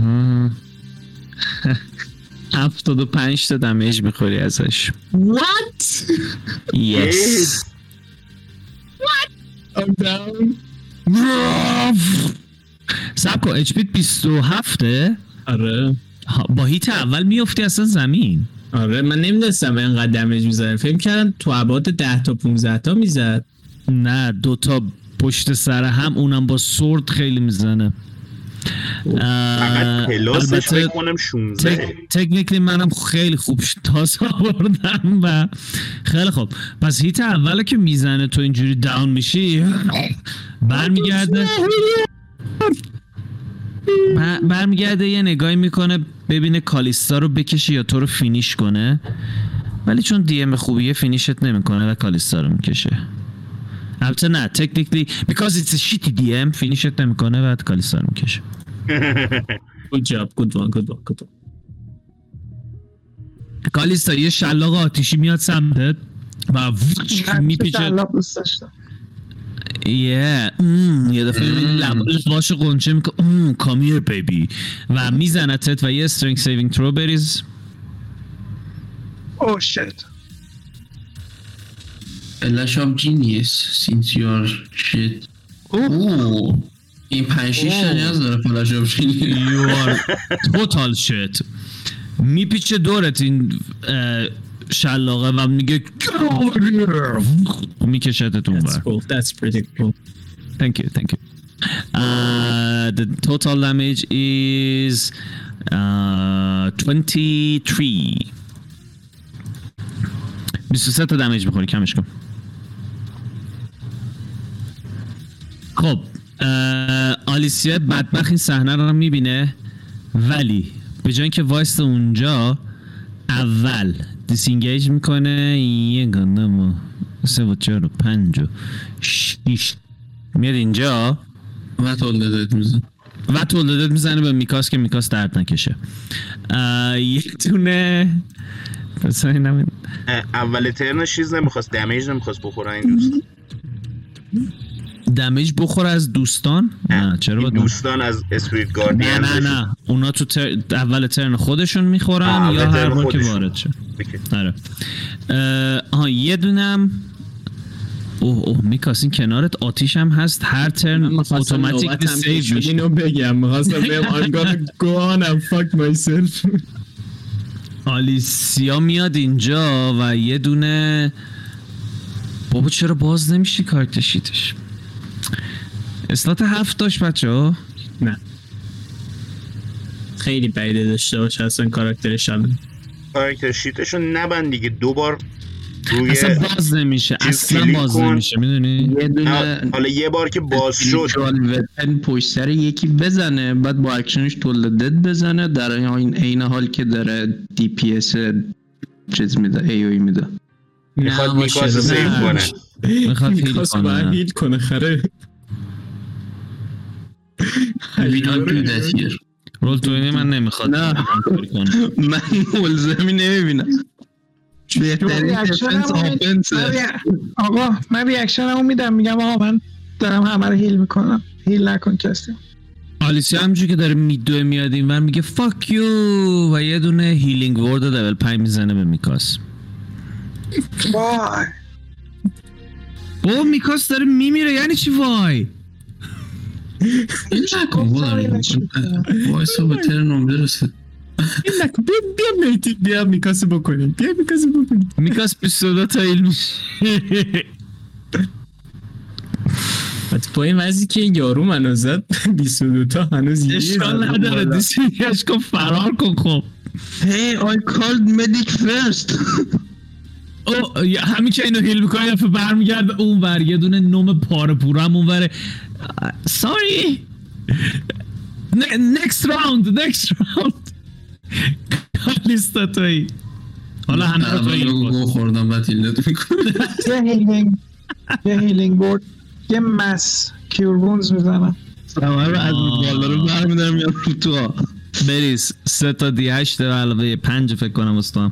هفتاد و پنج تا دمیج میخوری ازش. What? Yes. I'm down. سب کن اچ پی بیست و هفته آره. با هیت اول میفتی اصلا زمین. آره من نمیدونستم اینقدر دمیج میزنه. فکر کردم تو ابعاد ده تا پونزده تا میزد. نه دوتا پشت سر هم اونم با سورد خیلی میزنه. فقط پلاسش فکر کنم شونزده. تکنیکلی منم خیلی خوب تازه آوردم و خیلی خوب. پس هیت اوله که میزنه تو اینجوری داون میشی برمیگرده برمیگرده یه نگاهی میکنه ببینه کالیستا رو بکشه یا تو رو فینیش کنه، ولی چون دی ام خوبیه فینیشت نمیکنه و کالیستا رو میکشه. البته نه تکنیکلی because it's a shitty دی ام فینیشت نمیکنه و کالیستا رو میکشه. Good job. Good one. Good one. Good one. کالیستا یه شلاق آتیشی میاد سمتت و میپیچه. شلاق دوست داشتم. یه ام یه دفعه لباش قنچه میکنه ام کامیر بیبی و میزنتت و یه استرینگ سیوینگ ترو بریز. Oh shit. A lash of genius since you're shit. اوه این پنج شیش تا نیاز داره فلاش of genius. You are total shit. میپیچه دورت این شلاقه و میگه میکشتت اون That's بر. cool. That's pretty cool. Thank you, thank you. Uh, the total damage is uh, twenty-three. بیست و سه تا دمیج میخوری کمش کن. خب آلیسیا بدبخت این صحنه رو میبینه، ولی به جای اینکه وایسته اونجا اول دیسینگیج میکنه یه گندم و سه و چهار و پنج و شیش میاد اینجا و تولدت میزن و تولدت میزنه به میکاس که میکاس درد نکشه. یه دونه اول ترنش چیز نمیخواست دمیج نمیخواست بخوره این دوست دمیج بخوره از دوستان؟ نه چرا باید دوستان از اسپریت گاردین؟ نه نه نه اونا تو تر... اول ترن خودشون میخورن یا هر بار که وارد شه. آره آها یه دونم اوه اوه میکاس این کنارت آتیش هم هست هر ترن اتوماتیک سیو میشه. اینو بگم می‌خواستم بگم I'm gonna go on and fuck myself. آلیسیا میاد اینجا و یه دونه بابا چرا باز نمیشه کارت شیتش؟ اسلات هفت داشت بچه ها؟ نه خیلی بعیده داشته باشه اصلا کاراکترش الان. کاراکتر شیتشو نبند دیگه دوبار روی اصلا باز نمیشه اصلا باز نمیشه میدونی؟ یه دونه حالا یه بار که باز شد وپن پشت سر یکی بزنه بعد با اکشنش تولدت بزنه در این عین حال که داره دی پی اس چیز میده ای او میده. میخواد میکاس سیو کنه میخواد هیل میکاس باید کنه هیل کنه خره. We don't do that here. رول توینی من نمیخواد نه من ملزمی نمیبینم. بهترین دفنس آفنس. آقا من ریاکشنمو میدم میگم آقا من دارم همه رو هیل میکنم هیل نکن کسی. آلیسیا همونجوری که داره میدوه میاد این ور میگه fuck you و یه دونه هیلینگ ورد لول پنج میزنه به میکاس. وای بابا میکاس داره میمیره یعنی چی وای؟ این نکن بودم وایسا به ترنم برسه. این نکن بیا بیا میتید بیا میکاس بکنیم بیا میکاس بکنیم. میکاس بیست و دو تا هیل میشه. حتی با این وضعی که این یارو منو زد بیست و دو تا هنوز یه اشکال نداره دیسیش کن فرار کن. خب Hey, I called medic first. او همین که اینو هیل میکنه دفعه برمیگرده اون ور یه دونه نوم پاره پوره هم اون وره. ساری next round next round کالیستا توی حالا همه رو توی گو خوردم و تیلت میکنه. یه هیلینگ یه هیلینگ بورد یه مس کیور وونز میزنم. همه رو از بالا رو برمیدارم یا رو تو ها بریز سه تا دی هشت و علاوه پنج فکر کنم استوام.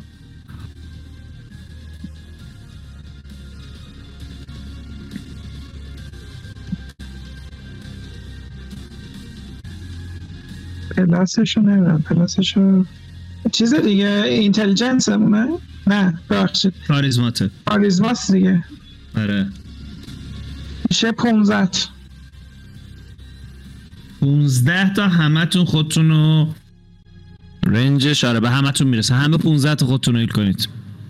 پلاسشو نمیدونم پلاسشو چیز دیگه اینتلیجنس همونه؟ نه بخشید کاریزماته کاریزماست دیگه. آره میشه پونزده پونزده تا همه تون خودتونو رنجش آره به همه تون میرسه. همه پونزده تا خودتون رو هیل کنید.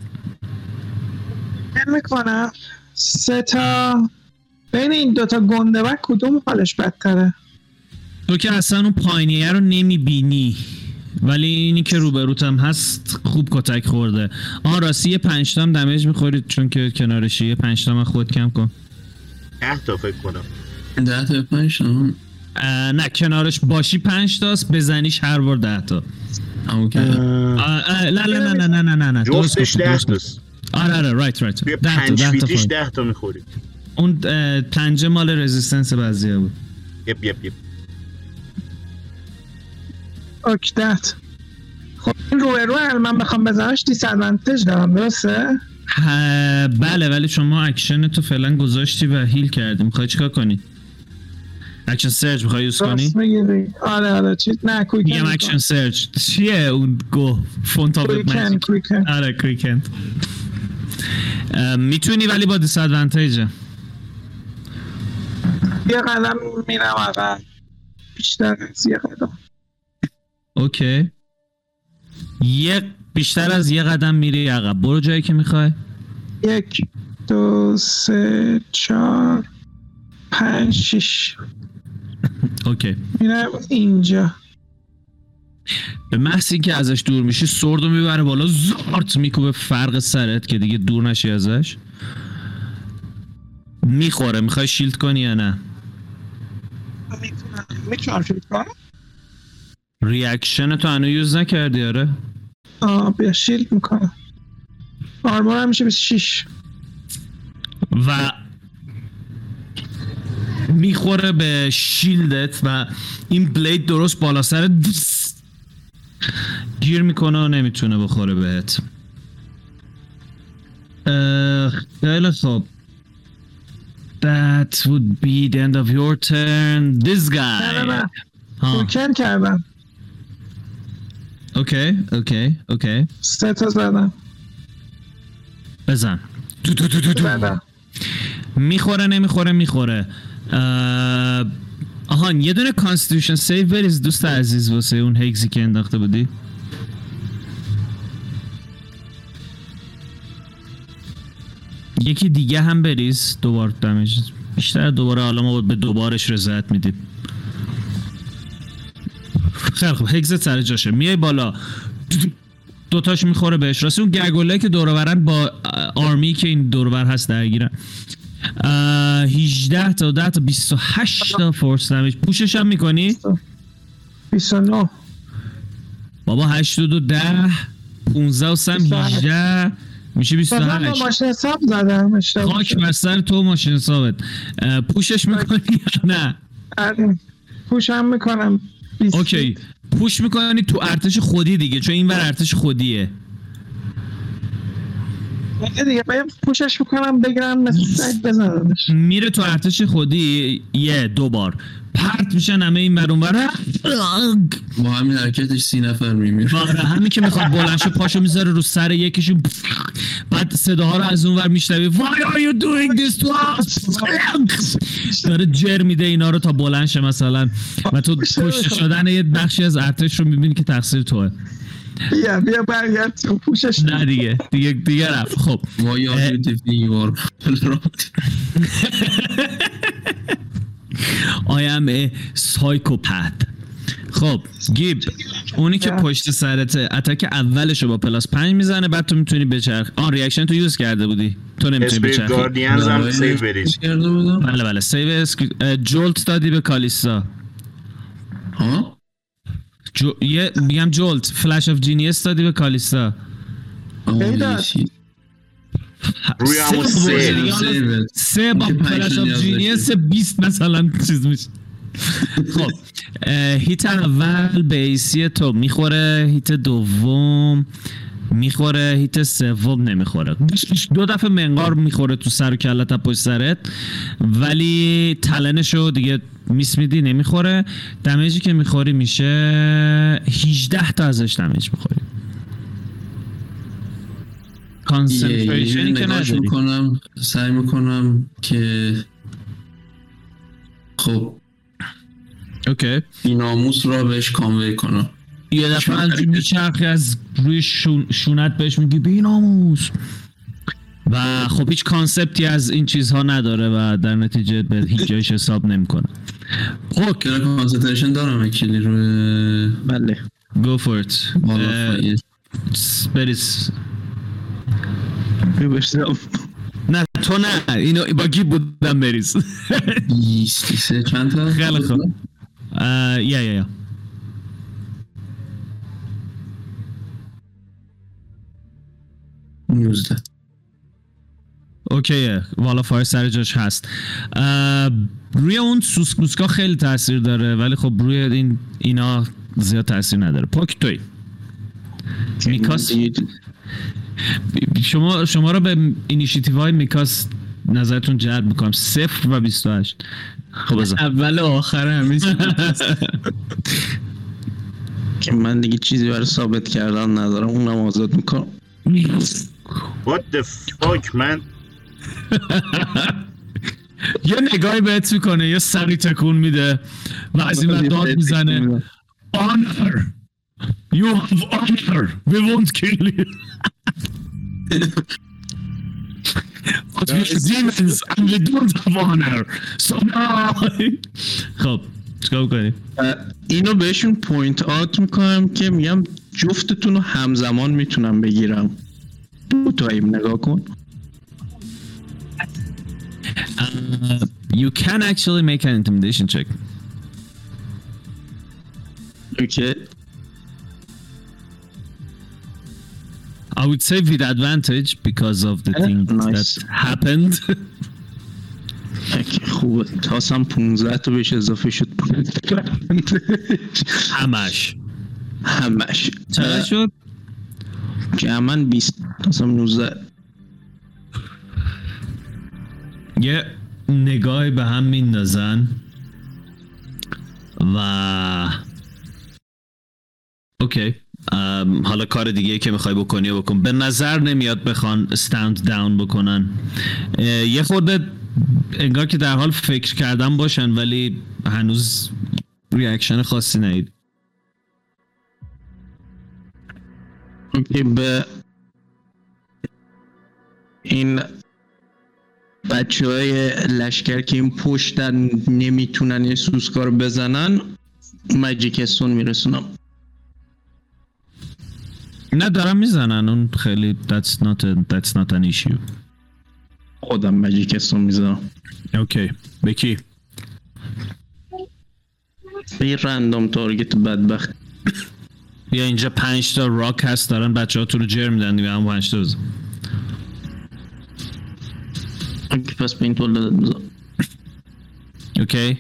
من میکنم سه تا بین این دوتا گنده و کدوم حالش بدتره؟ تو که اصلا اون پایینیه رو نمیبینی ولی اینی که روبروت هم هست خوب کتک خورده. آن راستی یه پنج تا هم دمیج میخورید چون که کنارشی. یه پنج تا من خود کم کن. ده تا فکر کنم. ده تا پنج تا نه کنارش باشی پنج تاست بزنیش هر بار ده تا. اوکی. نه نه نه نه نه نه نه نه جفتش ده تاست. آره آره رایت رایت. توی پنج فیتیش ده تا میخورید. اون پنجه مال رزیستنس بعضیه بود. یپ یپ یپ. اوکی دهت. خب این روی روی من بخوام بزنمش دیس ادوانتج دارم درسته؟ بله ولی شما اکشن تو فعلا گذاشتی و هیل کردی. میخوای چیکار کنی؟ اکشن سرچ میخوای یوز کنی؟ آره آره چیز نه کویکن. میگم اکشن سرچ چیه اون گو فونت آف کویکن کویکن. آره کویکن میتونی ولی با دیس ادوانتیجه. یه قدم میرم عقب بیشتر از یه قدم. اوکی یه بیشتر از یه قدم میری عقب. برو جایی که میخوای. یک دو سه چهار پنج شش. اوکی میرم اینجا. به محض اینکه ازش دور میشی سوردو میبره بالا زارت میکوبه فرق سرت که دیگه دور نشی ازش. میخوره. میخوای شیلد کنی یا نه؟ میتونم میتونم شیلد کنم. ریاکشن تو هنو یوز نکردی آره؟ آه بیا شیلد میکنم. آرمور هم میشه بیست و شش و میخوره به شیلدت و این بلید درست بالا سرت گیر میکنه و نمیتونه بخوره بهت. خیلی خوب. That would be the end of your turn. This guy. نه نه نه کویکن کردم. اوکی اوکی اوکی سه تا زدم. بزن. دو دو دو دو دو. زدم. میخوره نمیخوره میخوره. آهان یه دونه کانستیتوشن سیو بریز دوست عزیز واسه اون هگزی که انداخته بودی. یکی دیگه هم بریز دوبار دمیج بیشتر. دوباره حالا ما به دوبارش رضایت میدیم. خیلی خوب هگزت سر جاشه. میای بالا دوتاش میخوره بهش. راستی اون گرگوله که دور و برن با آرمی که این دور و بر هست درگیرن. هجده تا ده تا بیست و هشت تا فورس دمیج. پوشش هم میکنی؟ بیست و نه. بابا هشت و دو ده پونزده و سم هجده میشه بیست و هشت. من ماشین حساب زدم. خاک بر سر تو ماشین حسابت. پوشش میکنی یا نه؟ آره پوش هم میکنم. اوکی پوش میکنی تو ارتش خودی دیگه چون این ور ارتش خودیه. دیگه باید پوشش میکنم بگیرم مثل سگ بزنمش. میره تو ارتش خودی یه دو بار پرت میشن همه این ور اون ور. با همین حرکتش سی نفر میمیره. همین که میخواد بلند شه پاشو میذاره رو سر یکیشون. بعد صداها رو از اون ور میشنوی. Why are you doing this to us؟ داره جر میده اینا رو تا بلند شه مثلا. و تو کشته شدن یه بخشی از ارتش رو میبینی که تقصیر توه. بیا بیا برگرد تو پوشش. نه دیگه دیگه دیگه رفت. خب وای آر دیوار I am a psychopath. خب گیب اونی که پشت سرته اتاک اولشو با پلاس پنج میزنه بعد تو میتونی بچرخ. آن ریاکشن تو یوز کرده بودی تو نمیتونی بچرخی. اسپریت گاردینز هم سیو بریز. بله بله سیو جولت دادی به کالیستا. ها جو... یه میگم جولت فلش اف جینیس دادی به کالیستا. روی همون سه سه با فلش اف جینیس بیست مثلا چیز میشه. خب هیت اول بیسی تو میخوره، هیت دوم میخوره، هیت سوم نمیخوره. دو دفعه منقار میخوره تو سر و کلت از پشت سرت ولی تلنشو دیگه میس میدی نمیخوره. دمیجی که میخوری میشه هجده تا ازش دمیج میخوری. کانسنتریشنی که نداری. میکنم سعی میکنم که خب اوکی بیناموس را بهش کانوی کنم. یه دفعه همجور میچرخی از روی شون شونت بهش میگی بیناموس و خب هیچ کانسپتی از این چیزها نداره و در نتیجه به هیچ جایش حساب نمیکنه. خب که کانسنتریشن دارم اکیلی روی بله go for it. بریز ببرسم. نه تو نه اینو با گیب بودم بریز. بیست سه چند تا؟ خیلی خوب یا یا یا نوزده. اوکیه والا فایر سر جاش هست. روی اون سوسکوسکا خیلی تاثیر داره ولی خب روی این اینا زیاد تاثیر نداره. پاک توی میکاس شما شما رو به اینیشیتیو های میکاس نظرتون جلب میکنم. صفر و بیست و هشت. خب بزن اول و آخر همیشه که من دیگه چیزی برای ثابت کردن ندارم اونم آزاد میکنم. What the fuck man. یه نگاهی بهت میکنه یه سری تکون میده و از این ور داد میزنه honor you have honor we won't kill you but we're demons and we don't have honor so no. خب چیکار کنیم؟ اینو بهشون پوینت آوت میکنم که میگم جفتتون رو همزمان میتونم بگیرم. دو تایم نگاه کن. Uh, you can actually make an intimidation check. Okay. I would say with advantage because of the thing nice. that happened. خوبه. تاسم پونزده تا بهش اضافه شد. همش. همش. چقدر شد؟ جمعاً بیست. تاسم نوزده. یه نگاهی به هم میندازن و اوکی حالا کار دیگه که میخوای بکنی بکن. به نظر نمیاد بخوان استند داون بکنن. یه خورده انگار که در حال فکر کردن باشن ولی هنوز ریاکشن خاصی ندید. به این بچه های لشکر که این پشتن نمیتونن این سوسکا رو بزنن ماجیک استون میرسونم. نه دارم میزنن اون خیلی that's not a, that's not an issue. خودم ماجیک استون میزنم. اوکی بکی به رندوم تارگت بدبخت. بیا اینجا پنج تا راک هست دارن بچه ها تو رو جر میدن دیگه هم پنج تا بزن. اوکی پس به این طول دادت بزن. اوکی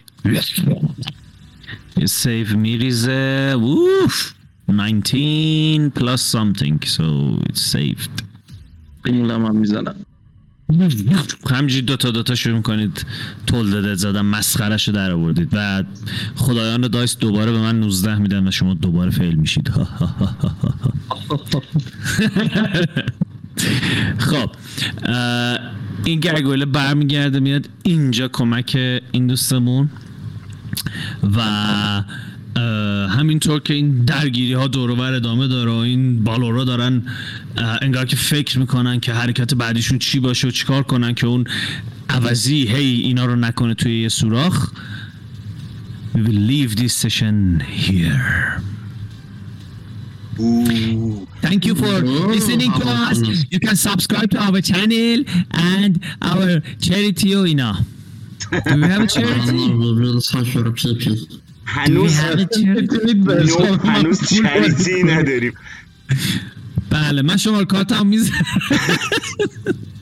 یه سیو میریزه. ووف nineteen plus something so it's saved. این لام هم میزنم. همجوری دوتا دوتا شروع کنید تول دادت زدن مسخرهشو در آوردید و خدایان دایس دوباره به من نوزده میدن و شما دوباره فیل میشید. خب این گرگوله برمیگرده میاد اینجا کمک این دوستمون و همینطور که این درگیری ها دور و بر ادامه داره و این بالورا دارن انگار که فکر میکنن که حرکت بعدیشون چی باشه و چیکار کنن که اون عوضی هی اینا رو نکنه توی یه سوراخ. we will leave this session here. Ooh. Thank you for listening to us. You can subscribe to our channel and our charity اینا. Do we have a charity? هنوز نو هنوز چریتی نداریم. بله من شماره کارتم میذارم.